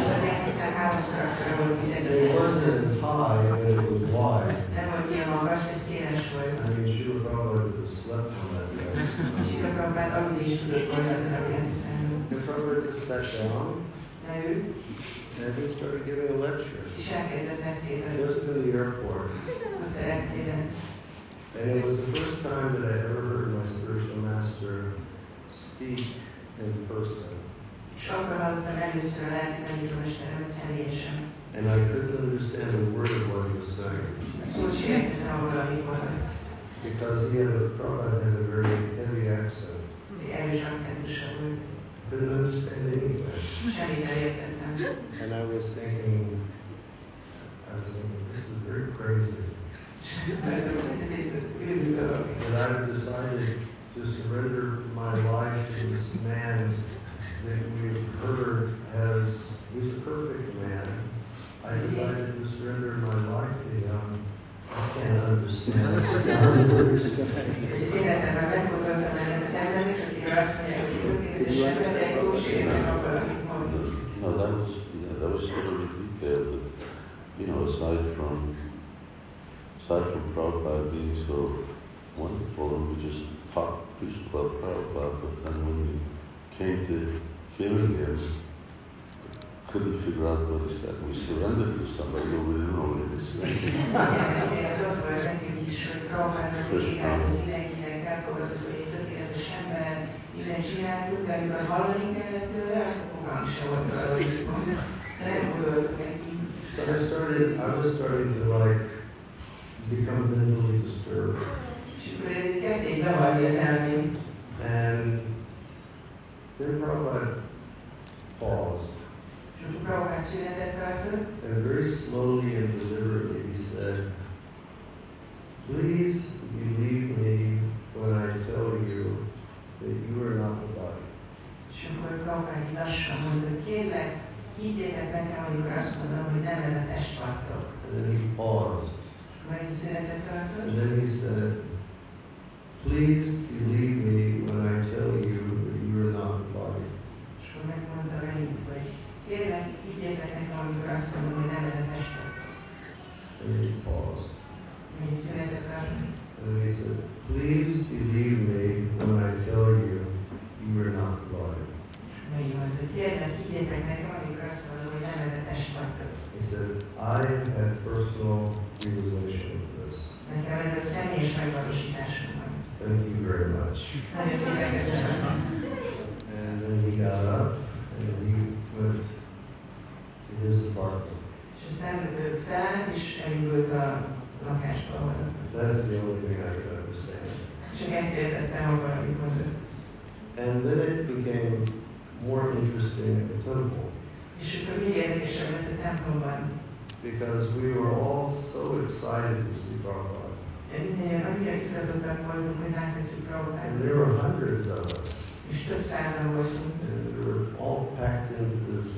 It wasn't as high and it was wide. I mean, Srila Prabhupada would have slept on that Vyasa-san. Srila Prabhupád aludni is tudott volna azon a pénzhiszemben. And Prabhupada just sat down Leült, and he started giving a lecture. és elkezdett beszélni. Just in the airport. Ott a reptéren. And it was the first time that I ever heard my spiritual master speak in person. És akkor hallottam először a lelki tanítómesteremet személyesen. And I couldn't understand a word of what he was saying. Szót sem értettem abból, amit mondott. Because Prabhupada had a very heavy accent. Erős akcentusa volt. Couldn't understand anything. Semmit nem értettem. And I was thinking, this is very crazy. And I've decided to surrender my life to this man that we've heard he's a perfect man. I decided to surrender my life to him. I can't understand what you're saying. Szépen megmondottam ennek az embernek, akik azt mondják, hogy tökéletesen, de egy szó sem értek abban, amit mondott. No, that was sort of a detail that, aside from Prabhupada being so wonderful, and we just preached about Prabhupada, but then when we came to hearing him, couldn't figure out what he said. We surrendered to somebody, but we didn't know what he was saying. Ez ott volt nekünk is, hogy Prabhupádnak csináltunk, mindenkinek elfogadtuk, hogy egy tökéletes ember, mindent csináltuk, de amikor hallani kellett tőle, akkor fogalmam sem volt arra, hogy nem gondoltuk neki. So I was starting to become mentally disturbed. És akkor ez így kezdték zavarni az elmém. And then Prabhupada paused. And very slowly and deliberately he said, please believe me when I tell you that you are not the body. És akkor Prabhupád lassan mondta, hogy kérlek, higgyétek nekem, amikor azt mondom, hogy nem ez a test vagytok. And then he paused. Megint szünetet tartott. And then he said, please believe me when I tell you that you are not the body. És akkor megmondta megint, hogy kérlek, higgyétek nekem, amikor azt mondom, hogy nem ez a test vagytok. And then he paused. Megint szünetet tartott. And then he said, please believe me when I tell you you are not the body. Megint mondta, hogy kérlek, higgyétek nekem, amikor azt mondom, hogy nem ez a test vagytok. He said, I had personal realization of this. Nekem ebből személyes megvalósításom van. Thank you very much. Nagyon szépen köszönöm. And then he got up and he went to his apartment. És aztán felállt és elindult a lakásba. That's the only thing I could understand. Csak ezt értettem abban, amit mondott. And then it became more interesting at the temple. És akkor még érdekesebb lett a templomban. Because we were all so excited to see Prabhupada. Annyira izgatottak voltunk, hogy láthatjuk Prabhupát. And there were hundreds of us. És több százan voltunk. And we were all packed into this,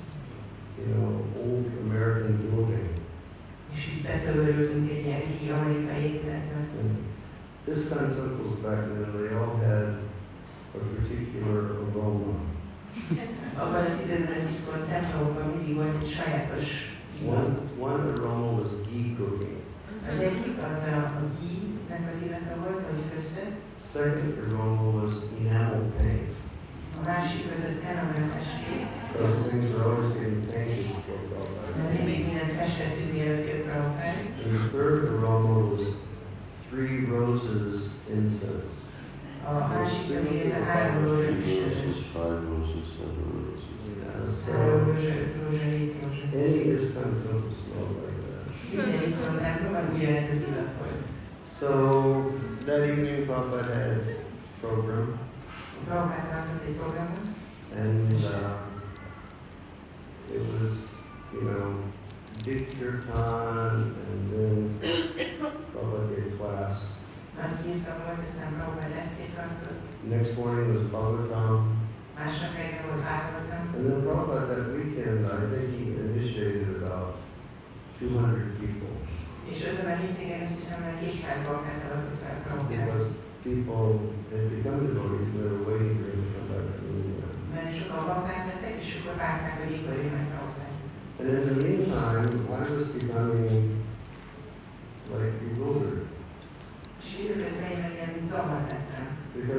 old American building. És így betömörültünk egy ilyen régi amerikai épületbe. This kind of temples back then, they all had a particular aroma. Abban az időben az iszkon templomokban mindig volt egy sajátos One aroma was ghee cooking. Az egyik az a ghee-nek az illata volt, hogy köztött. Second aroma was enamel paint. A másik az enamelfesték. Those things were always getting painted before Prabhupada. Mindig mindent festettünk, mielőtt jött Prabhupád. And the third aroma was 3 roses incense. A másik pedig ez a 3 rózsa üstös. 5 roses, 7 roses. 3 rózsa, 5 rózsa, 7 rózsa. Any Iskon temple smelled like that. Minden Iskon templomban ugyanez az illat volt. So that evening Prabhupada had a program. Prabhupád tartott egy programot. And it was, big kirtan, and then Prabhupada gave class. Nagy kirtan volt, aztán Prabhupád eszkét tartott. Next morning was Bhagavatam. Másnap reggel volt Bhagavatam. And then Prabhupada that weekend, I think he initiated about 200 people. És azon a hétvégén azt hiszem, hogy 200 balkát avatott fel Prabhupád. Because people had become devotees and they were waiting for him to come back from India. Mert sokan balkát lettek, és akkor várták, hogy mikor jön meg Prabhupád. And in the meantime, I was becoming bewildered. És időközben én ilyen zavart lettem. Because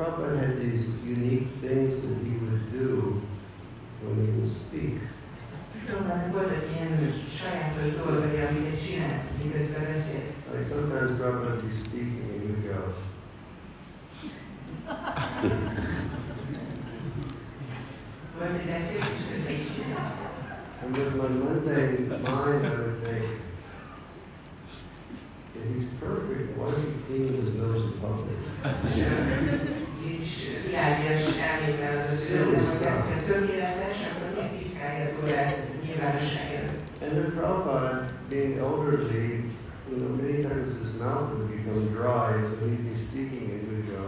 Prabhupada had these unique things that he would do when he would speak. Voltak ilyen sajátos dolgai, amiket csinált, miközben beszélt. Like sometimes Prabhupada would be speaking and he would go. Volt, hogy beszélt, és közben így csinált. And with my mundane mind, I would think, if he's perfect, why is he cleaning his nose in public? És világos elmével az az ő, hogy tökéletes, akkor miért piszkálja az órát nyilvánosság előtt. And then Prabhupada, being elderly, many times his mouth would become dry, so he'd be speaking and he would go.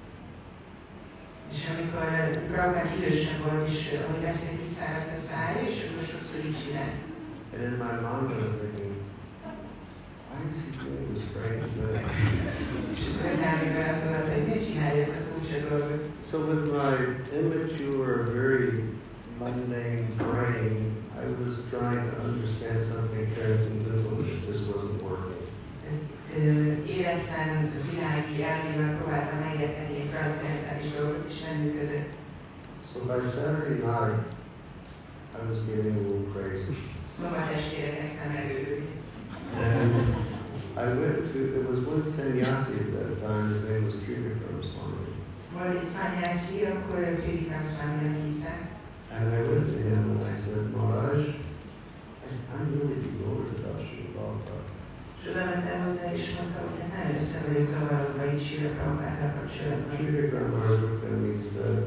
És amikor Prabhupád idősebb volt, és ahogy beszélt, kiszáradt a szája, és akkor sokszor így csinál. And in my mind I was thinking, why is he doing this strange thing? És akkor az elmével azt mondta, hogy miért csinálja ezt a furcsa dolgot. So with my immature, very mundane brain, I was trying to understand something transcendental that just wasn't working. Életlen világi elmével próbáltam megérteni egy transzcendentális dolgot, és nem működött. So by Saturday night, I was getting a little crazy. Szombat estére kezdtem megőrülni. And I went to, there was one sannyasi at that time, his name was Trivikram Swami. Volt egy sannyasi, akkor Trivikram Swami-nak hívták. And I went to him and I said, Maharaj, I'm really bewildered about Srila Prabhupada. És oda mentem hozzá, és mondta, hogy hát nagyon össze vagyok zavarodva így Srila Prabhupáddal kapcsolatban. Trivikram Maharaj looked at me,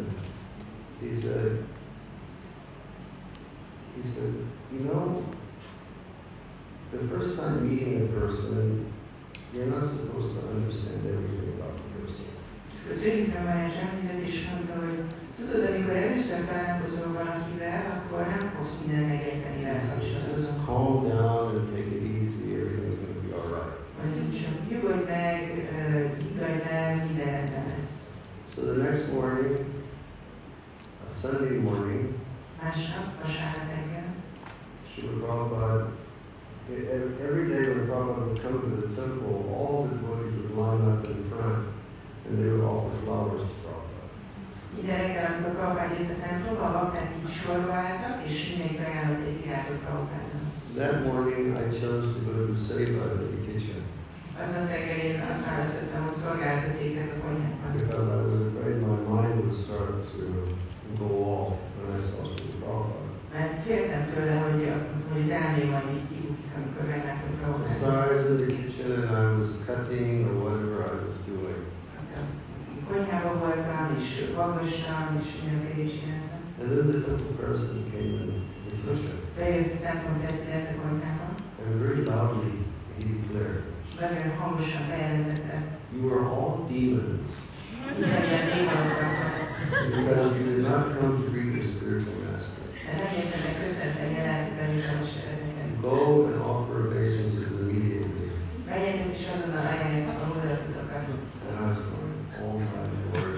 he said, you know, the first time meeting a person, you're not supposed to understand everything about the person. A Trivikram Maharaj emlézett, és mondta, hogy tudod, amikor először találkozol valakivel, akkor nem fogsz mindent megérteni vele kapcsolatban. Just calm down and take it easy, everything's going to be all right. Vagy csak nyugodj meg, higgadj el, minden rendben lesz. So the next morning, a Sunday morning, Másnap, vasárnap reggel, Srila Prabhupada, every day when Prabhupada would come to the temple, all the devotees would line up in front and they would offer flowers to Prabhupada. Minden reggel, amikor Prabhupád jött a templomba, a bakták így sorba álltak, és mindenki ajánlott egy virágot Prabhupádnak. That morning I chose to go to Seva in the kitchen. Aznap reggel én azt választottam, hogy szolgálatot végzek a konyhában. Because I was afraid my mind would start to go off when I saw Srila Prabhupada. Mert féltem tőle, hogy az elmém majd így kibukik, amikor meglátom So Prabhupádot. I was in the kitchen and I was cutting or whatever I was doing. Konyhában voltam, és vagostam, és mindenféle csináltam. And then the temple person came in the kitchen. Bejött a templom president a konyhába. And very loudly he declared, Nagyon hangosan bejelentette. you are all demons. Mindannyian démonok. Because you did not come to greet your spiritual master. Mert nem értenek köszönteni a lelki tanítómestereket. Go and offer obeisances immediately. Menjetek és azonnal ajánljatok a hódolatokat. And I was going, oh my Lord.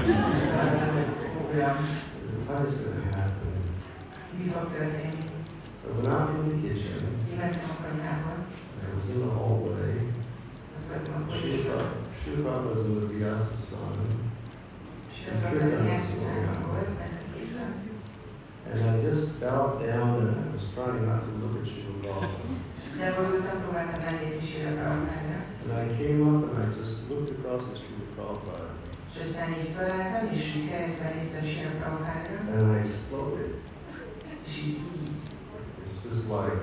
What is going to happen? Mi fog történni? I went out from the kitchen. Kimentem a konyhába. I was in the hallway. Az voltam a folyosón. Srila Prabhupada was with Vyasa-san. Srila Prabhupada Vyasa-san volt, And I just bowed down and I was trying not to look at Srila Prabhupada. De borultam, próbáltam elnézni Srila Prabhupádra. And I came up and I just looked across at Srila Prabhupada. És aztán így felálltam, és így keresztben néztem Srila Prabhupádra. And I exploded. És így It's just like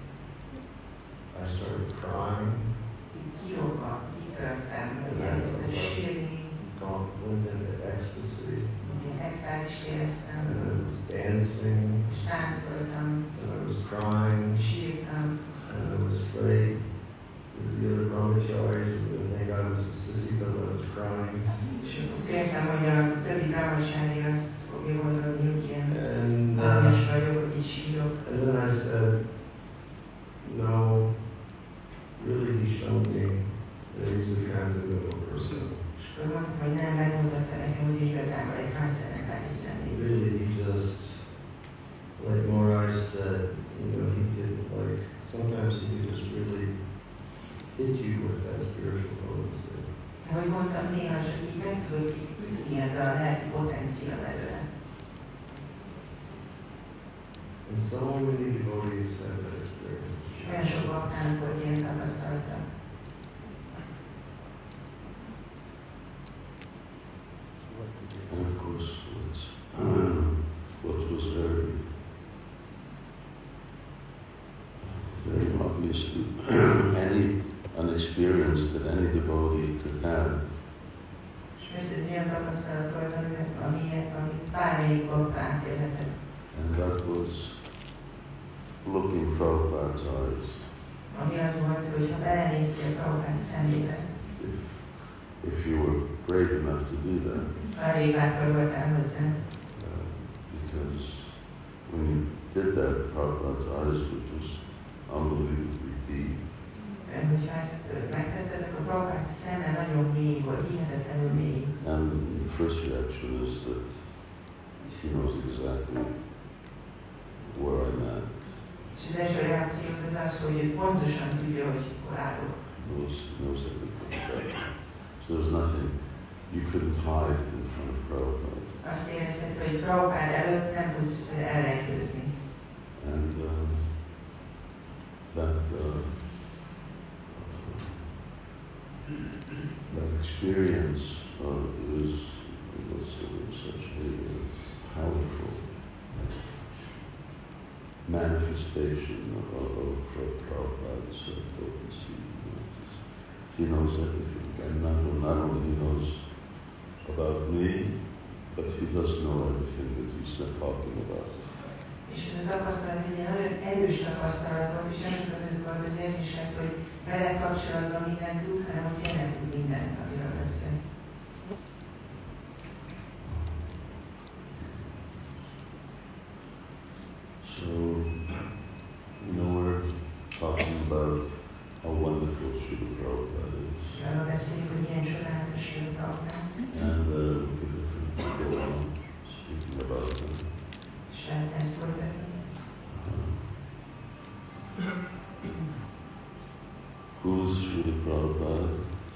I started crying. így kirobban, kitörtem, hogy elkezdtem sírni. Went into ecstasy. Ilyen extázist éreztem. And I was dancing. És táncoltam. And I was crying. Sírtam. And I was afraid that the other brahmacharis would think I was a sissy because I was crying. És akkor féltem, hogy a többi brahmacsári azt fogja gondolni, hogy ilyen And aranyos vagyok, hogy így sírok. and then I said, no, really he showed me that he's a transcendental person. És akkor mondtam, hogy nem, megmutatta nekem, hogy igazából egy transzcendentális személy. Really he just, like Maharaj said, he could sometimes he could just really hit you with that spiritual potency. Ahogy mondtam, néha csak így meg tudod ütni ez a lelki potencia belőle. And so many devotees have that experience. Olyan sok baktának volt ilyen tapasztalata. And of course, what was very obvious to any unexperienced that any devotee could have. And that was looking Prabhupada's eyes. If you were brave enough to do that. Because when you did that, Prabhupada's eyes were just unbelievably deep. And the first reaction is that he knows exactly where I'm at. Knows everything about me. So there's nothing you couldn't hide in front of Prabhupada. And that experience was such a powerful manifestation of Prabhupada's potency. He knows everything, and not only he knows about me, but he does know everything that he's talking about. És ez a tapasztalat egy nagyon erős tapasztalat volt, és nem csak az volt az érzésed, hogy vele kapcsolatban mindent tud, hanem hogy tényleg tud mindent, amiről beszél. So, we're talking about how wonderful Srila Prabhupada is. And look at different people speaking about him. Who's Srila Prabhupada?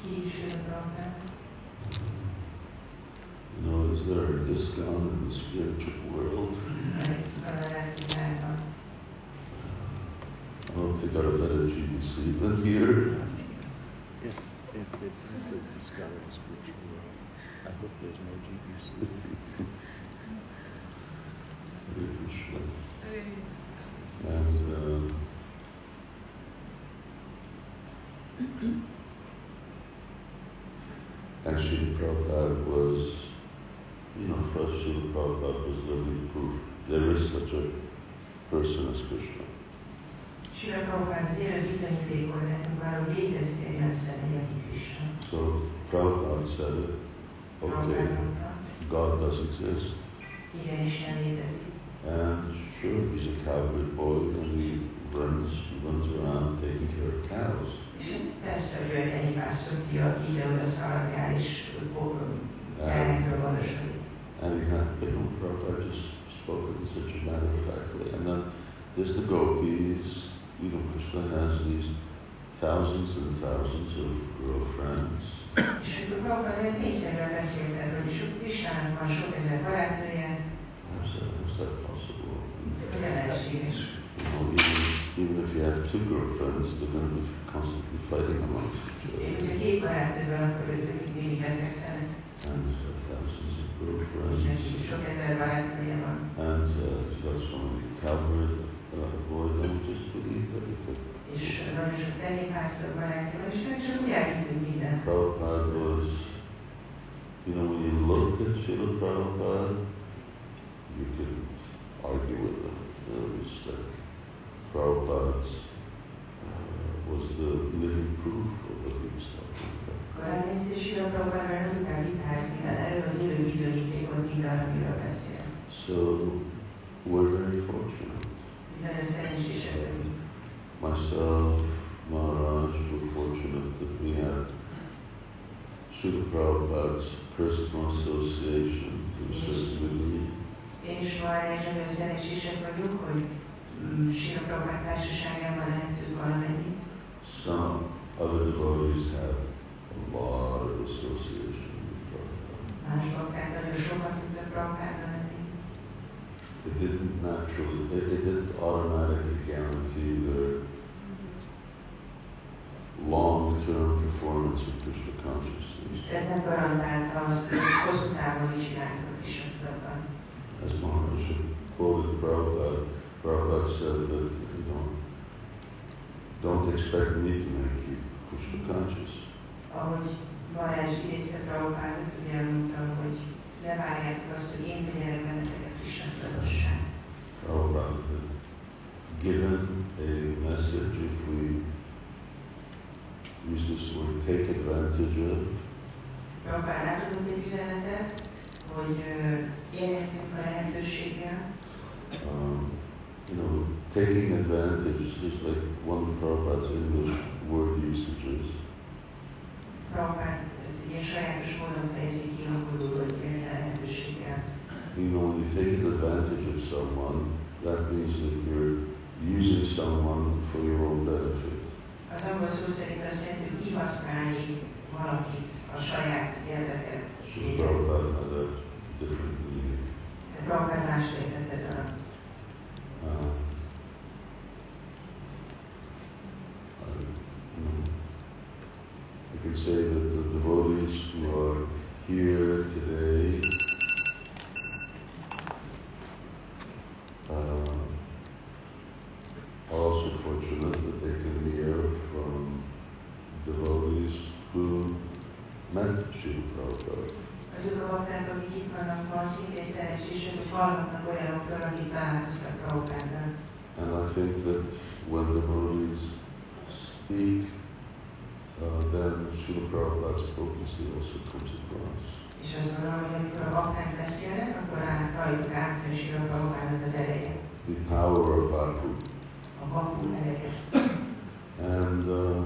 You know, is there an ISKCON in the spiritual world? I hope they got a better GBC than here. If it is the ISKCON in the spiritual world, I hope there's no GBC. Hare Krishna. And Srila Prabhupada was, first Srila Prabhupada was living proof there is such a person as Krishna. So Prabhupada said it, okay, God does exist. And sure, he's a cowherd boy and he runs around taking care of cows. And he had, Prabhupada just spoke in such a matter of fact way. And then there's the gopis. Krishna has these thousands and thousands of girlfriends. How's that possible? Even if you have two girlfriends, they're going to be constantly fighting amongst each other. And thousands of girlfriends. And he's got so many cowherd boys, and we just believe everything. Prabhupada was, when you looked at Srila Prabhupada, you couldn't argue with him. It was like Prabhupada was the living proof of what he was talking about. So we're very fortunate. Myself, Maharaj, we're fortunate that we have Srila Prabhupada's personal association to a certain degree. Some other devotees have a lot of association with Prabhupada. Más bakták nagyon sokat tudtak Prabhupádban lenni. It didn't naturally, it didn't automatically guarantee their long-term performance of Krishna consciousness. Ez nem garantálta azt, hogy hosszú távon is irányított Krishna tudatban. As Maharaj quoted Prabhupada, Prabhupada said that, don't expect me to make you Krishna conscious. Ahogy Maharaj idézte Prabhupádot, ugye mondtam, hogy ne várjátok azt, hogy én tegyelek benneteket Krishna tudatossá. Prabhupada had given a message, if we use this word, take advantage of. Prabhupád átadott egy üzenetet, hogy élhetünk a lehetőséggel. Taking advantage is like one of Prabhupada's English word usages. Prabhupád ezt ilyen sajátos módon fejezi ki angolul, hogy élni a lehetőséggel. When you take advantage of someone, that means that you're using someone for your own benefit. Az angol szó szerint azt jelenti, hogy kihasználni valakit a saját érdeket. So Prabhupada has a different meaning. Prabhupád más értett ez alatt. I can say that the devotees who are here today are also fortunate that they can hear from devotees who met Srila Prabhupada. Azok a bakták, akik itt vannak ma, szintén szerencsések, hogy hallhatnak olyanoktól, akik találkoztak Prabhupáddal. And I think that when devotees speak, then Srila Prabhupada's potency also comes across. És azt gondolom, hogy amikor a bakták beszélnek, akkor rajtuk átjön Srila Prabhupádnak az ereje. The power of Bhakti. A Bhakti ereje. And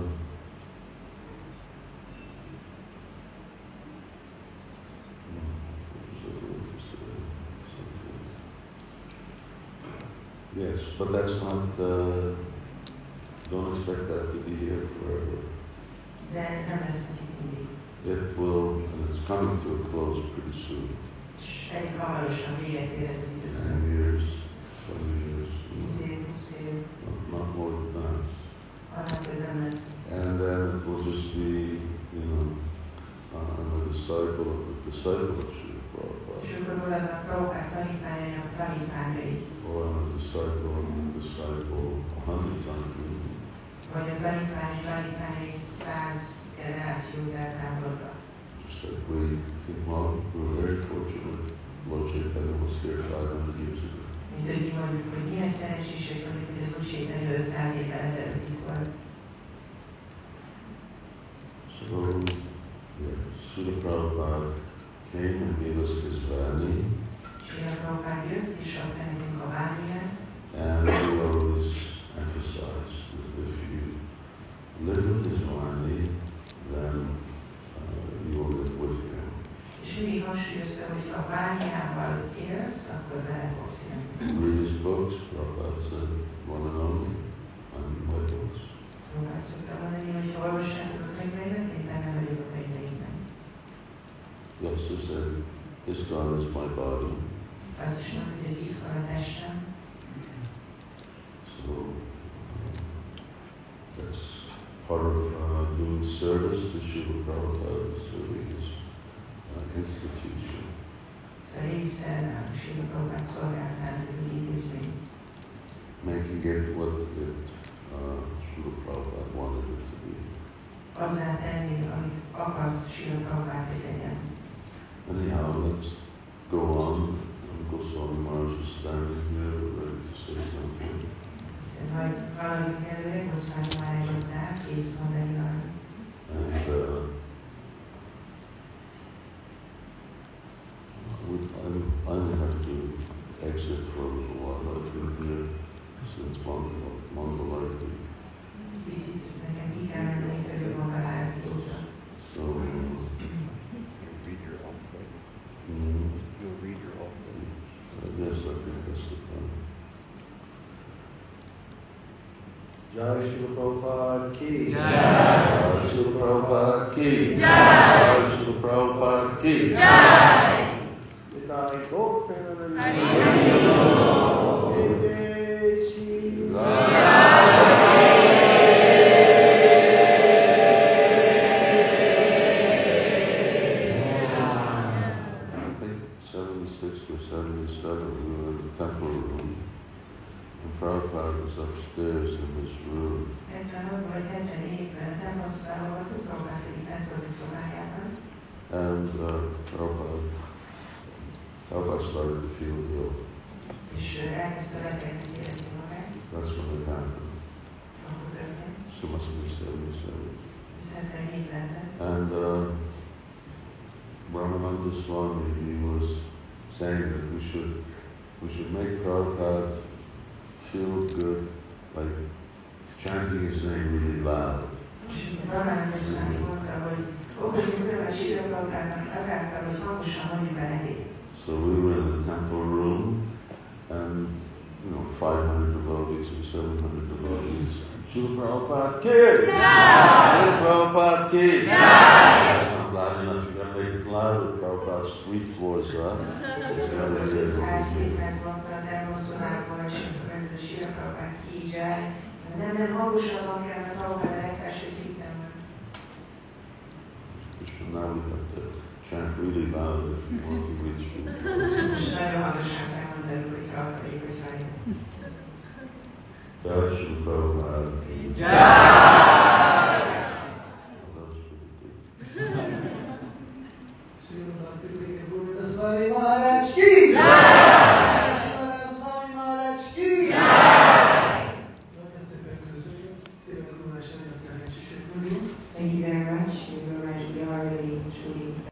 yes, but that's not, don't expect that to be here forever. De nem lesz nekik mindig. It will, and it's coming to a close pretty soon. És elég hamarosan véget ér ez az időszak. 10 years, 20 years. 10 év, 20 év. Not more than that. Annál több nem lesz. And then it will just be, I'm a disciple of the disciple of Srila Prabhupada. És akkor maradnak Prabhupád tanítványainak tanítványai. Or I'm a disciple of the disciple 100 times. Vagy a tanítványai 100 generációt eltávolodva. Just like we think, well, we're very fortunate. Lord Chaitanya was here 500 years ago. Mint hogy mi mondjuk, hogy milyen szerencsések vagyunk, hogy az Úr Chaitanya 500 évvel ezelőtt itt volt. So, yeah, Srila Prabhupada came and gave us his Vani. Srila Prabhupada jött és adta nekünk a Vániát. And we always emphasize that if you live with his Vani, then you will live with him. És mindig hangsúlyozta, hogy ha a Vániával élsz, akkor vele fogsz élni. Read his books, Prabhupada said, one and only, I'm my books. Prabhupada szokta mondani, hogy ha olvassátok a könyveimet, én benne vagyok a könyveimben. He also said, ISKCON is my body. Azt is mondta, hogy az ISKCON a testem. So that's part of doing service to Srila Prabhupada, serving his institution. Része Srila Prabhupada szolgálatának ez az intézmény. Making it what Srila Prabhupada wanted it to be. Azzá tenni, amit akart Srila Prabhupada, hogy legyen. Anyhow, let's go on. Goswami Maharaj is standing here, ready to say something. Majd valamit előre, Goswami Maharaj ott áll, kész mondani valamit. And I may have to exit for a little while. I've been here since Mangalarti. Picit nekem ki kell menni, hogy Mangalarti óta. So, You'll read your own book. Yes, I think that's the plan. Jai Srila Prabhupada ki. Jai Srila Prabhupada ki. Jai Srila Prabhupada was upstairs in this room. And Prabhupada started to feel ill. That's when it happened. So must have been 77. And Brahmananda Swami, he was saying that we should make Prabhupada feel good by chanting his name really loud. So we were in the temple room, and 500 devotees or 700 devotees. Srila Prabhupada ki! Srila Prabhupada ki! That's not loud enough. You gotta make it louder. Prabhupada's 3 floors up. Now we have to chant really loud if we want to reach people. Jai Shri Prabhupada.